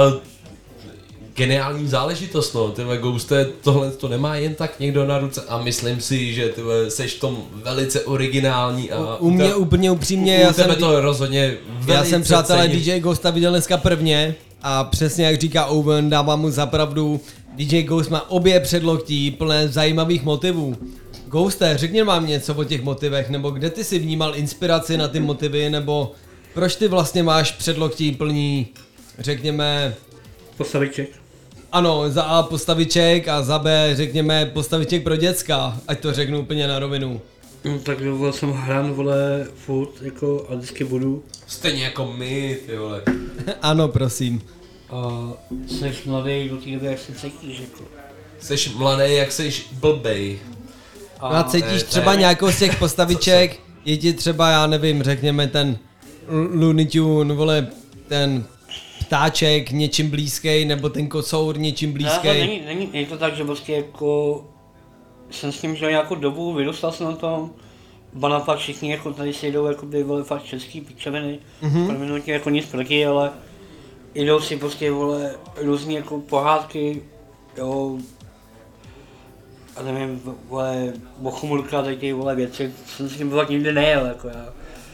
geniální záležitost, no, tyhle Ghoste, tohle to nemá jen tak někdo na ruce a myslím si, že ty seš v tom velice originální a... U mě úplně upřímně, u, já u tebe jsem... to rozhodně velice Já jsem, přátelé, cením. D J Ghosta viděl dneska prvně a přesně jak říká Owen, dávám mu za pravdu, D J Ghost má obě předloktí plné zajímavých motivů. Ghoste, řekni vám něco o těch motivech, nebo kde ty si vnímal inspiraci na ty motivy, nebo proč ty vlastně máš předloktí plní, řekněme... Postaviček. Ano, za A postaviček a za B, řekněme, postaviček pro děcka, ať to řeknu úplně na rovinu. No tak vole, jsem hran, vole, furt, jako, a vždycky budu. Stejně jako my, ty vole. Ano, prosím. A jsi mladý do té doby, jak se cítíš, jako. Jsi mladý, jak jsi blbej. A, a cítíš třeba nějakou z těch postaviček, je ti třeba, já nevím, řekněme ten Looney Tune, vole, ten ptáček něčím blízký, nebo ten kocour něčím blízký. Ne, není, není, není to tak, že prostě jako jsem s ním žil nějakou dobu, vyrůstal jsem na tom, ba naopak všichni jako tady si jdou jako by vole fakt český pičoviny, Mhm. pro minutě jako nic proti, ale jdou si prostě vole různý jako pohádky, jo, a nevím, vole, bochumulka, tady ty vole věci, jsem s tím fakt nikdy nejel, jako já.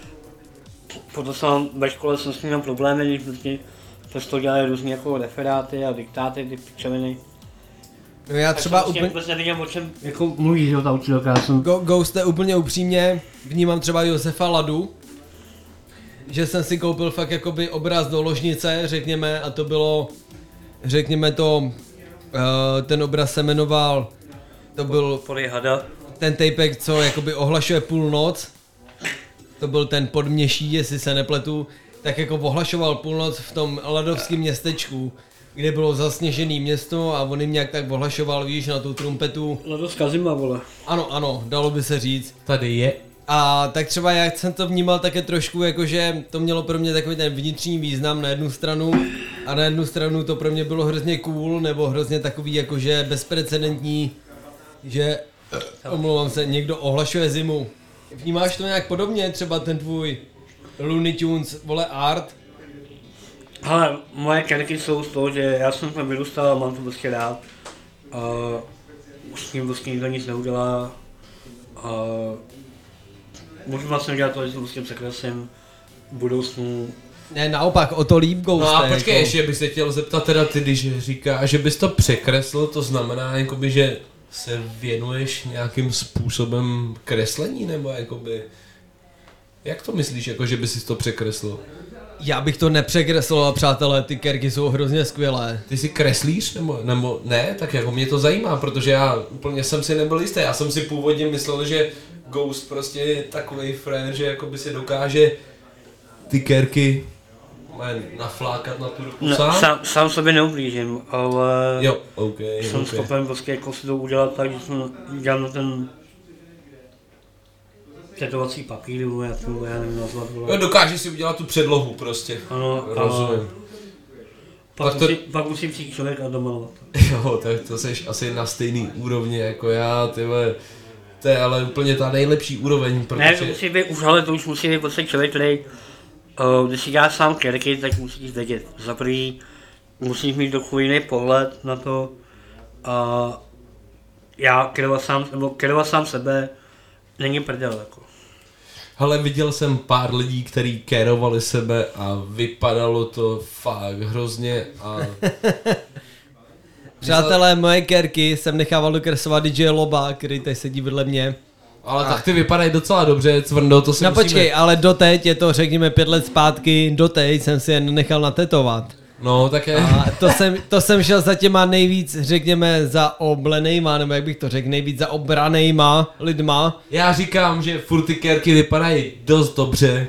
Proto jsem ve škole jsem s ním měl problémy, když prostě přesto dělali různý jako referáty a diktáty, ty pičoviny. No já třeba tak úplně... vůbec nevěděl, o čem jako mluvíš, jo, ta učitelka, já jsem... Go, Ghoste, úplně upřímně, vnímám třeba Josefa Ladu, že jsem si koupil fakt jakoby obraz do ložnice, řekněme, a to bylo, řekněme to, uh, ten obraz se jmenoval, to byl Polihada. Ten tapek, co jakoby ohlašuje půlnoc, to byl ten Podměší, jestli se nepletu, tak jako ohlašoval půlnoc v tom ladovském městečku, kde bylo zasněžené město a on jim nějak tak ohlašoval, víš, na tu trumpetu. Ladovská zima, vole. Ano, ano, dalo by se říct. Tady je. A tak třeba jak jsem to vnímal také trošku, jakože to mělo pro mě takový ten vnitřní význam na jednu stranu a na jednu stranu to pro mě bylo hrozně cool, nebo hrozně takový jakože bezprecedentní, že, omlouvám se, někdo ohlašuje zimu. Vnímáš to nějak podobně, třeba ten tvůj Looney Tunes, vole, art? Ale moje kerky jsou z toho, že já jsem tam vyrůstal a mám to prostě rád. A už s tím vlastně nikdo nic neudělá. A a můžu vlastně dělat to, že prostě překreslím v budoucnu. Ne, naopak, o to líp Ghoste. No a počkej, jako... ještě bych se chtěl zeptat teda ty, když říkáš, že bys to překreslil, to znamená jakoby, že se věnuješ nějakým způsobem kreslení, nebo jakoby... Jak to myslíš, jako že bys si to překreslil? Já bych to nepřekreslil, přátelé, ty kerky jsou hrozně skvělé. Ty si kreslíš, nebo, nebo ne? Tak jako mě to zajímá, protože já úplně jsem si nebyl jistý. Já jsem si původně myslel, že Ghost prostě je takovej frér, že jakoby si dokáže ty kerky naflákat na tu ruku no, sám? sám? Sám sobě neublížím, ale jo, okay, jsem okay. schopen prostě jako si to udělat tak, že jsem dělal na ten tetovací papír, nebo jak to já nevím nazvat. Jo, dokážeš si udělat tu předlohu prostě. Ano, rozumím. Pak, tak to... musí, pak musí přijít člověk a domalovat. Jo, tak to seš asi na stejný úrovni jako já, tyhle. To je ale úplně ta nejlepší úroveň, protože... Ne, to musí být už, ale to už musí být prostě člověk, který, uh, když si děláš sám kerky, tak musíš vědět. Za prvý musíš mít trochu jiný pohled na to a já kerovat sám, nebo kerovat sám sebe není prdel jako. Hele, viděl jsem pár lidí, kteří kérovali sebe a vypadalo to fakt hrozně a... Přátelé, moje kerky jsem nechával dokreslovat D J Loba, který tady sedí vedle mě. Ale a... tak ty vypadají docela dobře, Cvrndo, to si no musíme... počkej, ale doteď je to, řekněme, pět let zpátky, doteď jsem si je nechal natetovat. No, tak je... A to jsem, to jsem šel za těma nejvíc, řekněme, za oblenejma, nebo jak bych to řekl, nejvíc za obranejma lidma. Já říkám, že furt ty kerky vypadají dost dobře.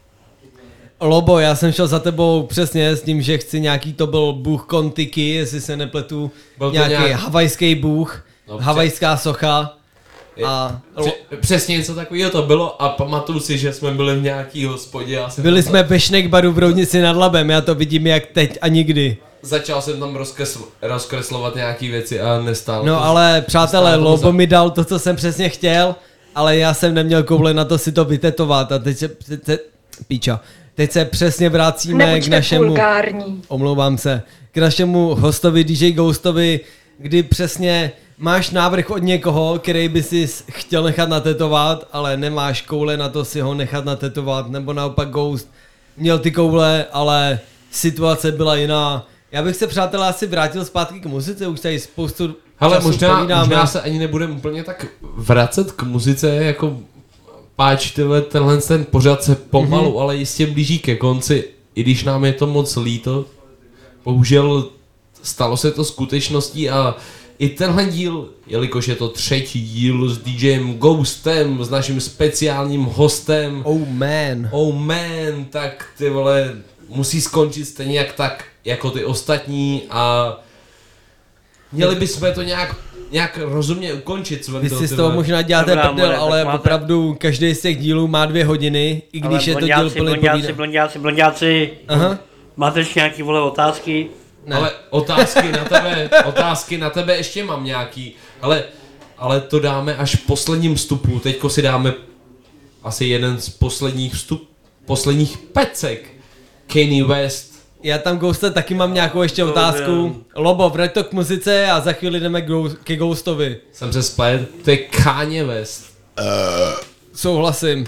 Lobo, já jsem šel za tebou přesně s tím, že chci nějaký, to byl bůh Kontiky, jestli se nepletu, nějaký nějak... havajský bůh, no, havajská socha. A Pře- přesně něco takového to bylo a pamatuju si, že jsme byli v nějaký hospodě. A byli tam... jsme ve Snakebaru v Roudnici nad Labem, já to vidím jak teď a nikdy. Začal jsem tam rozkresl- rozkreslovat nějaký věci a nestálo. No to, ale přátelé, Lobo za... mi dal to, co jsem přesně chtěl, ale já jsem neměl koule na to si to vytetovat a teď se, teď se píča, teď se přesně vracíme Nebuďte k našemu, vulgární. omlouvám se, k našemu hostovi D J Ghostovi, kdy přesně máš návrh od někoho, který by si chtěl nechat natetovat, ale nemáš koule na to si ho nechat natetovat, nebo naopak Ghost měl ty koule, ale situace byla jiná. Já bych se, přátelé, asi vrátil zpátky k muzice, už tady spoustu Hele, času možná, povídáme. možná se ani nebudeme úplně tak vracet k muzice, jako páč tyhle, tenhle ten pořad se pomalu, mm-hmm. ale jistě blíží ke konci, i když nám je to moc líto. Bohužel stalo se to skutečností a i tenhle díl, jelikož je to třetí díl s DJem Ghostem, s naším speciálním hostem. Oh man. Oh man, tak ty vole, musí skončit stejně jak tak, jako ty ostatní a měli bychom to nějak, nějak rozumně ukončit. Vy si z toho možná děláte prdel, ale máte... opravdu každý z těch dílů má dvě hodiny, i když ale je to díl plný povídání. Blonďáci, blonďáci, blonďáci, Aha. máte ještě nějaký vole otázky? Ne. Ale otázky na tebe, otázky na tebe ještě mám nějaký, ale, ale to dáme až v posledním vstupu, teďko si dáme asi jeden z posledních vstup, posledních pecek, Kanye West. Já tam, Ghoste, taky mám nějakou ještě otázku. Lobo, vrať to k muzice a za chvíli jdeme ke Ghostovi. Jsem se splet, to je Kanye West. Uh. Souhlasím.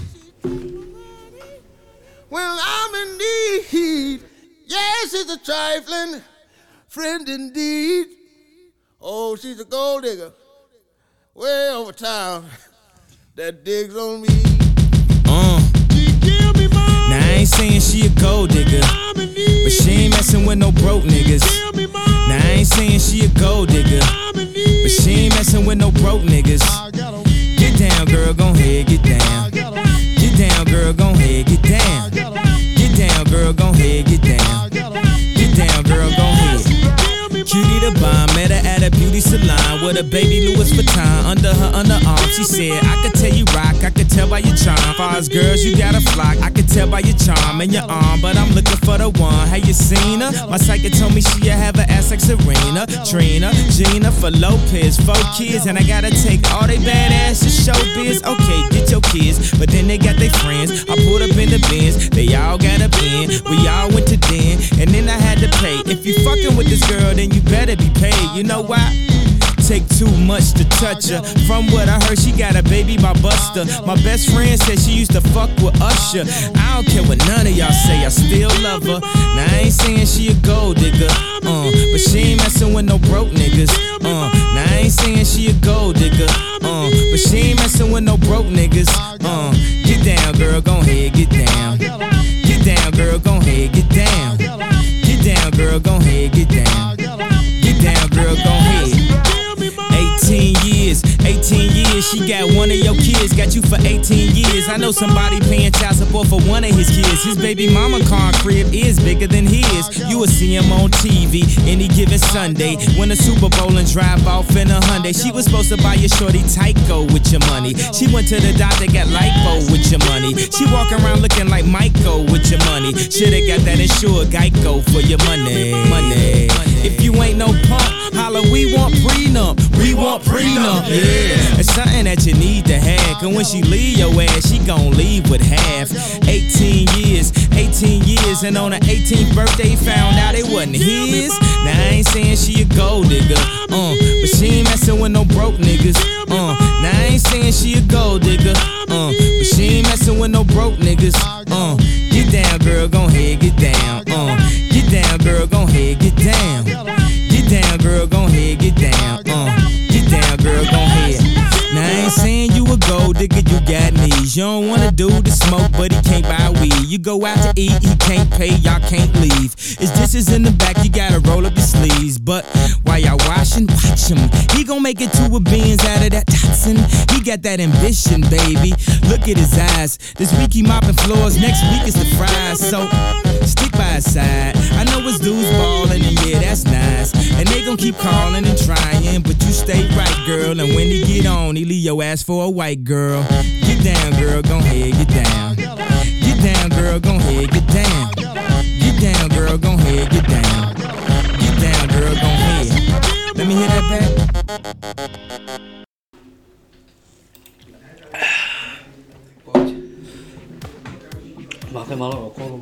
Well, I'm in need. Yes, it's a trifling friend indeed. Oh, she's a gold digger. Way over town. That digs on me. Uh. Now I ain't saying she a gold digger, but she ain't messing with no broke niggas. Now I ain't saying she a gold digger, but she ain't messing with no broke niggas. Get down, girl, gon' head, get down. Get down, girl, gon' head, get down. Get down, girl, gon' head, get down. Get down, girl, gon' head. Cutie the bomb, met her at a beauty salon with a baby Louis Vuitton under her underarm. She said, I could tell you rock, I could tell by your charm. Far as girls, you got a flock, I could tell by your charm and your arm. But I'm looking for the one, have you seen her? My psychic told me she'll have an ass like Serena, Trina, Gina, for Lopez, four kids. And I gotta take all they badass to show biz. Okay, get your kids, but then they got their friends. I pulled up in the Benz, they all got a pen. We all went to den, and then I had to pay. If you fucking with this girl, then you better be paid. You know why? take too much to touch her. From what I heard, she got a baby by Buster. My best friend said she used to fuck with Usher. I don't care what none of y'all say, I still love her. Now I ain't saying she a gold digger, uh, but she ain't messing with no broke niggas. Uh, now I ain't saying she a gold digger, uh, but she ain't messing with no broke niggas. Uh, get down, girl, gon' head, get down. Get down, girl, gon' head, get down. Get down, girl, gon' head, get down. Get down, girl, gon' head. eighteen years, eighteen years, she got one of your kids, got you for eighteen years. I know somebody paying child support for one of his kids. His baby mama car crib is bigger than his. You will see him on T V any given Sunday. Win a Super Bowl and drive off in a Hyundai. She was supposed to buy your shorty Tyco with your money. She went to the doctor, got lipo with your money. She walk around looking like Michael with your money. Shoulda got that insured Geico for your money. Money. If you ain't no punk, holla, we want prenup. We want prenup, yeah. It's something that you need to have. Cause when she leave your ass, she gon' leave with half. eighteen years, eighteen years, and on her eighteenth birthday, found out it wasn't his. Now I ain't saying she a gold digger, uh, but she ain't messing with no broke niggas. Uh, now I ain't saying she a gold digger, uh, but she ain't messing with no broke niggas. Uh, get down, girl, gon' head, get down. Uh, get down, girl, gon' head, get down. Get down, girl, gon' head, get down. Uh, get down, girl, gon' head. Now I ain't saying you a gold digger, you got knees. You don't wanna do the smoke, but he can't buy weed. You go out to eat, he can't pay, y'all can't leave. His dishes in the back, you gotta roll up your sleeves. But while y'all washing, watch him. He gon' make it two of beans out of that toxin. He got that ambition, baby. Look at his eyes. This week he mopping floors, next week is the fries. So stick by his side. I know his dudes ballin', and yeah, that's nice. And they gon' keep calling and trying, but you stay right, girl. And when he get on, he leave your ass for a white girl. Get down, girl, gon' head, get down. Get down, girl, gon' head, get down. Get down, girl, gon' head, get down. Get down, girl, gon' head. Let me hear that back. Máte malo okolo.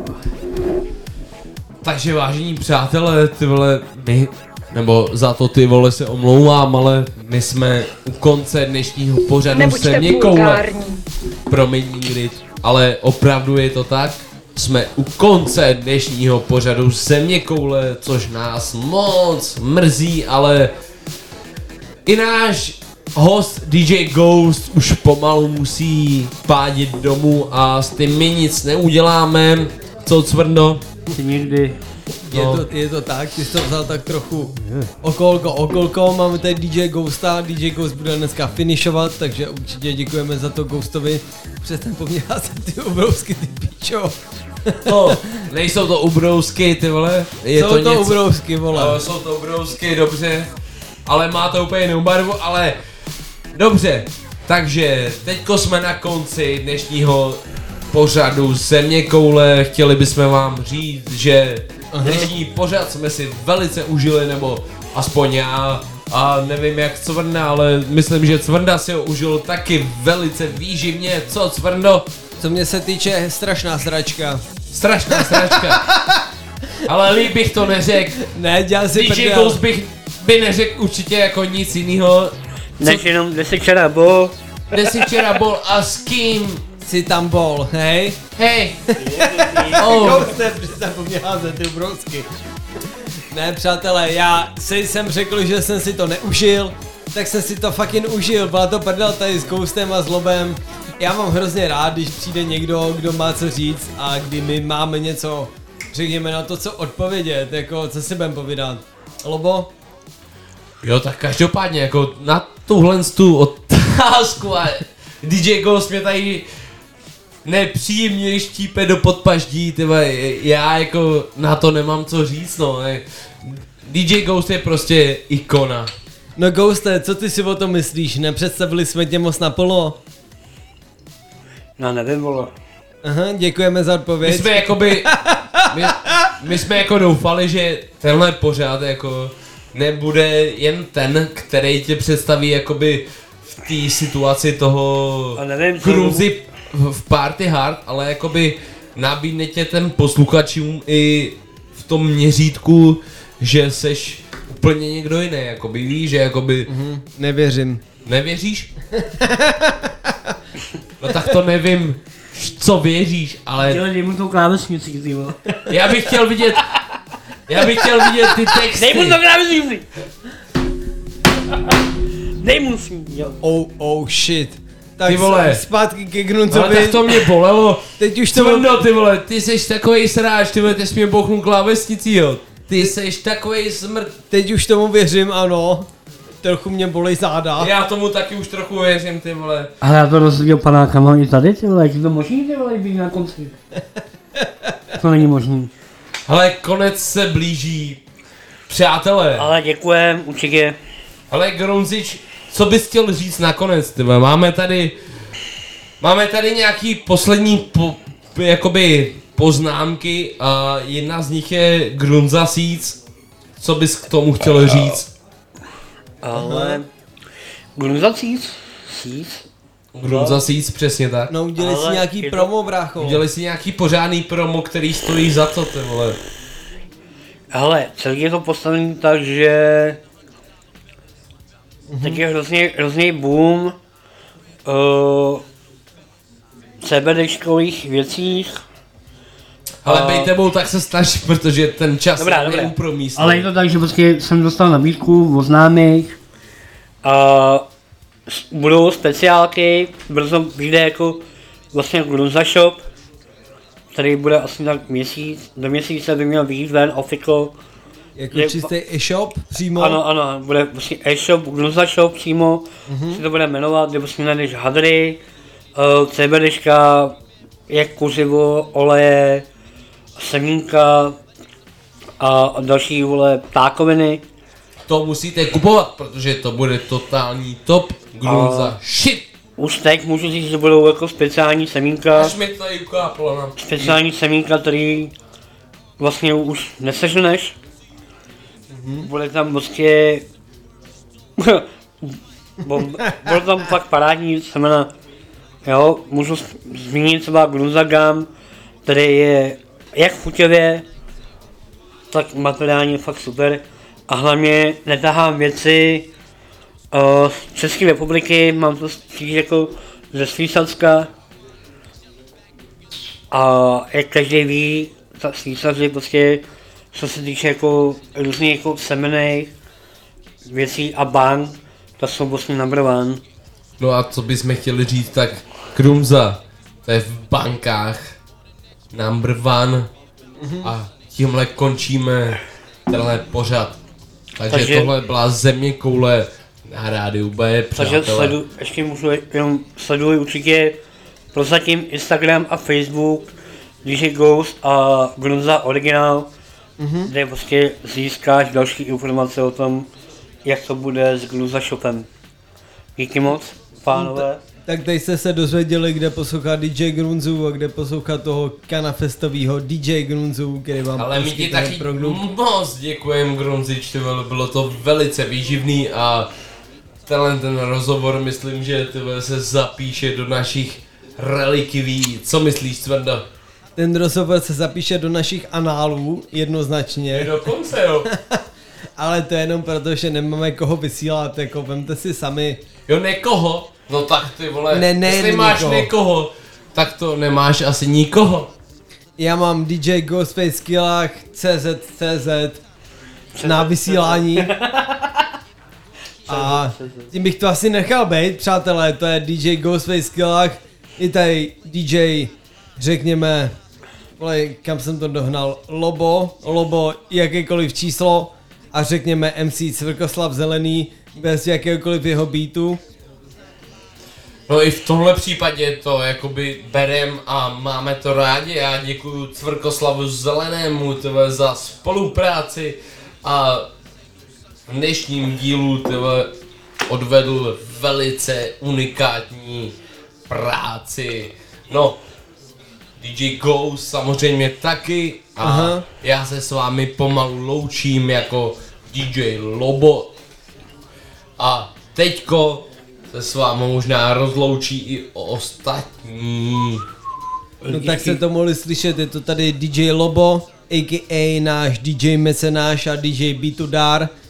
Takže vážení přátelé, ty vole, my, nebo za to ty vole se omlouvám, ale my jsme u konce dnešního pořadu Země koule. Promiň Ingrid, ale opravdu je to tak. Jsme u konce dnešního pořadu Země koule, což nás moc mrzí, ale i náš host D J Ghost už pomalu musí pádit domů a s tím my nic neuděláme. Co, Cvrndo? Nikdy. Je, to, je to tak, ty jsi to vzal tak trochu okolko, okolko, máme tady D J Ghosta, D J Ghost bude dneska finishovat, takže určitě děkujeme za to Ghostovi, přestaň po mně házet ty obrousky, ty píčo. No, nejsou to ubrousky, ty vole. Je jsou to, to něco, ubrousky, vole. No, jsou to ubrousky, dobře, ale má to úplně jinou barvu, ale dobře, takže teďko jsme na konci dnešního pořadu Země koule. Chtěli bychom vám říct, že dnešní pořad jsme si velice užili, nebo aspoň já, a nevím jak Cvrnda, ale myslím, že Cvrnda si ho užil taky velice výživně. Co, Cvrndo? Co mě se týče, strašná sračka. Strašná sračka. Ale líp bych to neřekl. Ne, dělal si D J Ghost bych by neřekl určitě jako nic jinýho. Než jenom, kde jsi včera bol. Kde jsi včera bol a s kým? Jsi tam bol, hej? Hej. Oh. Ghoste, přestaň po mě házet ty ubrousky. Ne, přátelé, já si jsem řekl, že jsem si to neužil, tak jsem si to fucking užil, byla to prdel tady s Ghostem a s Lobem. Já mám hrozně rád, když přijde někdo, kdo má co říct a kdy my máme něco, řekněme na to, co odpovědět, jako co si budem povídat. Lobo? Jo, tak každopádně, jako na tuhle tu otázku a D J Ghost mě tady nepříjemně štípe do podpaždí, tyba, já jako na to nemám co říct, no. D J Ghost je prostě ikona. No Ghoste, co ty si o tom myslíš? Nepředstavili jsme tě moc naplno? No nevím, vole. Aha, děkujeme za odpověď. My jsme jakoby, my, my jsme jako doufali, že tenhle pořád jako nebude jen ten, který tě představí jakoby v té situaci toho cruzy v Party Hard, ale jakoby nabídne tě ten posluchačům i v tom měřítku, že seš úplně někdo jiný, jakoby víš, že jakoby... Mm-hmm. Nevěřím. Nevěříš? No tak to nevím, co věříš, ale... Jo, dej mu tou klávesnici, ty vole. Já bych chtěl vidět... Já bych chtěl vidět ty texty. Dej mu to klávesnici! Dej mu si, jo. Oh, oh shit. Tak Ty vole. Zpátky ke Gruncovi. Ale tak to mě bolelo. Teď už to... Cvrno, ty vole, ty seš takovej sráč, ty vole, ty jsi mě bouchnul klávesnicí, jo. Ty seš takovej smrt. Teď už tomu věřím, ano. Trochu mě bolej záda. Já tomu taky už trochu věřím, ty vole. Ale já to rozhodil panákama i tady, ty vole, jak je to možný, ty vole, být na konci. To není možný. Hele, konec se blíží. Přátelé. Ale děkujem, určitě. Ale Grunzič, co bys chtěl říct nakonec, ty vole? Máme tady... Máme tady nějaký poslední po, jakoby poznámky a jedna z nich je Grunza Seeds. Co bys k tomu chtěl říct? Ale... Grunza Seeds? Seeds? Grunza Seeds, přesně tak. No udělej si Ale nějaký je to- promo, brácho. Udělej si nějaký pořádný promo, který stojí za to, ty vole. Hele, celý je to postavený tak, že... Tak je hrozně, hrozný boom uh, CBDčkových věcích. Ale A- bej tebou, tak se snaž, protože ten čas Dobrá, je dobrá. neúpromístný. Ale je to tak, že prostě jsem dostal nabídku od známých a s- budou speciálky, brzo vyjde jako vlastně Grunza Shop, který bude asi tak měsíc, do měsíce by měl vyjít ven official. Jako Je- čistý e-shop přímo? Ano, ano, bude vlastně e-shop, Grunza Shop přímo, Mhm. si to bude jmenovat, kde vlastně najdeš hadry, uh, CBDčka, jak kuřivo, oleje, semínka a další, vole, ptákoviny. To musíte kupovat, protože to bude totální top Grunza A- shit. Už teď můžu říct, že budou jako speciální semínka, Až mi to tady ukáplo, no. speciální semínka, který vlastně už neseženeš. Mhm. Bude tam prostě... Bo- Bude tam fakt parádní semena. Jo, můžu s- zmínit třeba Grunza Gum, který je jak chuťově, tak materiálně fakt super. A hlavně netahám věci uh, z České republiky, mám to spíš jako ze Švýcarska. A jak každý ví, tak Švýcaři prostě, co se týče jako různých jako semenej věcí a bank, tak jsou vlastně number one. No a co bychom chtěli říct, tak Grunza, to je v bankách number one. Mhm. A tímhle končíme tenhle pořad. Takže, Takže- tohle byla Země koule na rádiu B, Takže přátelé. sledu, ještě můžu jenom sleduj určitě prozatím Instagram a Facebook D J Ghost a Grunza Original, Mhm. kde prostě získáš další informace o tom, jak to bude s Grunza Shopem. Díky moc, pánové. Tak tady jste se dozvěděli, kde poslouchat D J Grunzu a kde poslouchat toho kanafestovýho D J Grunzu, který vám Ale my ti poskytne taky produkt. moc děkujem, Grunzič, ty vole, bylo to velice výživný a tenhle ten rozhovor myslím, že ty vole, se zapíše do našich relikví. Co myslíš, Cvrndo? Ten rozhovor se zapíše do našich análů, jednoznačně. Dokonce jo. Ale to je jenom proto, že nemáme koho vysílat, jako vemte si sami. Jo, nekoho? No tak ty vole, Ne, ne, jestli máš nikoho. někoho, tak to nemáš asi nikoho. Já mám D J Ghostface Skillach, C Z C Z na vysílání. A tím bych to asi nechal být, přátelé, to je D J Ghostface Skillach, i tady D J, řekněme, vole, kam jsem to dohnal, Lobo, Lobo, jakékoliv číslo a řekněme M C Cvrkoslav Zelený, bez jakéhokoliv jeho beatu. No i v tomhle případě to jakoby berem a máme to rádi. Já děkuju Cvrkoslavu Zelenému tyhle, za spolupráci a v dnešním dílu tyhle, odvedl velice unikátní práci. No, D J Ghost samozřejmě taky a Aha. já se s vámi pomalu loučím jako D J Lobo a teďko se s vámi možná rozloučí i ostatní. No tak se to mohli slyšet, je to tady D J Lobo, a k a náš D J mecenáš a D J Beatudar.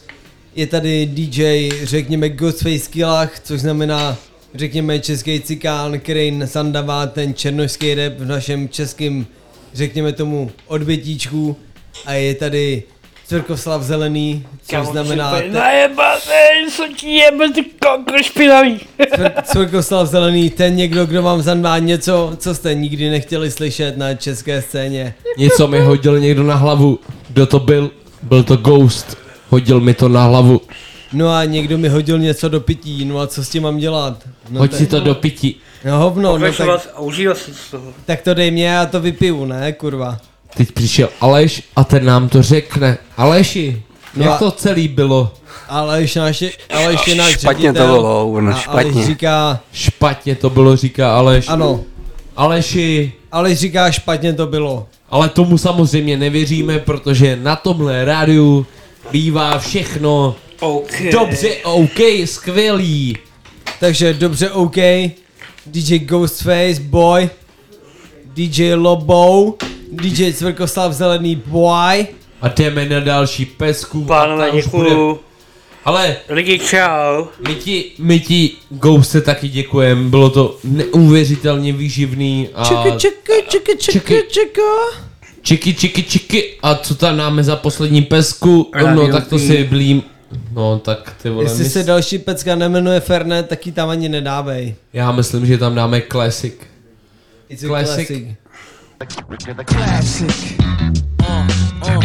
je tady D J, řekněme Ghostface Killach, což znamená, řekněme český cikán, který sandává ten černošský rap v našem českém, řekněme tomu, odbytíčku. A je tady Cvrkoslav Zelený, což znamená... Te... Najebatej, co ti jebe, ty kokro špinavý. Cvrkoslav Zelený, ten někdo, kdo vám zandá něco, co jste nikdy nechtěli slyšet na české scéně. Něco mi hodil někdo na hlavu. Kdo to byl? Byl to Ghost. Hodil mi to na hlavu. No a někdo mi hodil něco do pití, no a co s tím mám dělat? No Hoď si to do pití. No hovno, no tak... Vás, užívá si z toho. Tak to dej mě, já to vypiju, ne, kurva. Teď přišel Aleš a ten nám to řekne. Aleši, no jak a... to celý bylo? Aleš, náš, Aleš je náš špatně ředitel. To bylo, Urno, špatně. Aleš říká... Špatně to bylo, říká Aleš. Ano. Aleši. Aleš říká, špatně to bylo. Ale tomu samozřejmě nevěříme, protože na tomhle rádiu bývá všechno okay. Dobře, OK, skvělý. Takže dobře, OK. D J Ghostface, boy. D J Lobo. D J Cvrkoslav Zelený, boy. A jdeme na další pesku. Pánové, děkuju. Ale lidi, čau. My ti, my ti Ghoste taky děkujem, bylo to neuvěřitelně výživný. A... Čeky, čeky, čeky, čeky, čeky. Čiky, čiky, čiky. A co tam dáme za poslední pesku? No tak to si blím. No tak ty vole. Jestli mys... se další pecka nemenuje Fernet, tak ji tam ani nedávej. Já myslím, že tam dáme Classic. It's a classic. Classic. Classic. Uh, uh.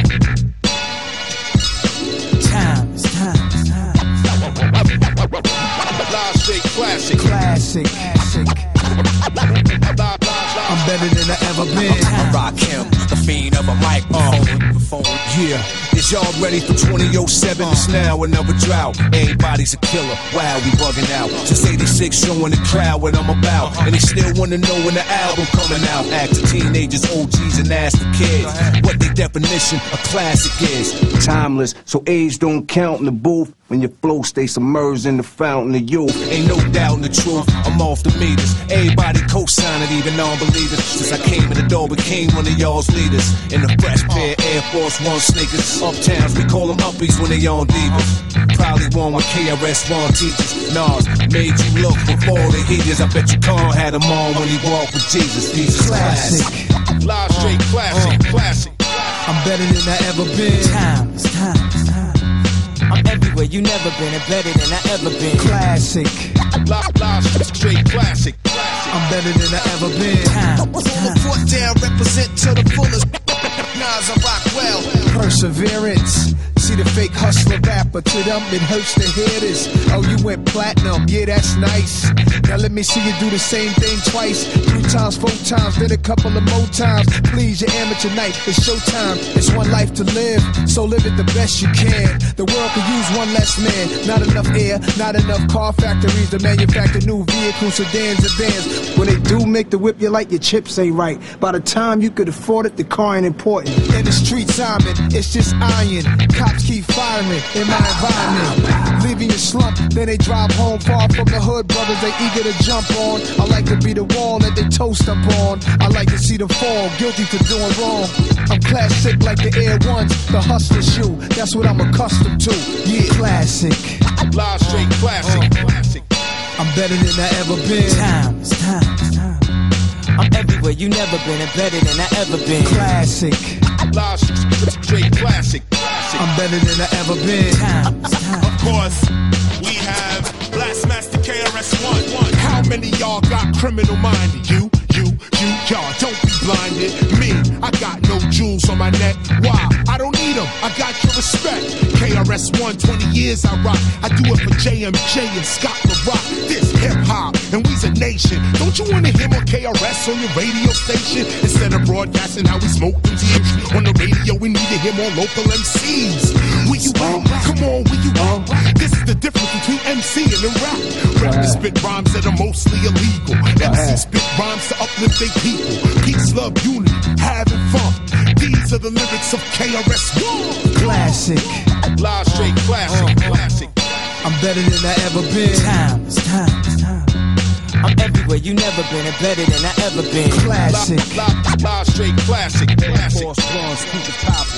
Time, it's time, it's time. Classic. Classic. Classic. I'm better than I ever been. I rock him, the fiend of a microphone. Yeah, is y'all ready for twenty oh seven? It's now another drought. Everybody's a killer. Wow, we bugging out. Since eighty-six, showing the crowd what I'm about. And they still wanna know when the album coming out. Ask the teenagers, O Gs, and ask the kids what their definition of classic is. Timeless, so age don't count in the booth. When your flow stays submerged in the fountain of youth. Ain't no doubt in the truth, I'm off the meters. Everybody co-signing, even non-believers. Since I came in the door, became one of y'all's leaders. In the fresh pair, Air Force One sneakers. Uptowns, we call them uppies when they on divas. Probably one with K R S One teachers. Nas made you look before the heaters. I bet you Khan had them on when he walked with Jesus. These is classic. Live straight classic, uh, classic. I'm better than I ever been. Time, it's time, it's time. I'm everywhere you never been and better than I ever been. Classic. Live, live, straight classic. I'm better than I ever been. Time, it's time. Put down, represent to the fullest. Nas, I rock well. Perseverance. See the fake hustler rapper, to them it hurts to hear this. Oh, you went platinum, yeah, that's nice. Now let me see you do the same thing twice. Three times, four times, then a couple of more times. Please, your amateur night, it's showtime. It's one life to live, so live it the best you can. The world could use one less man. Not enough air, not enough car factories to manufacture new vehicles, sedans and vans. When they do make the whip, you like your chips ain't right. By the time you could afford it, the car ain't important. In the streets, I'm in, it's just iron. Cops keep firing me in my environment. Leaving you slump, then they drive home far from the hood. Brothers, they eager to jump on. I like to be the wall that they toast up on. I like to see them fall, guilty for doing wrong. I'm classic like the Air Ones, the hustler shoe. That's what I'm accustomed to. Yeah, classic. Live straight classic. Uh, classic. I'm better than I ever been. Time, it's time, it's time. I'm everywhere you never been and better than I ever been. Classic. Live straight classic. I'm better than I ever been. Time, time. Of course, we have Blastmaster K R S One. How many y'all got criminal minded? You, you, you, y'all. Don't be blinded. Me, I got no jewels on my neck. Why? I don't need them. I got your respect. K R S One, twenty years I rock. I do it for J M J and Scott LaRock. This hip hop, and we's a nation. Don't you wanna hear more K R S on your radio station? Instead of broadcasting how we smoke them teams on the radio, we need to hear more local M Cs. Where you at? Come on, where you at? This is the difference between M C and the rap. Rappers spit rhymes that are mostly illegal. M C spit rhymes to uplift their people. Peace, love, unity, having fun. These are the lyrics of K R S One. Classic. Live straight classic. Uh, classic. I'm better than I ever been. Time, it's time, it's time. I'm everywhere you never been and better than I ever been. Classic. Live, live, live straight classic. Classic. Force blondes, keep it poppin'.